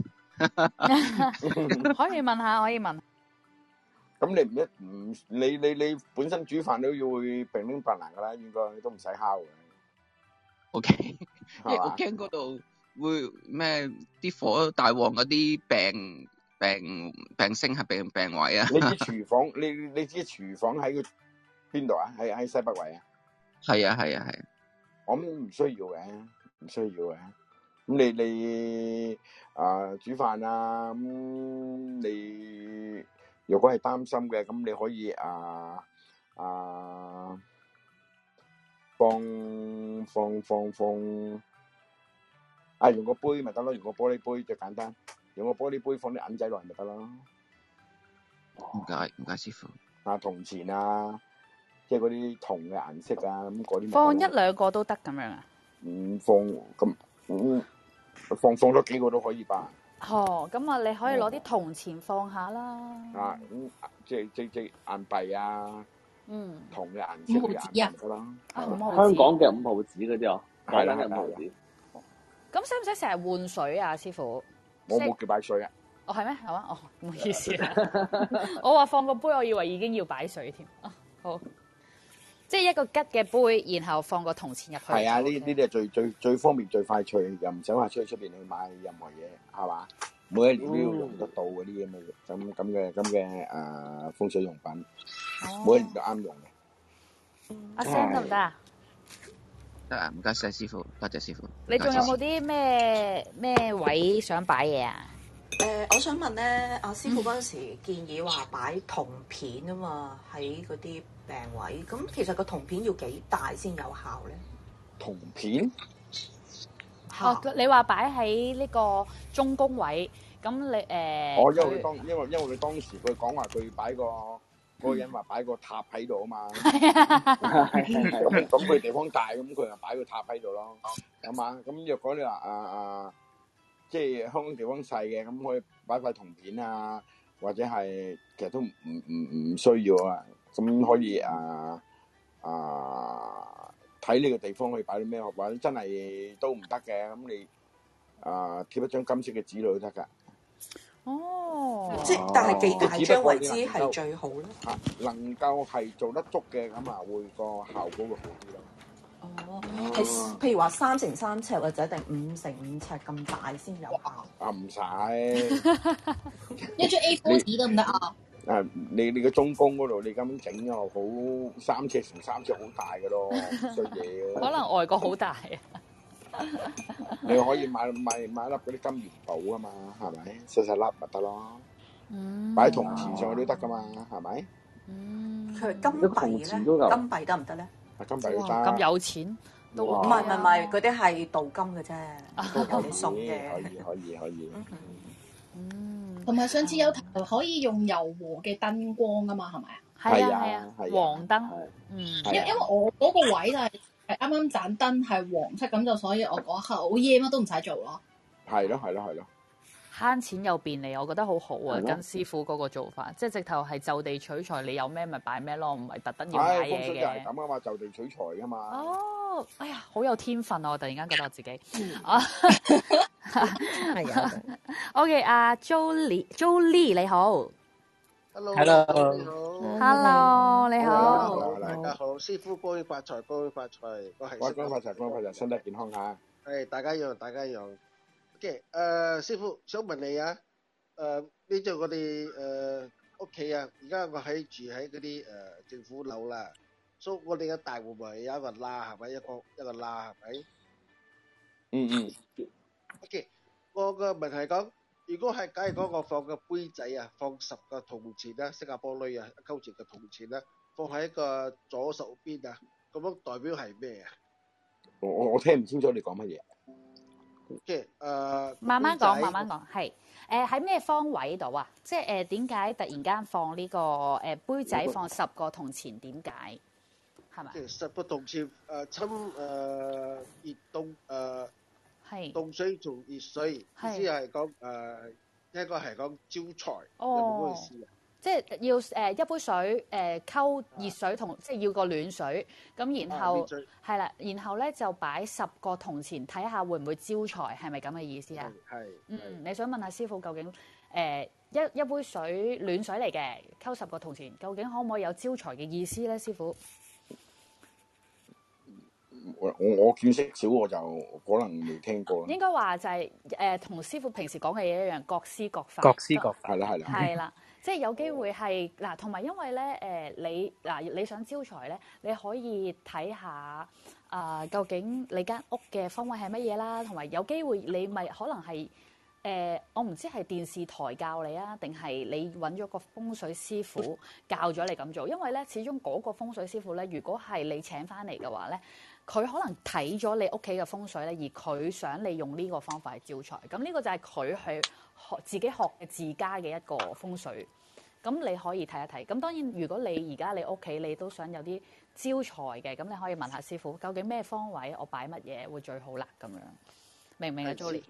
可以問下，可以問。 咁你本身煮飯都要會乒乒乓啷噶啦，應該都唔使敲嘅。 OK， 因為我驚嗰度。會咩啲火大旺嗰啲病星係病位啊？ 你知廚房你知廚房喺個邊度啊？喺西北位啊？係啊。我諗唔需要嘅。咁你煮飯啊？咁你如果係擔心嘅，咁你可以用個杯咪得咯，用個玻璃杯最簡單，用個玻璃杯放啲銀仔落去咪得咯。 唔該師傅。 銅錢啊，即係嗰啲銅嘅顏色啊，咁嗰啲。 放一兩個都得咁樣啊？ 放咗幾個都可以吧。 咁啊，你可以攞啲銅錢放下啦。 即係硬幣啊， 銅嘅顏色嘅顏色啦。 香港嘅5毫子嗰啲啊， 係啦 5毫子。 咁使唔使成日換水啊，師傅？ 我冇叫擺水啊。 哦，係咩？係嘛？哦，唔好意思啊。我話放個杯，我以為已經要擺水添。哦，好。即係一個吉嘅杯，然後放個銅錢入去。 係啊，呢啲係最方便、最快脆，又唔使話出邊去買任何嘢，係嘛？每一年都要用得到嗰啲咁嘅風水用品，每一年都啱用嘅。 阿 Sam 得唔得啊？ 得啊，唔該晒師傅，多謝師傅。 你仲有冇啲咩位想擺嘢啊？ 我想問咧，阿師傅嗰陣時建議話擺銅片啊嘛，喺嗰啲病位。咁其實個銅片要幾大先有效咧？ 銅片？ 哦，你話擺喺呢個中宮位，咁你因為佢當時佢講話佢擺嗰個人話擺個塔喺度啊嘛。咁佢地方大，咁佢就擺個塔喺度咯，係嘛？咁若果你話即係香港地方細嘅，咁可以擺塊銅片啊，或者係其實都唔需要啊。咁可以睇呢個地方可以擺啲咩，或者真係都唔得嘅，咁你貼一張金色嘅紙都得㗎。 哦，即係但係幾大張為之係最好咧？ 能夠係做得足嘅，咁會個效果會好啲咯。 哦，係譬如話3乘3尺或者定5乘5尺咁大先有效？ 唔使一張 A4 紙得唔得啊？ 你個中宮嗰度，你咁樣整又好3尺乘3尺好大嘅咯，衰嘢。 可能外國好大啊！ 你可以買粒嗰啲金元寶啊嘛，係咪？細粒咪得咯。擺銅錢上去都得噶嘛，係咪？ 佢係金幣咧，金幣得唔得咧？ 金幣都得。 咁有錢都唔係，嗰啲係鍍金嘅啫，有你送嘅。 可以。 同埋上次有可以用柔和嘅燈光啊嘛，係咪啊？ 係啊，黃燈。 因為我嗰個位就係啱啱盞燈係黃色，咁就所以我嗰刻好夜乜都唔使做咯。 係咯。 慳錢又便利，我覺得好好啊！跟師傅嗰個做法，即係直頭係就地取材，你有咩咪擺咩咯，唔係特登要買嘢嘅。風水就係咁啊嘛，就地取材噶嘛。 哦，哎呀，好有天分啊！我突然間覺得我自己係啊。 OK， 阿 Jolie 你好。 Hello， 你好， 大家好，師傅恭喜發財，恭喜發財，我係恭喜發財，身體健康嚇。 係大家一樣。OK， 師傅想問你啊，呢度我哋屋企啊，而家我住喺嗰啲政府樓啦，所以我哋嘅大戶咪有一個罅係咪？一個罅係咪？OK， 我個問題係講，如果係假如講我放個杯仔啊，放10個銅錢啦，新加坡鐳啊，1溝錢嘅銅錢啦，放喺一個左手邊啊，咁樣代表係咩啊？ 我聽唔清楚你講乜嘢。 即慢慢講，係喺咩方位度啊？即係點解突然間放呢個杯仔放10個銅錢？點解係咪？ 即係10個銅錢侵熱凍係凍水做熱水，意思係講應該係講招財，有冇嗰意思啊？ 即係要一杯水溝熱水同即係要個暖水，咁然後係啦，然後咧就擺10個銅錢，睇下會唔會招財，係咪咁嘅意思啊？ 係。 你想問下師傅究竟一杯水暖水嚟嘅溝10個銅錢，究竟可唔可以有招財嘅意思咧？師傅， 我見識少，我就可能未聽過。 應該話就係同師傅平時講嘅嘢一樣，各施各法。 係啦。 係啦。即係有機會係嗱，同埋因為咧你想招財咧，你可以睇下究竟你間屋嘅方位係乜嘢啦，同埋有機會你咪可能係我唔知係電視台教你啊，定係你揾咗個風水師傅教咗你咁做，因為咧始終嗰個風水師傅咧，如果係你請翻嚟嘅話咧，佢可能睇咗你屋企嘅風水咧，而佢想你用呢個方法去招財，咁呢個就係佢去自己學嘅自家嘅一個風水，咁你可以睇一睇。咁當然，如果你而家你屋企你都想有啲招財嘅，咁你可以問下師傅，究竟咩方位我擺乜嘢會最好啦？咁樣明唔明啊 ，Jolie？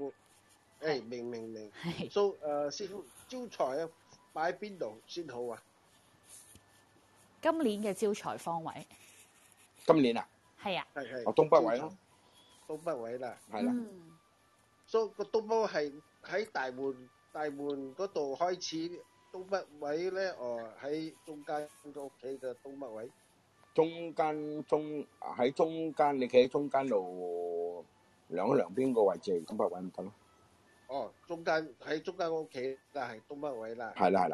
明。So 師傅招財啊，擺邊度先好啊？ 今年嘅招財方位。 今年啊？ 係啊。 係。 東北位咯。 東北位啦。 係啦。 所以個東北係喺大門嗰度開始，東北位咧，喺中間個屋企嘅東北位。 喺中間，你企喺中間度兩邊個位置，東北位咪得咯。 中間喺中間屋企，但係東北位啦。 係啦。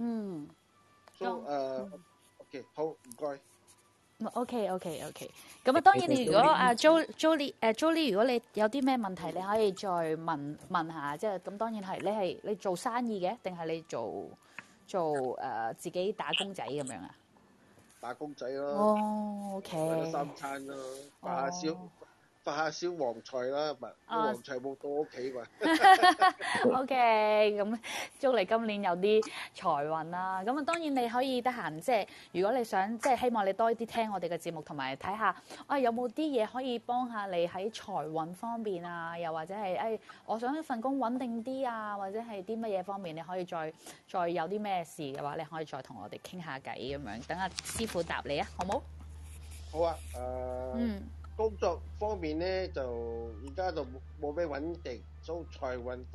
OK， 好，唔該。 OK。咁啊，當然你如果阿 Jolie，如果你有啲咩問題，你可以再問下，即係咁。當然係你做生意嘅，定係你做自己打工仔咁樣啊？ 打工仔咯。 OK。 為咗三餐咯，發下小黃財啦，黃財冇到屋企嘛。 OK， 咁祝你今年有啲財運啦。咁啊，當然你可以得閒，即係如果你想，即係希望你多啲聽我哋嘅節目，同埋睇下有冇啲嘢可以幫下你喺財運方面啊，又或者係我想一份工穩定啲啊，或者係啲乜嘢方面，你可以再有啲咩事嘅話，你可以再同我哋傾下偈咁樣。等阿師傅答你啊，好冇？ 好啊，工作方面咧就而家就冇咩穩定，所以財運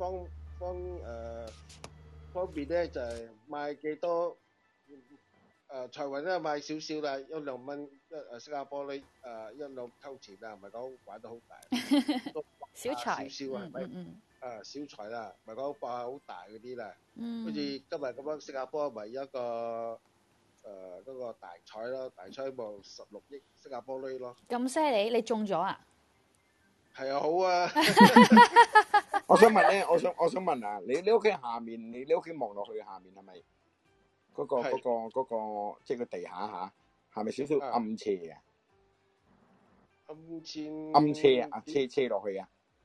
方面咧就係賣幾多財運咧賣少少啦，1-2蚊新加坡呢1-2溝錢啦，唔係講玩得好大， 小財少係咪？小財啦，唔係講爆好大嗰啲啦，好似今日咁樣新加坡咪一個。嗰個大彩咯，大彩冇16億新加坡鐳咯。 咁犀利，你中咗啊？ 係啊，好啊。 我想問咧，我想問啊，你屋企下面，你屋企望落去下面係咪嗰個即係個地下嚇，係咪少少暗斜啊？暗斜啊，斜落去啊。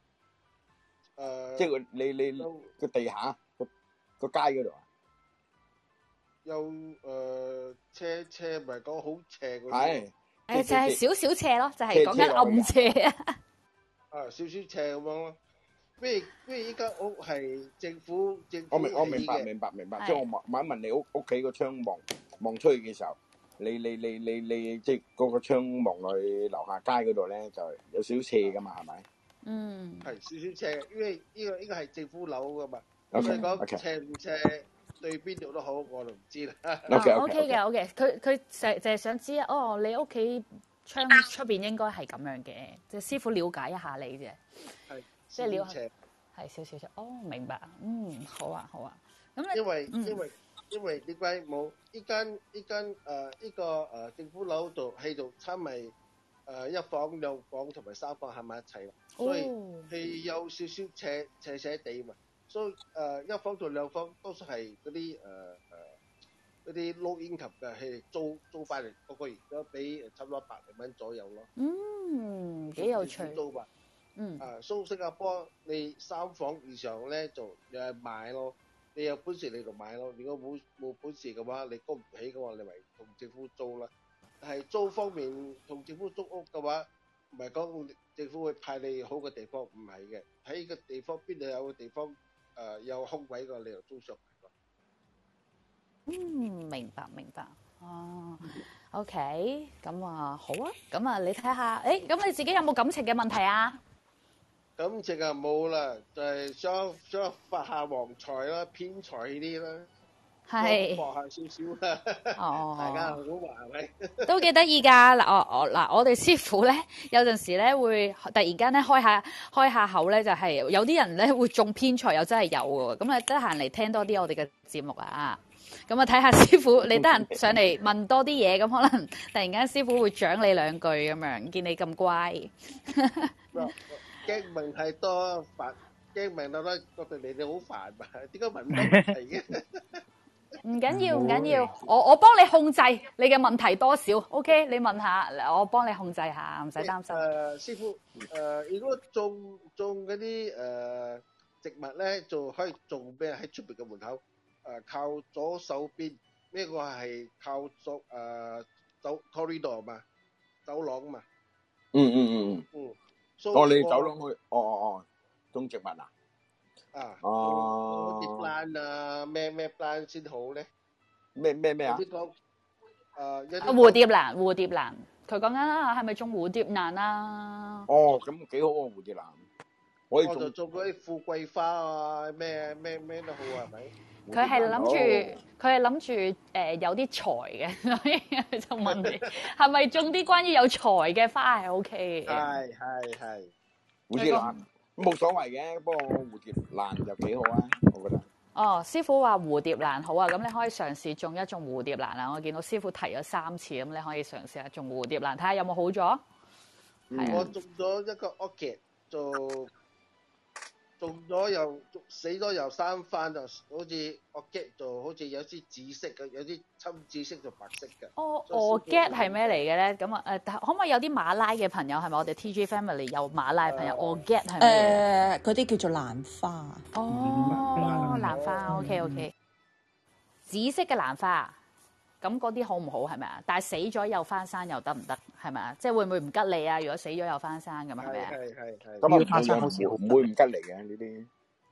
即係你個地下個街嗰度啊？ 有斜唔係講好斜嗰啲， 就係少少斜咯，就係講緊暗斜啊。 少少斜咁樣咯。咩依間屋係政府我明白，即係我問一問你屋企個窗望出去嘅時候，你即係嗰個窗望落去樓下街嗰度咧，就有少少斜噶嘛，係咪？ 係少少斜，因為呢個係政府樓噶嘛，所以講斜唔斜。對邊度都好，我就唔知啦。 OK 嘅，佢就係想知你屋企窗出邊應該係咁樣嘅，即係師傅了解一下你啫。 係， 即係了解，係少少。明白。好啊。咁因為點解冇呢間政府樓度喺度差咪1房2房同埋3房喺埋一齊，所以係有少少斜地嘛。所以1房到2房多數係嗰啲low income嘅，係租翻嚟個個月都俾差唔多100零蚊左右咯。 幾有趣。 租吧。所以新加坡你3房以上咧就有人買咯，你有本事你就買咯。如果冇本事嘅話，你供唔起嘅話，你咪同政府租啦。但係租方面同政府租屋嘅話，唔係講政府會派你好嘅地方，唔係嘅。喺個地方邊度有個地方。有空位個，你又租上嚟個。 明白。OK， 咁啊好啊，咁啊你睇下，咁你自己有冇感情嘅問題啊？ 感情啊冇啦，就係想發下黃財啦，偏財啲啦。係博下少少啦，大家好話係咪？ 都幾得意㗎嗱，我哋師傅咧有陣時咧會突然間咧開下口咧，就係有啲人咧會中偏財，又真係有㗎喎。咁啊得閒嚟聽多啲我哋嘅節目啊，咁啊睇下師傅你得閒上嚟問多啲嘢，咁可能突然間師傅會獎你2句咁樣，見你咁乖。 驚問太多煩，驚問到咧覺得你哋好煩嘛？點解問咁多問題嘅？ 唔緊要，我幫你控制你嘅問題多少 ，OK？ 你問下，我幫你控制下，唔使擔心。 師傅，如果種嗰啲植物咧，就可以種咩？喺出邊嘅門口，靠左手邊，呢個係靠走 corridor 嘛，走廊嘛。 你走廊去，種植物啊？ 啲 plan 啊，咩 plan 先好咧？ 咩啊？ 蝴蝶蘭，佢講緊係咪種蝴蝶蘭啊？ 哦，咁幾好喎，蝴蝶蘭。 我就種嗰啲富貴花啊，咩都好係咪？ 佢係諗住有啲財嘅，所以就問你係咪種啲關於有財嘅花係 OK 嘅？ 係。 蝴蝶蘭冇所謂嘅，不過蝴蝶蘭就幾好啊，我覺得。 哦，師傅話蝴蝶蘭好啊，咁你可以嘗試種一種蝴蝶蘭啊！我見到師傅提咗3次，咁你可以嘗試下種蝴蝶蘭，睇下有冇好咗。 我種咗一個 orchid 就種咗又死咗又生翻，就好似 orchid 就好似有啲紫色嘅，有啲深紫色就白色嘅。 orchid 係咩嚟嘅咧？咁可唔可以有啲馬拉嘅朋友係咪？我哋 TG Family 有馬拉嘅朋友 orchid 係咩？ 嗰啲叫做蘭花。 蘭花 OK。紫色嘅蘭花，咁嗰啲好唔好係咪啊？但係死咗又翻生又得唔得？係咪啊？即係會唔會唔吉利啊？如果死咗又翻生咁啊？係咪啊？ 係。 咁啊，翻生好少，唔會唔吉利嘅呢啲。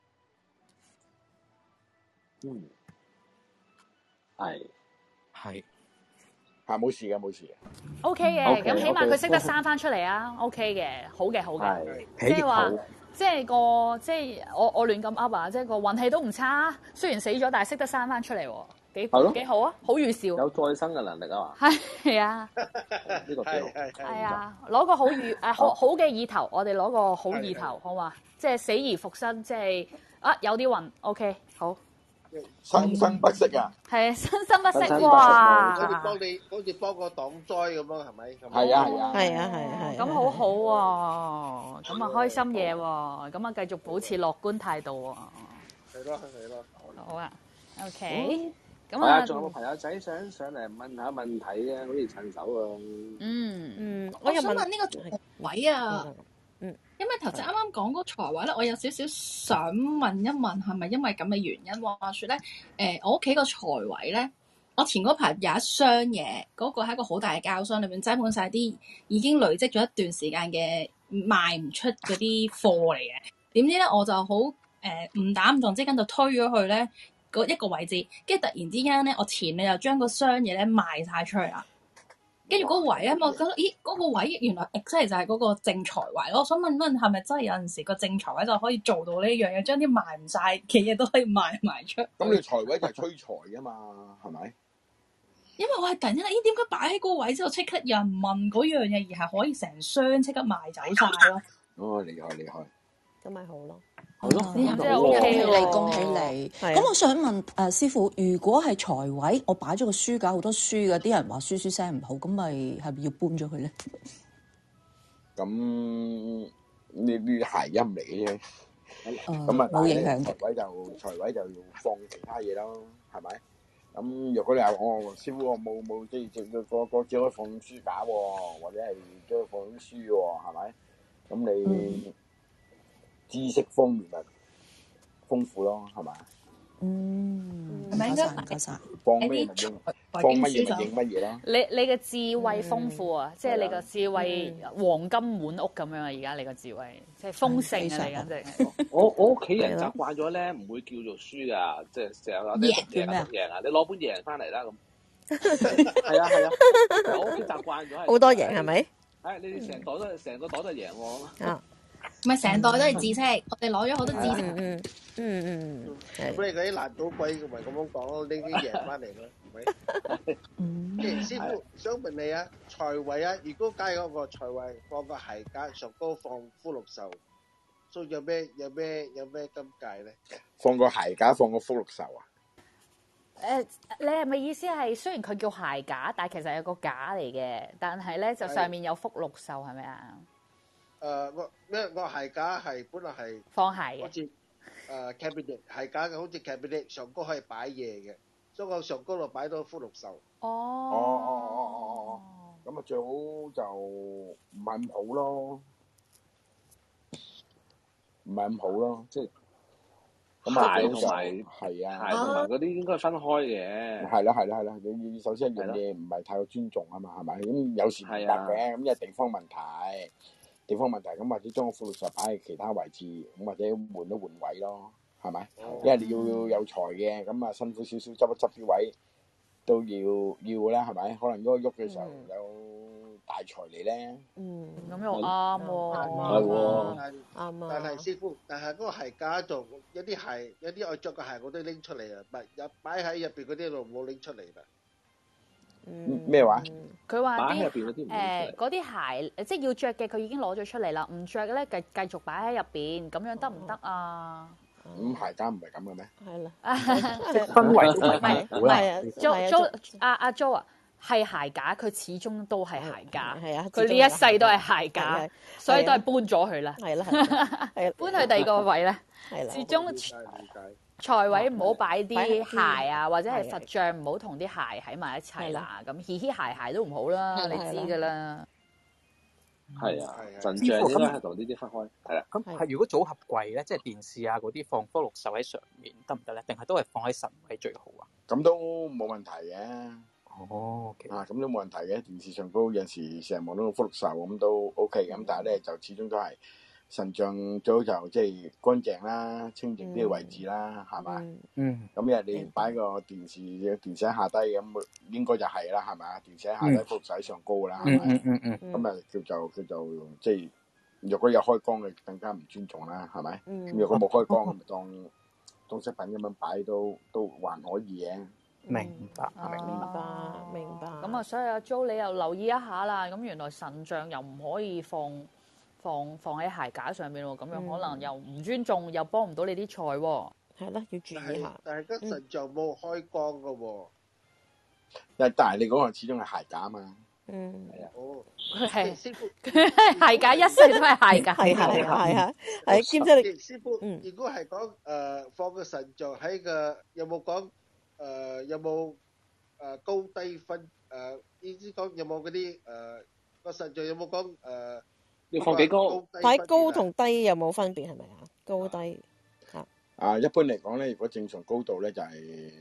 係冇事嘅。 OK 嘅，咁起碼佢識得生翻出嚟啊。OK 嘅，好嘅。即係話。即係我亂咁噏啊！即係個運氣都唔差，雖然死咗，但係識得生翻出嚟喎，幾好啊！好預兆， 有再生嘅能力啊嘛。 係啊， 呢個幾好。 係啊，攞個好嘅意頭，我哋攞個好意頭，好嘛？即係死而復生，即係有啲運 OK 好。 生生不息啊！ 係啊，生生不息哇！ 好似幫個擋災咁咯，係咪？ 係啊。 咁好好喎，咁啊開心嘢喎，咁啊繼續保持樂觀態度喎。 係咯。 好啊 ，OK。 咁啊，仲有冇朋友仔想上嚟問下問題啊？好似趁手啊。 我想問呢個財位啊。因為頭先啱啱講嗰個財位咧，我有少少想問一問，係咪因為咁嘅原因？話説咧，我屋企個財位咧，我前嗰排有一箱嘢，嗰個係一個好大嘅膠箱，裏面擠滿晒啲已經累積咗一段時間嘅賣唔出嗰啲貨嚟嘅。點知咧，我就好誤打誤撞之間就推咗去咧一個位置，跟住突然之間咧，我前你又將個箱嘢咧賣晒出去啦。跟住嗰個位咧，我覺得嗰個位原來真係就係嗰個正財位咯。我想問係咪真係有陣時個正財位就可以做到呢樣嘢，將啲賣唔晒嘅嘢都可以賣埋出？ 咁你財位就係催財啊嘛，係咪？ 因為我係突然間，點解擺喺嗰個位之後即刻有人問嗰樣嘢，而係可以成箱即刻賣走晒咯？ 厲害！ 咁咪好咯。 好咯， 恭喜你！咁我想問師傅，如果係財位，我擺咗個書架好多書嘅，啲人話書聲唔好，咁咪係咪要搬咗佢咧？ 咁呢啲諧音嚟嘅啫，咁啊冇影響嘅。 財位就要放其他嘢咯，係咪？咁如果你話師傅我冇即係個只可以放書架喎，或者係只可以放啲書喎，係咪？咁你知識方面咪豐富咯，係嘛？ 係咪應該唔該晒。 放咩咪應，放乜嘢咪應乜嘢咯。 你嘅智慧豐富啊，即係你個智慧黃金滿屋咁樣啊！而家你個智慧即係豐盛啊！你簡直係。我屋企人習慣咗咧，唔會叫做書噶，即係成日話你讀贏啊！你攞本贏翻嚟啦咁。係啊！我屋企習慣咗好多贏係咪？ 係你哋成個袋都係贏喎。 啊！ 唔係成袋都係知識，我哋攞咗好多知識。 咁你嗰啲爛賭鬼咪咁樣講咯，拎啲贏翻嚟咯，係咪？師傅想問你啊，財位啊，如果加嗰個財位放個鞋架上高放福祿壽，所以有咩金界咧？ 放個鞋架放個福祿壽啊？ 你係咪意思係雖然佢叫鞋架，但係其實係個架嚟嘅，但係咧就上面有福祿壽係咪啊？ 個鞋架係本來係放鞋嘅， 好似cabinet 鞋架嘅，好似 cabinet 上高可以擺嘢嘅，所以我上高度擺到福祿壽。 咁啊最好就唔係咁好咯，即係鞋同埋係啊， 鞋同埋嗰啲應該分開嘅。係啦，你首先一樣嘢唔係太過尊重啊嘛，係咪？咁有時唔得嘅，咁因為地方問題，咁或者將個福祿壽擺喺其他位置，咁或者換一換位咯，係咪？因為你要有財嘅，咁啊辛苦少少執一執啲位， 都要啦，係咪？可能嗰個喐嘅時候有大財嚟咧。 咁又啱喎， 係喎， 啱啊！但係師傅，但係嗰個鞋架度有啲鞋，有啲我着嘅鞋我都拎出嚟啊，擺喺入邊嗰啲度冇拎出嚟啦。 咩話？ 佢話擺喺入邊嗰啲唔嗰啲鞋，即係要着嘅，佢已經攞咗出嚟啦。唔着嘅咧，繼續擺喺入邊，咁樣得唔得啊？ 咁鞋架唔係咁嘅咩？ 係啦， 氛圍都唔係阿 Jo 啊，係鞋架，佢始終都係鞋架。 係啊， 佢呢一世都係鞋架，所以都係搬咗佢啦。 係啦，係搬去第二個位咧。 係啦， 始終財位唔好擺啲鞋啊，或者係佛像唔好同啲鞋喺埋一齊啦。咁嘻嘻鞋都唔好啦，你知㗎啦。 係啊，神像應該係同呢啲分開。係啦。 咁係如果組合櫃咧，即係電視啊嗰啲放福祿壽喺上面得唔得咧？定係都係放喺神位最好啊？ 咁都冇問題嘅。 哦， 咁都冇問題嘅。電視上高有陣時成日望到個福祿壽咁都 OK 咁，但係咧就始終都係神像最好就即係乾淨啦、清靜啲嘅位置啦，係咪？咁因為你擺個電視喺下低咁，應該就係啦，係咪啊？電視喺下低，福祿壽喺上高啦，係咪？咁啊叫做即係，若果有開光嘅更加唔尊重啦，係咪？咁若果冇開光，咁咪當飾品咁樣擺都還可以嘅。 明白。 咁啊，所以阿 Jo 你又留意一下啦。咁原來神像又唔可以放喺鞋架上面喎，咁樣可能又唔尊重，又幫唔到你啲財喎。 係啦，要注意下。 但係個神像冇開光㗎喎。 但係你嗰個始終係鞋架嘛。 係啊。哦。 係師傅，鞋架一世都係鞋架。 係兼且你師傅，如果係講放個神像喺個有冇講有冇高低分意思講有冇嗰啲個神像有冇講要放幾高？ 睇高同低有冇分別係咪啊？高低一般嚟講咧，如果正常高度咧就係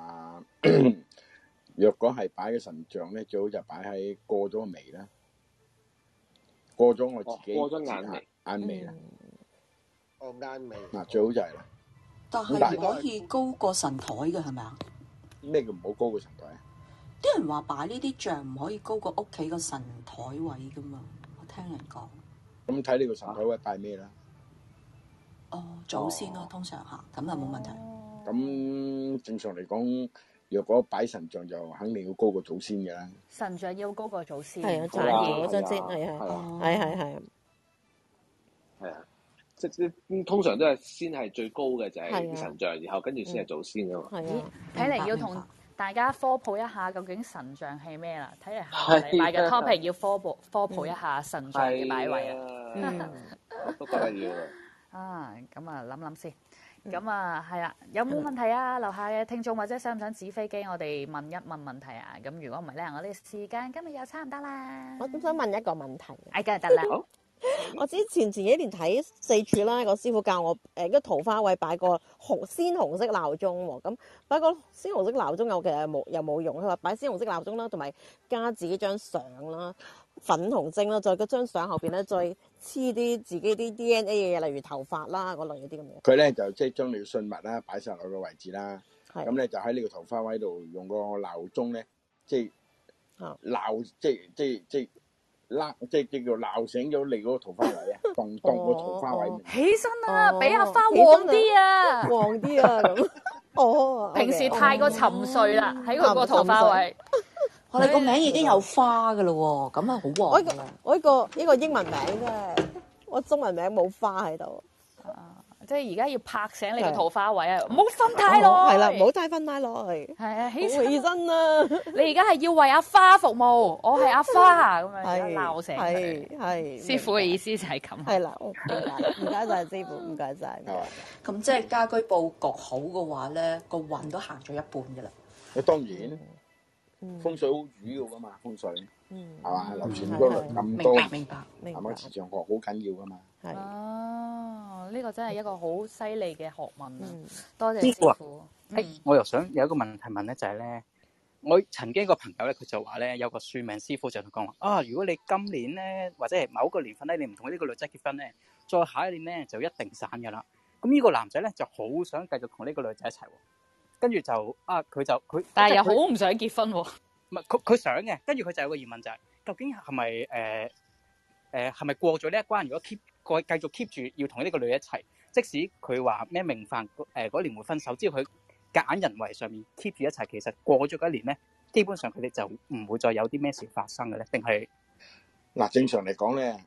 若果係擺嘅神像咧，最好就擺喺過咗個眉啦，過咗我自己過咗眼眉啦。 眼眉。 嗱，最好就係啦。 但係唔可以高過神台嘅係咪啊？ 咩叫唔好高過神台啊？ 啲人話擺呢啲像唔可以高過屋企個神台位噶嘛，我聽人講。 咁睇你個神台位拜咩啦？ 祖先咯，通常嚇，咁就冇問題。 咁正常嚟講，若果擺神像就肯定要高過祖先嘅啦。 神像要高過祖先。 係啊，反而嗰張先係。 係啊，即通常都係先係最高嘅就係神像，然後跟住先係祖先啊嘛。 睇嚟要同大家科普一下究竟神像係咩啦？睇嚟下個禮拜嘅 topic 要科普一下神像嘅擺位啊。 都覺得要咁啊諗先。咁啊係啦，有冇問題啊？樓下嘅聽眾或者想唔想紙飛機？我哋問一問問題啊。咁如果唔係咧，我哋時間今日又差唔多啦。 我都想問一個問題。 梗係得啦。 我之前幾年睇四柱啦，個師傅教我個桃花位擺個鮮紅色鬧鐘喎，咁擺個鮮紅色鬧鐘又冇用，佢話擺鮮紅色鬧鐘啦，同埋加自己張相啦，粉紅晶啦，再嗰張相後邊咧再黐啲自己啲 DNA 嘅嘢，例如頭髮啦嗰類嗰啲咁樣。 佢咧就即係將你嘅信物啦擺晒落個位置啦，咁咧就喺呢個桃花位度用個鬧鐘咧，即係鬧即係叫鬧醒咗你嗰個桃花位啊，當個桃花位。 起身啊，俾阿花旺啲啊， 旺啲啊咁。 平時太過沉睡啦，喺佢個桃花位。 我哋個名已經有花噶咯喎，咁啊好旺㗎啦。 我呢個英文名啫，我中文名冇花喺度。 即係而家要拍醒你個桃花位啊！唔好瞓太耐。係啦，唔好太瞓太耐。 係啊，起身啦！ 你而家係要為阿花服務，我係阿花咁樣鬧醒佢。 係師傅嘅意思就係咁。 係啦，唔該晒師傅，唔該晒。 咁即係家居佈局好嘅話咧，個運都行咗一半㗎啦。 當然。風水好主要噶嘛，風水，係嘛？流傳嗰輪咁多， 明白， 係咪？磁場學好緊要噶嘛。 呢個真係一個好犀利嘅學問啊！多謝師傅。 我又想有一個問題問咧，就係咧，我曾經一個朋友咧，佢就話咧，有個算命師傅就同講話如果你今年咧或者係某個年份咧，你唔同呢個女仔結婚咧，再下一年咧就一定散噶啦。咁呢個男仔咧就好想繼續同呢個女仔一齊喎。 跟住就佢， 但係又好唔想結婚喎。 唔係佢想嘅，跟住佢就有個疑問就係、究竟係咪係咪過咗呢一關？如果繼續 keep 住要同呢個女一齊，即使佢話咩明飯嗰年會分手，只要佢夾硬人為上面 keep 住一齊，其實過咗嗰一年咧，基本上佢哋就唔會再有啲咩事發生嘅咧，定係嗱？正常嚟講咧，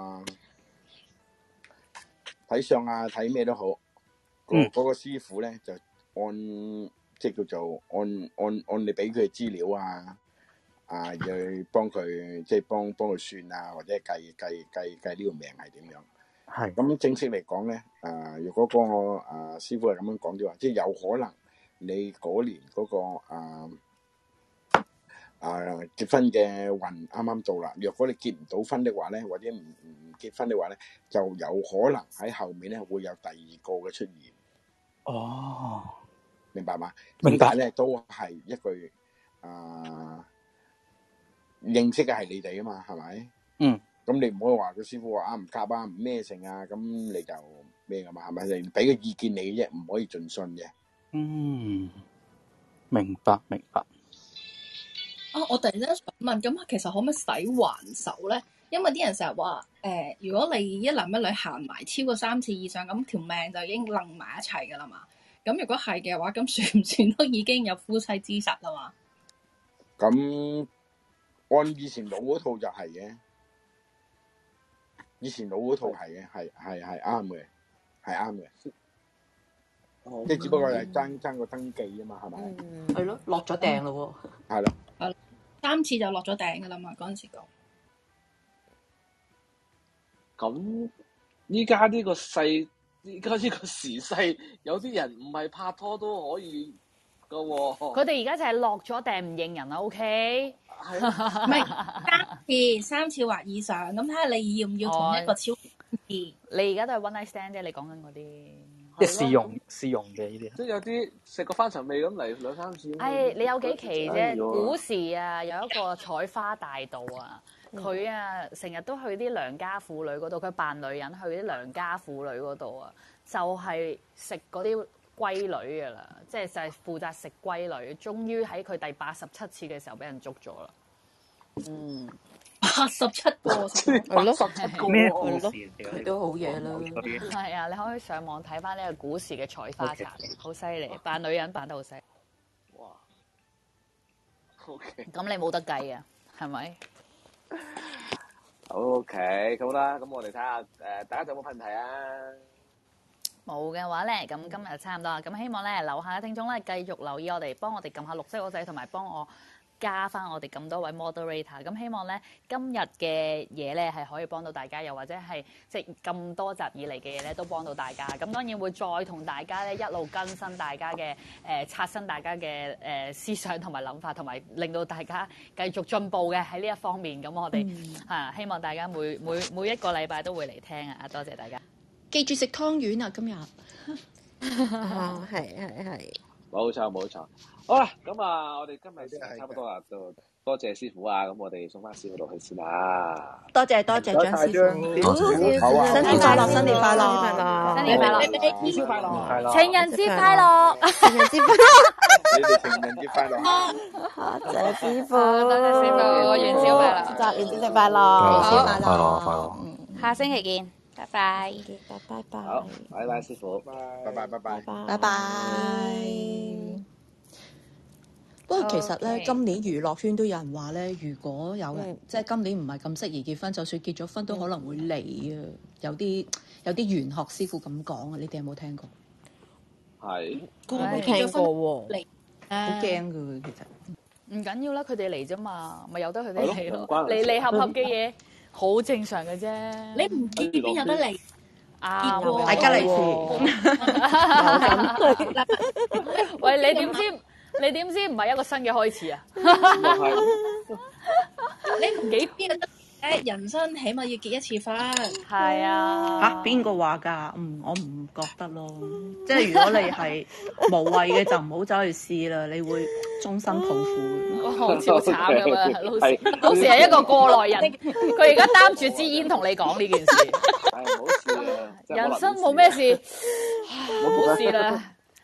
睇相啊，睇咩都好，嗰個師傅咧就即係叫做按你俾佢嘅資料啊，去幫佢即係幫佢算啊，或者計呢個命係點樣？係咁正式嚟講咧，如果嗰個師傅係咁樣講嘅話，即係有可能你嗰年嗰個結婚嘅運啱啱到啦。若果你結唔到婚的話咧，或者唔結婚的話咧，就有可能喺後面咧會有第二個嘅出現。哦。明白嘛？明白咧，都係一句認識嘅係你哋啊嘛，係咪？嗯。咁你唔可以話個師傅話唔夾啊，唔咩性啊，咁你就咩噶嘛？係咪？你俾個意見你啫，唔可以盡信嘅。嗯， 明白。 我突然間想問，咁其實可唔可以使還手咧？因為啲人成日話如果你一男一女行埋超過3次以上，咁條命就已經楞埋一齊噶啦嘛。咁如果係嘅話，咁算唔算都已經有夫妻之實啦嘛？ 咁按以前老嗰套就係嘅，以前老嗰套係嘅，係啱嘅，係啱嘅。即係只不過係爭個登記啊嘛，係咪？ 係咯，落咗訂咯喎。 係咯。 係3次就落咗訂噶啦嘛，嗰陣時講。 咁依家呢個時勢，有啲人唔係拍拖都可以噶喎。 佢哋而家就係落咗訂唔認人啦 ，OK？ 係唔係3次或以上，咁睇下你要唔要同一個超你而家都係 one night stand 啫，你講緊嗰啲。 即係試用嘅呢啲， 即係有啲食個翻尋味咁嚟2-3次。 你有幾期啫？古時啊，有一個採花大盜啊，佢成日都去啲良家婦女嗰度，佢扮女人去啲良家婦女嗰度啊，就係食嗰啲龜女噶啦，即係就係負責食龜女。終於喺佢第87次嘅時候俾人捉咗啦。 87個， 係咯， 咩故事？ 佢都好嘢啦。 係啊，你可以上網睇翻呢個古時嘅採花茶，好犀利，扮女人扮得好犀利。哇！OK，咁你冇得計啊，係咪 ？OK， 好啦，咁我哋睇下大家有冇問題啊？ 冇嘅話咧，咁今日就差唔多啦。咁希望咧，樓下嘅聽眾咧繼續留意我哋，幫我哋撳下綠色嗰掣，同埋幫我加翻我哋咁多位 moderator，咁希望咧今日嘅嘢咧係可以幫到大家，又或者係即係咁多集以嚟嘅嘢咧都幫到大家。咁當然會再同大家咧一路更新大家嘅刷新大家嘅思想同埋諗法，同埋令到大家繼續進步嘅喺呢一方面。咁我哋希望大家每一個禮拜都會嚟聽啊！多謝大家， 記住食湯圓啊！今日係。 冇錯。好啦，咁我哋今日時間差唔多啦，就多謝師傅啊！咁我哋送翻師傅落去先啦。 多謝張師傅， 好啊！ 新年快樂，新年快樂， 新年快樂， 元宵快樂， 情人節快樂， 情人節快樂，你哋情人節快樂， 多謝師傅， 多謝師傅，元宵快樂， 元宵節快樂，元宵快樂，下星期見，拜拜， 好，拜拜，師傅， 拜拜。不過其實咧，今年娛樂圈都有人話咧，如果有人即係今年唔係咁適宜結婚，就算結咗婚都可能會離啊。有啲玄學師傅咁講啊，你哋有冇聽過？ 係， 冇聽過喎， 離好驚㗎，其實唔緊要啦，佢哋嚟啫嘛，咪由得佢哋嚟咯。離合嘅嘢好正常嘅啫。 你唔結邊有得離？ 大家嚟試。喂，你點知？你點知唔係一個新嘅開始啊？ 你唔幾邊得？人生起碼要結一次婚。 係啊。 邊個話㗎？我唔覺得咯。即係如果你係無謂嘅，就唔好走去試啦，你會終身抱負。 好慘㗎嘛，老師係一個過來人，佢而家擔住支煙同你講呢件事。 係冇事啊。 人生冇咩事，冇事啦。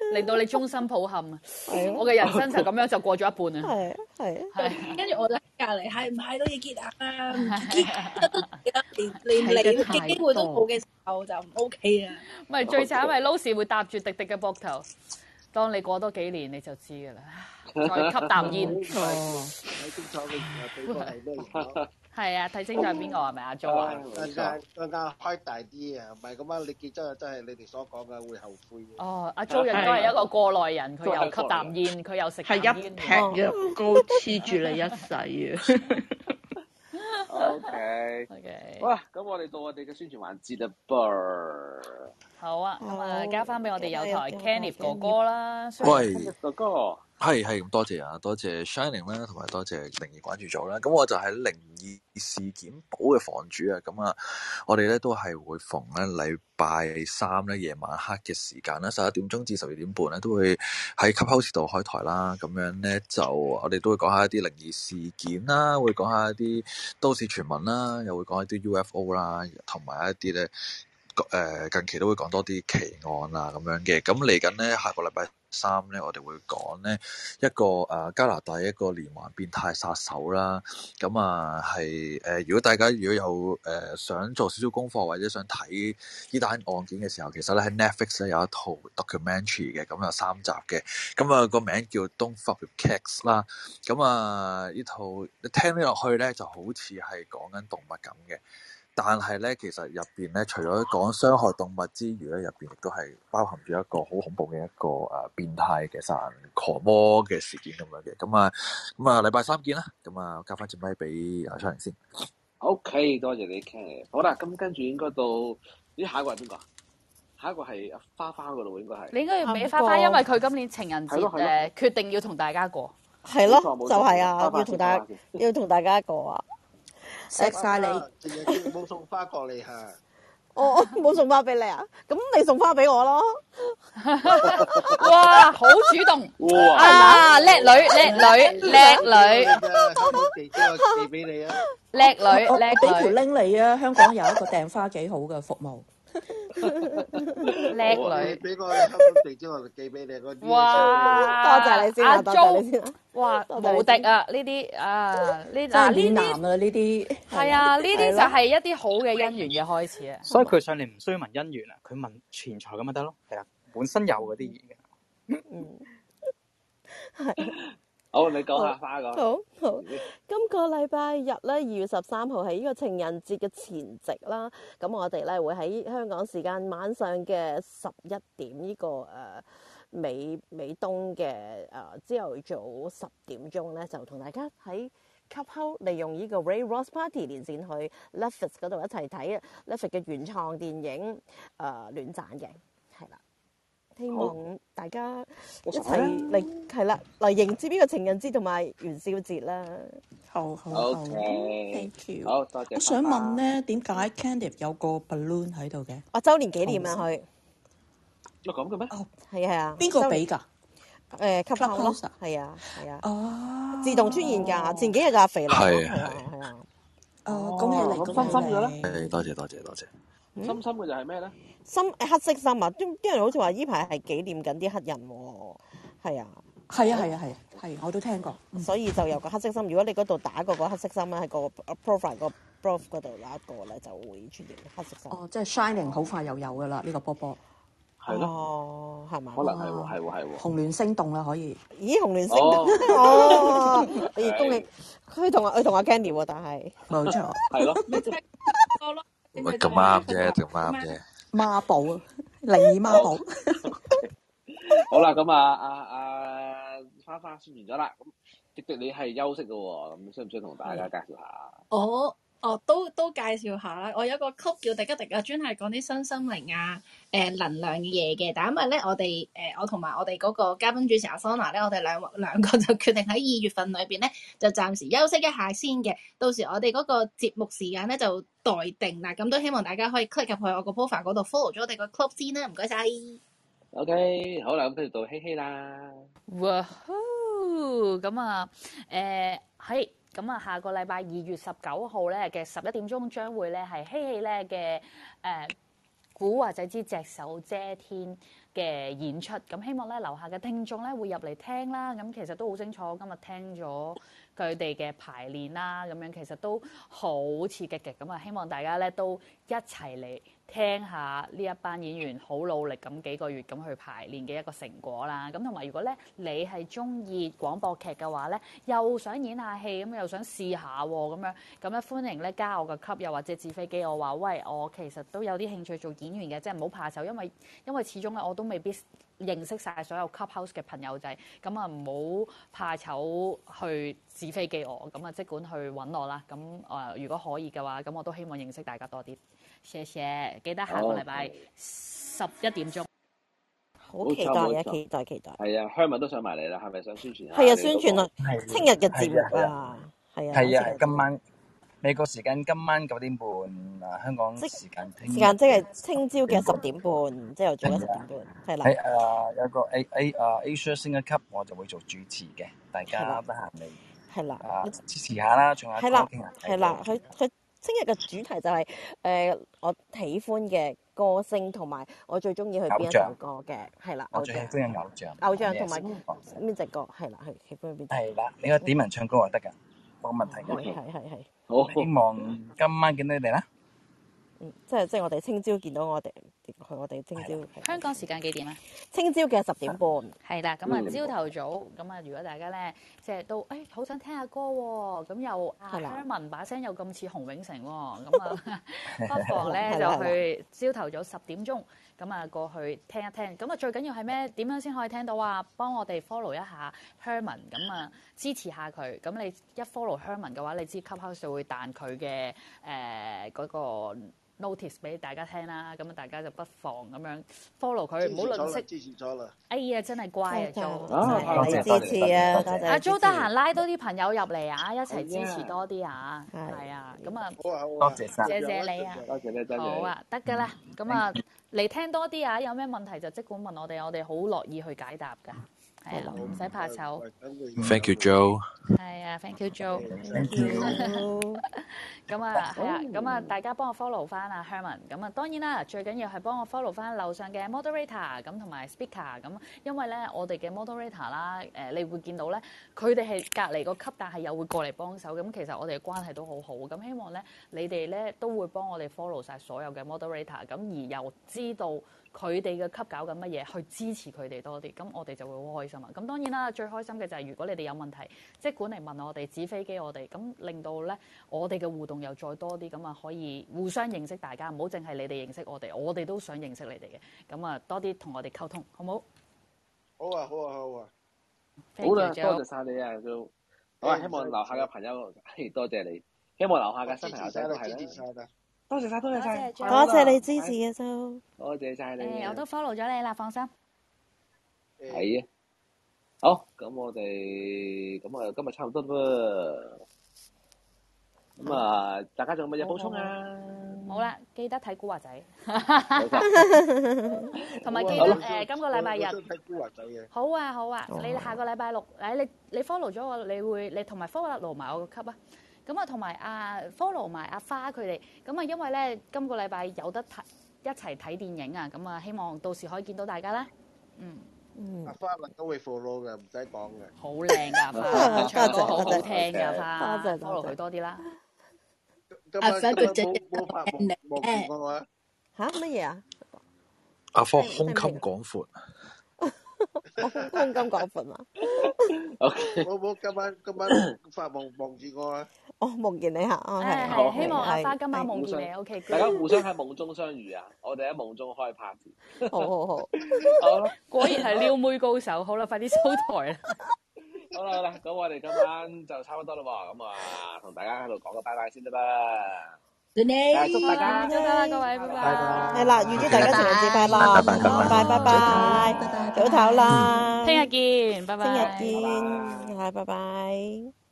令到你終身抱憾啊！我嘅人生就咁樣就過咗一半啊！ 係，跟住我就喺隔離，係唔係都要結啊？唔結都連嚟嘅機會都冇嘅時候就唔 OK 啊！ 咪最慘係 Lucy 會搭住迪迪嘅膊頭，當你過多幾年你就知㗎啦。再吸啖煙。 睇清楚嘅時候，對方係咩人？ 係啊，睇清楚係邊個係咪阿 Jo 啊？ 更加開大啲啊！唔係咁樣，你結咗真係你哋所講嘅會後悔。 哦，阿 Jo 應該係一個過來人，佢又吸啖煙，佢又食啖煙。 係一劈藥膏黐住你一世啊 ！OK， 好啦，咁我哋到我哋嘅宣傳環節啦噃。 好啊，咁啊交翻俾我哋有台 Kenneth 哥哥啦。 喂， 哥哥。 係咁多謝啊，多謝 Shining 啦，同埋多謝靈異關注組啦。咁我就係靈異事件簿嘅房主啊。咁啊，我哋咧都係會逢咧禮拜三咧夜晚黑嘅時間啦，11點鐘至12點半咧都會喺 Clubhouse 度開台啦。咁樣咧就我哋都會講下一啲靈異事件啦，會講下一啲都市傳聞啦，又會講一啲 UFO 啦，同埋一啲咧近期都會講多啲奇案啊咁樣嘅。咁嚟緊咧下個禮拜3咧，我哋會講咧一個加拿大一個連環變態殺手啦。咁啊係如果大家如果有想做少少功課或者想睇呢單案件嘅時候，其實咧喺 Netflix 咧有一套 documentary 嘅，咁有3集嘅。咁啊個名叫 Don't Fuck with Cats 啦。咁啊呢套你聽起落去咧就好似係講緊動物咁嘅。但係咧，其實入邊咧，除咗講傷害動物之餘咧，入邊亦都係包含住一個好恐怖嘅一個變態嘅殺人狂魔嘅事件咁樣嘅。咁啊，禮拜3見啦。咁啊，交翻支咪俾阿 Shining 先。 OK， 多謝你 Ken。好啦，咁跟住應該到下一個係邊個？下一個係花花嗰度應該係。 你應該要俾花花，因為佢今年情人節決定要同大家過。 係咯，就係啊，要同大家過啊。 錫晒你， 冇送花過嚟嚇。 我冇送花俾你啊？咁你送花俾我咯。 哇，好主動！啊，叻女， 寄俾你啊！ 叻女， 我俾條 link 你啊！香港有一個訂花幾好嘅服務。 叻女， 俾個香港地址我就寄俾你。 哇！ 多謝你先啊，多謝你先。 哇，無敵啊！呢啲呢啲男啊，呢啲係啊，呢啲就係一啲好嘅姻緣嘅開始啊！ 所以佢上嚟唔需要問姻緣啊，佢問錢財咁咪得咯。係啊，本身有嗰啲嘢嘅。 係。 好，你講下花個。 好，今個禮拜日咧，2月13號係呢個情人節嘅前夕啦。咁我哋咧會喺香港時間晚上嘅11點呢個美東嘅朝頭早10點鐘咧，就同大家喺 Clubhouse 利用呢個 Ray Ross Party 連線去 Netflix 嗰度一齊睇 Netflix 嘅原創電影《戀斬》嘅，係啦。希望大家一齊嚟係啦，嚟迎接呢個情人節同埋元宵節啦。 好 ，thank you。好，多謝。 我想問咧，點解 Kenneth 有個 balloon 喺度嘅？ 周年紀念啊，佢。 有咁嘅咩？ 哦，係啊。 邊個俾㗎 ？Clubhouse 咯，係啊。 哦。 自動出現㗎，前幾日就阿肥嚟。係啊。 恭喜你， 咁深嘅咧？ 係，多謝。 深嘅就係咩咧？ 黑色心啊！啲人好似話依排係紀念緊啲黑人喎，係啊， 係，我都聽過， 所以就有個黑色心。如果你嗰度打個黑色心咧，喺個 profile 個 prof 嗰度有一個咧，就會出現黑色心。 哦，即係 Shining 好快又有噶啦，呢個波波。 係咯， 係嘛？ 可能係喎。 紅鸞星動啦，可以。 咦，紅鸞星動哦！你恭喜佢同阿 Candy 喎，但係冇錯， 係咯。 咁啱啫。 孖寶啊，靈異孖寶。 好啦，咁花花宣完咗啦，咁迪迪你係休息嘅喎，咁需唔需要同大家介紹下？ 都介紹下啦。我有個 club 叫迪吉迪啊，專係講啲身心靈啊、能量嘅嘢嘅。但因為咧，我同埋我哋嗰個嘉賓主持阿 Sona 咧，我哋兩個就決定喺2月份裏邊咧，就暫時休息一下先嘅。到時我哋嗰個節目時間咧就待定啦。咁都希望大家可以 click 入去我個 profile 嗰度 follow 咗我哋個 club 先啦。唔該晒。 OK， 好啦，咁跟住到希希啦。 哇咁啊，係。咁啊，下個禮拜2月19號咧嘅11點鐘將會咧係希希咧嘅古惑仔之隻手遮天嘅演出，咁希望咧樓下嘅聽眾咧會入嚟聽啦。咁其實都好清楚，今日聽咗佢哋嘅排練啦，咁樣其實都好刺激嘅。咁啊，希望大家咧都一齊嚟聽下呢一班演員好努力咁幾個月咁去排練嘅一個成果啦。咁同埋如果咧你係中意廣播劇嘅話咧，又想演下戲咁，又想試下喎咁咧歡迎咧加我個級，又或者紙飛機我話喂，我其實都有啲興趣做演員嘅，即係唔好怕醜，因為始終咧我都未必認識晒所有 Clubhouse 嘅朋友仔，咁啊唔好怕醜去紙飛機我，咁啊即管去揾我啦。咁如果可以嘅話，咁我都希望認識大家多啲。謝謝，記得下個禮拜11點鐘。 好期待啊！期待。 係啊，香文都想埋嚟啦，係咪想宣傳下？ 係啊，宣傳啊，聽日嘅節目啊，係啊。 係啊，今晚美國時間今晚9點半啊，香港時間時間即係聽朝嘅10點半，朝頭早嘅10點半，係啦。 喺有個Asia Singer Cup，我就會做主持嘅，大家得閒嚟係啦， 支持下啦，唱下歌傾下偈。 係啦，佢聽日嘅主題就係我喜歡嘅歌星同埋我最中意佢邊一首歌嘅，係啦。 我最喜歡嘅偶像同埋邊隻歌係啦，係喜歡邊隻？ 係啦，你個點人唱歌就得㗎，冇問題嘅。 係。 好，希望今晚見到你哋啦。 即係我哋聽朝見到我哋聽朝。 香港時間幾點啊？ 聽朝嘅10點半。係啦，咁啊朝頭早，咁啊如果大家咧即係都好想聽下歌喎，咁又Herman把聲又咁似洪永城喎，咁啊不妨咧就去朝頭早10點鐘，咁啊過去聽一聽。咁啊最緊要係咩？點樣先可以聽到啊？幫我哋 follow 一下 Herman， 咁啊支持下佢。咁你一 follow Herman 嘅話，你知 Clubhouse 就會彈佢嘅嗰個notice 俾大家聽啦，咁啊大家就不妨咁樣 follow 佢，唔好吝嗇。支持咗啦！哎呀，真係乖啊 Jo， 多謝支持啊！多謝。 阿 Jo 得閒拉多啲朋友入嚟啊，一齊支持多啲啊！係啊，咁啊， 多謝晒， 謝謝你啊！ 多謝你，真係。 好啊，得㗎啦，咁啊嚟聽多啲啊，有咩問題就即管問我哋，我哋好樂意去解答㗎。係啦，唔使怕醜。 Thank you, Joe。 係啊 ，Thank you, Joe。 Thank you。 咁啊，係啊，咁啊，大家幫我 follow 翻啊 Herman。咁啊，當然啦，最緊要係幫我 follow 翻樓上嘅 moderator 咁同埋 speaker 咁，因為咧我哋嘅 moderator 啦，你會見到咧，佢哋係隔離個級，但係又會過嚟幫手。咁其實我哋嘅關係都好好。咁希望咧，你哋咧都會幫我哋 follow 晒所有嘅 moderator，咁而又知道佢哋嘅級搞緊乜嘢，去支持佢哋多啲，咁我哋就會好開心啊！咁當然啦，最開心嘅就係如果你哋有問題，即管嚟問我哋，紙飛機我哋，咁令到咧我哋嘅互動又再多啲，咁啊可以互相認識大家，唔好淨係你哋認識我哋，我哋都想認識你哋嘅，咁啊多啲同我哋溝通，好唔好？ 好啊！ 好啦，多謝晒你啊，都好啊！希望樓下嘅朋友，多謝你，希望樓下嘅新朋友仔都係啦。多謝晒，多謝你支持啊，Jo。 多謝晒你。 我都 follow 咗你啦，放心。 係啊。好，咁我哋今日差唔多啦。咁啊，大家仲有乜嘢補充啊？ 好啦，記得睇古惑仔。同埋記得今個禮拜日。 睇古惑仔嘅。 好啊，你下個禮拜六，你 follow 咗我，你同埋 follow 埋我個級啊。咁啊，同埋follow 埋阿花佢哋，咁啊，因為咧今個禮拜有得一齊睇電影啊，咁啊，希望到時可以見到大家啦。 阿花都會 follow 嘅，唔使講嘅。 好靚㗎花，唱歌好好聽㗎花，follow 佢多啲啦。 今晚冇發夢見過我嚇乜嘢啊？ 阿科胸襟廣闊。 我胸襟廣闊嘛？ 冇今晚發夢望住我啊！ 我夢見你嚇， 係希望阿花今晚夢見你 ，OK。 大家互相喺夢中相遇啊！我哋喺夢中開 party。 好。 好啦， 果然係撩妹高手。好啦，快啲收台啦！ 好啦，咁我哋今晚就差唔多啦喎，咁啊，同大家喺度講個拜拜先得啦。祝大家早唞啦，各位，拜拜。 係啦，預祝大家情人節快樂，拜拜，早唞啦， 聽日見，拜拜。 聽日見，係，拜拜。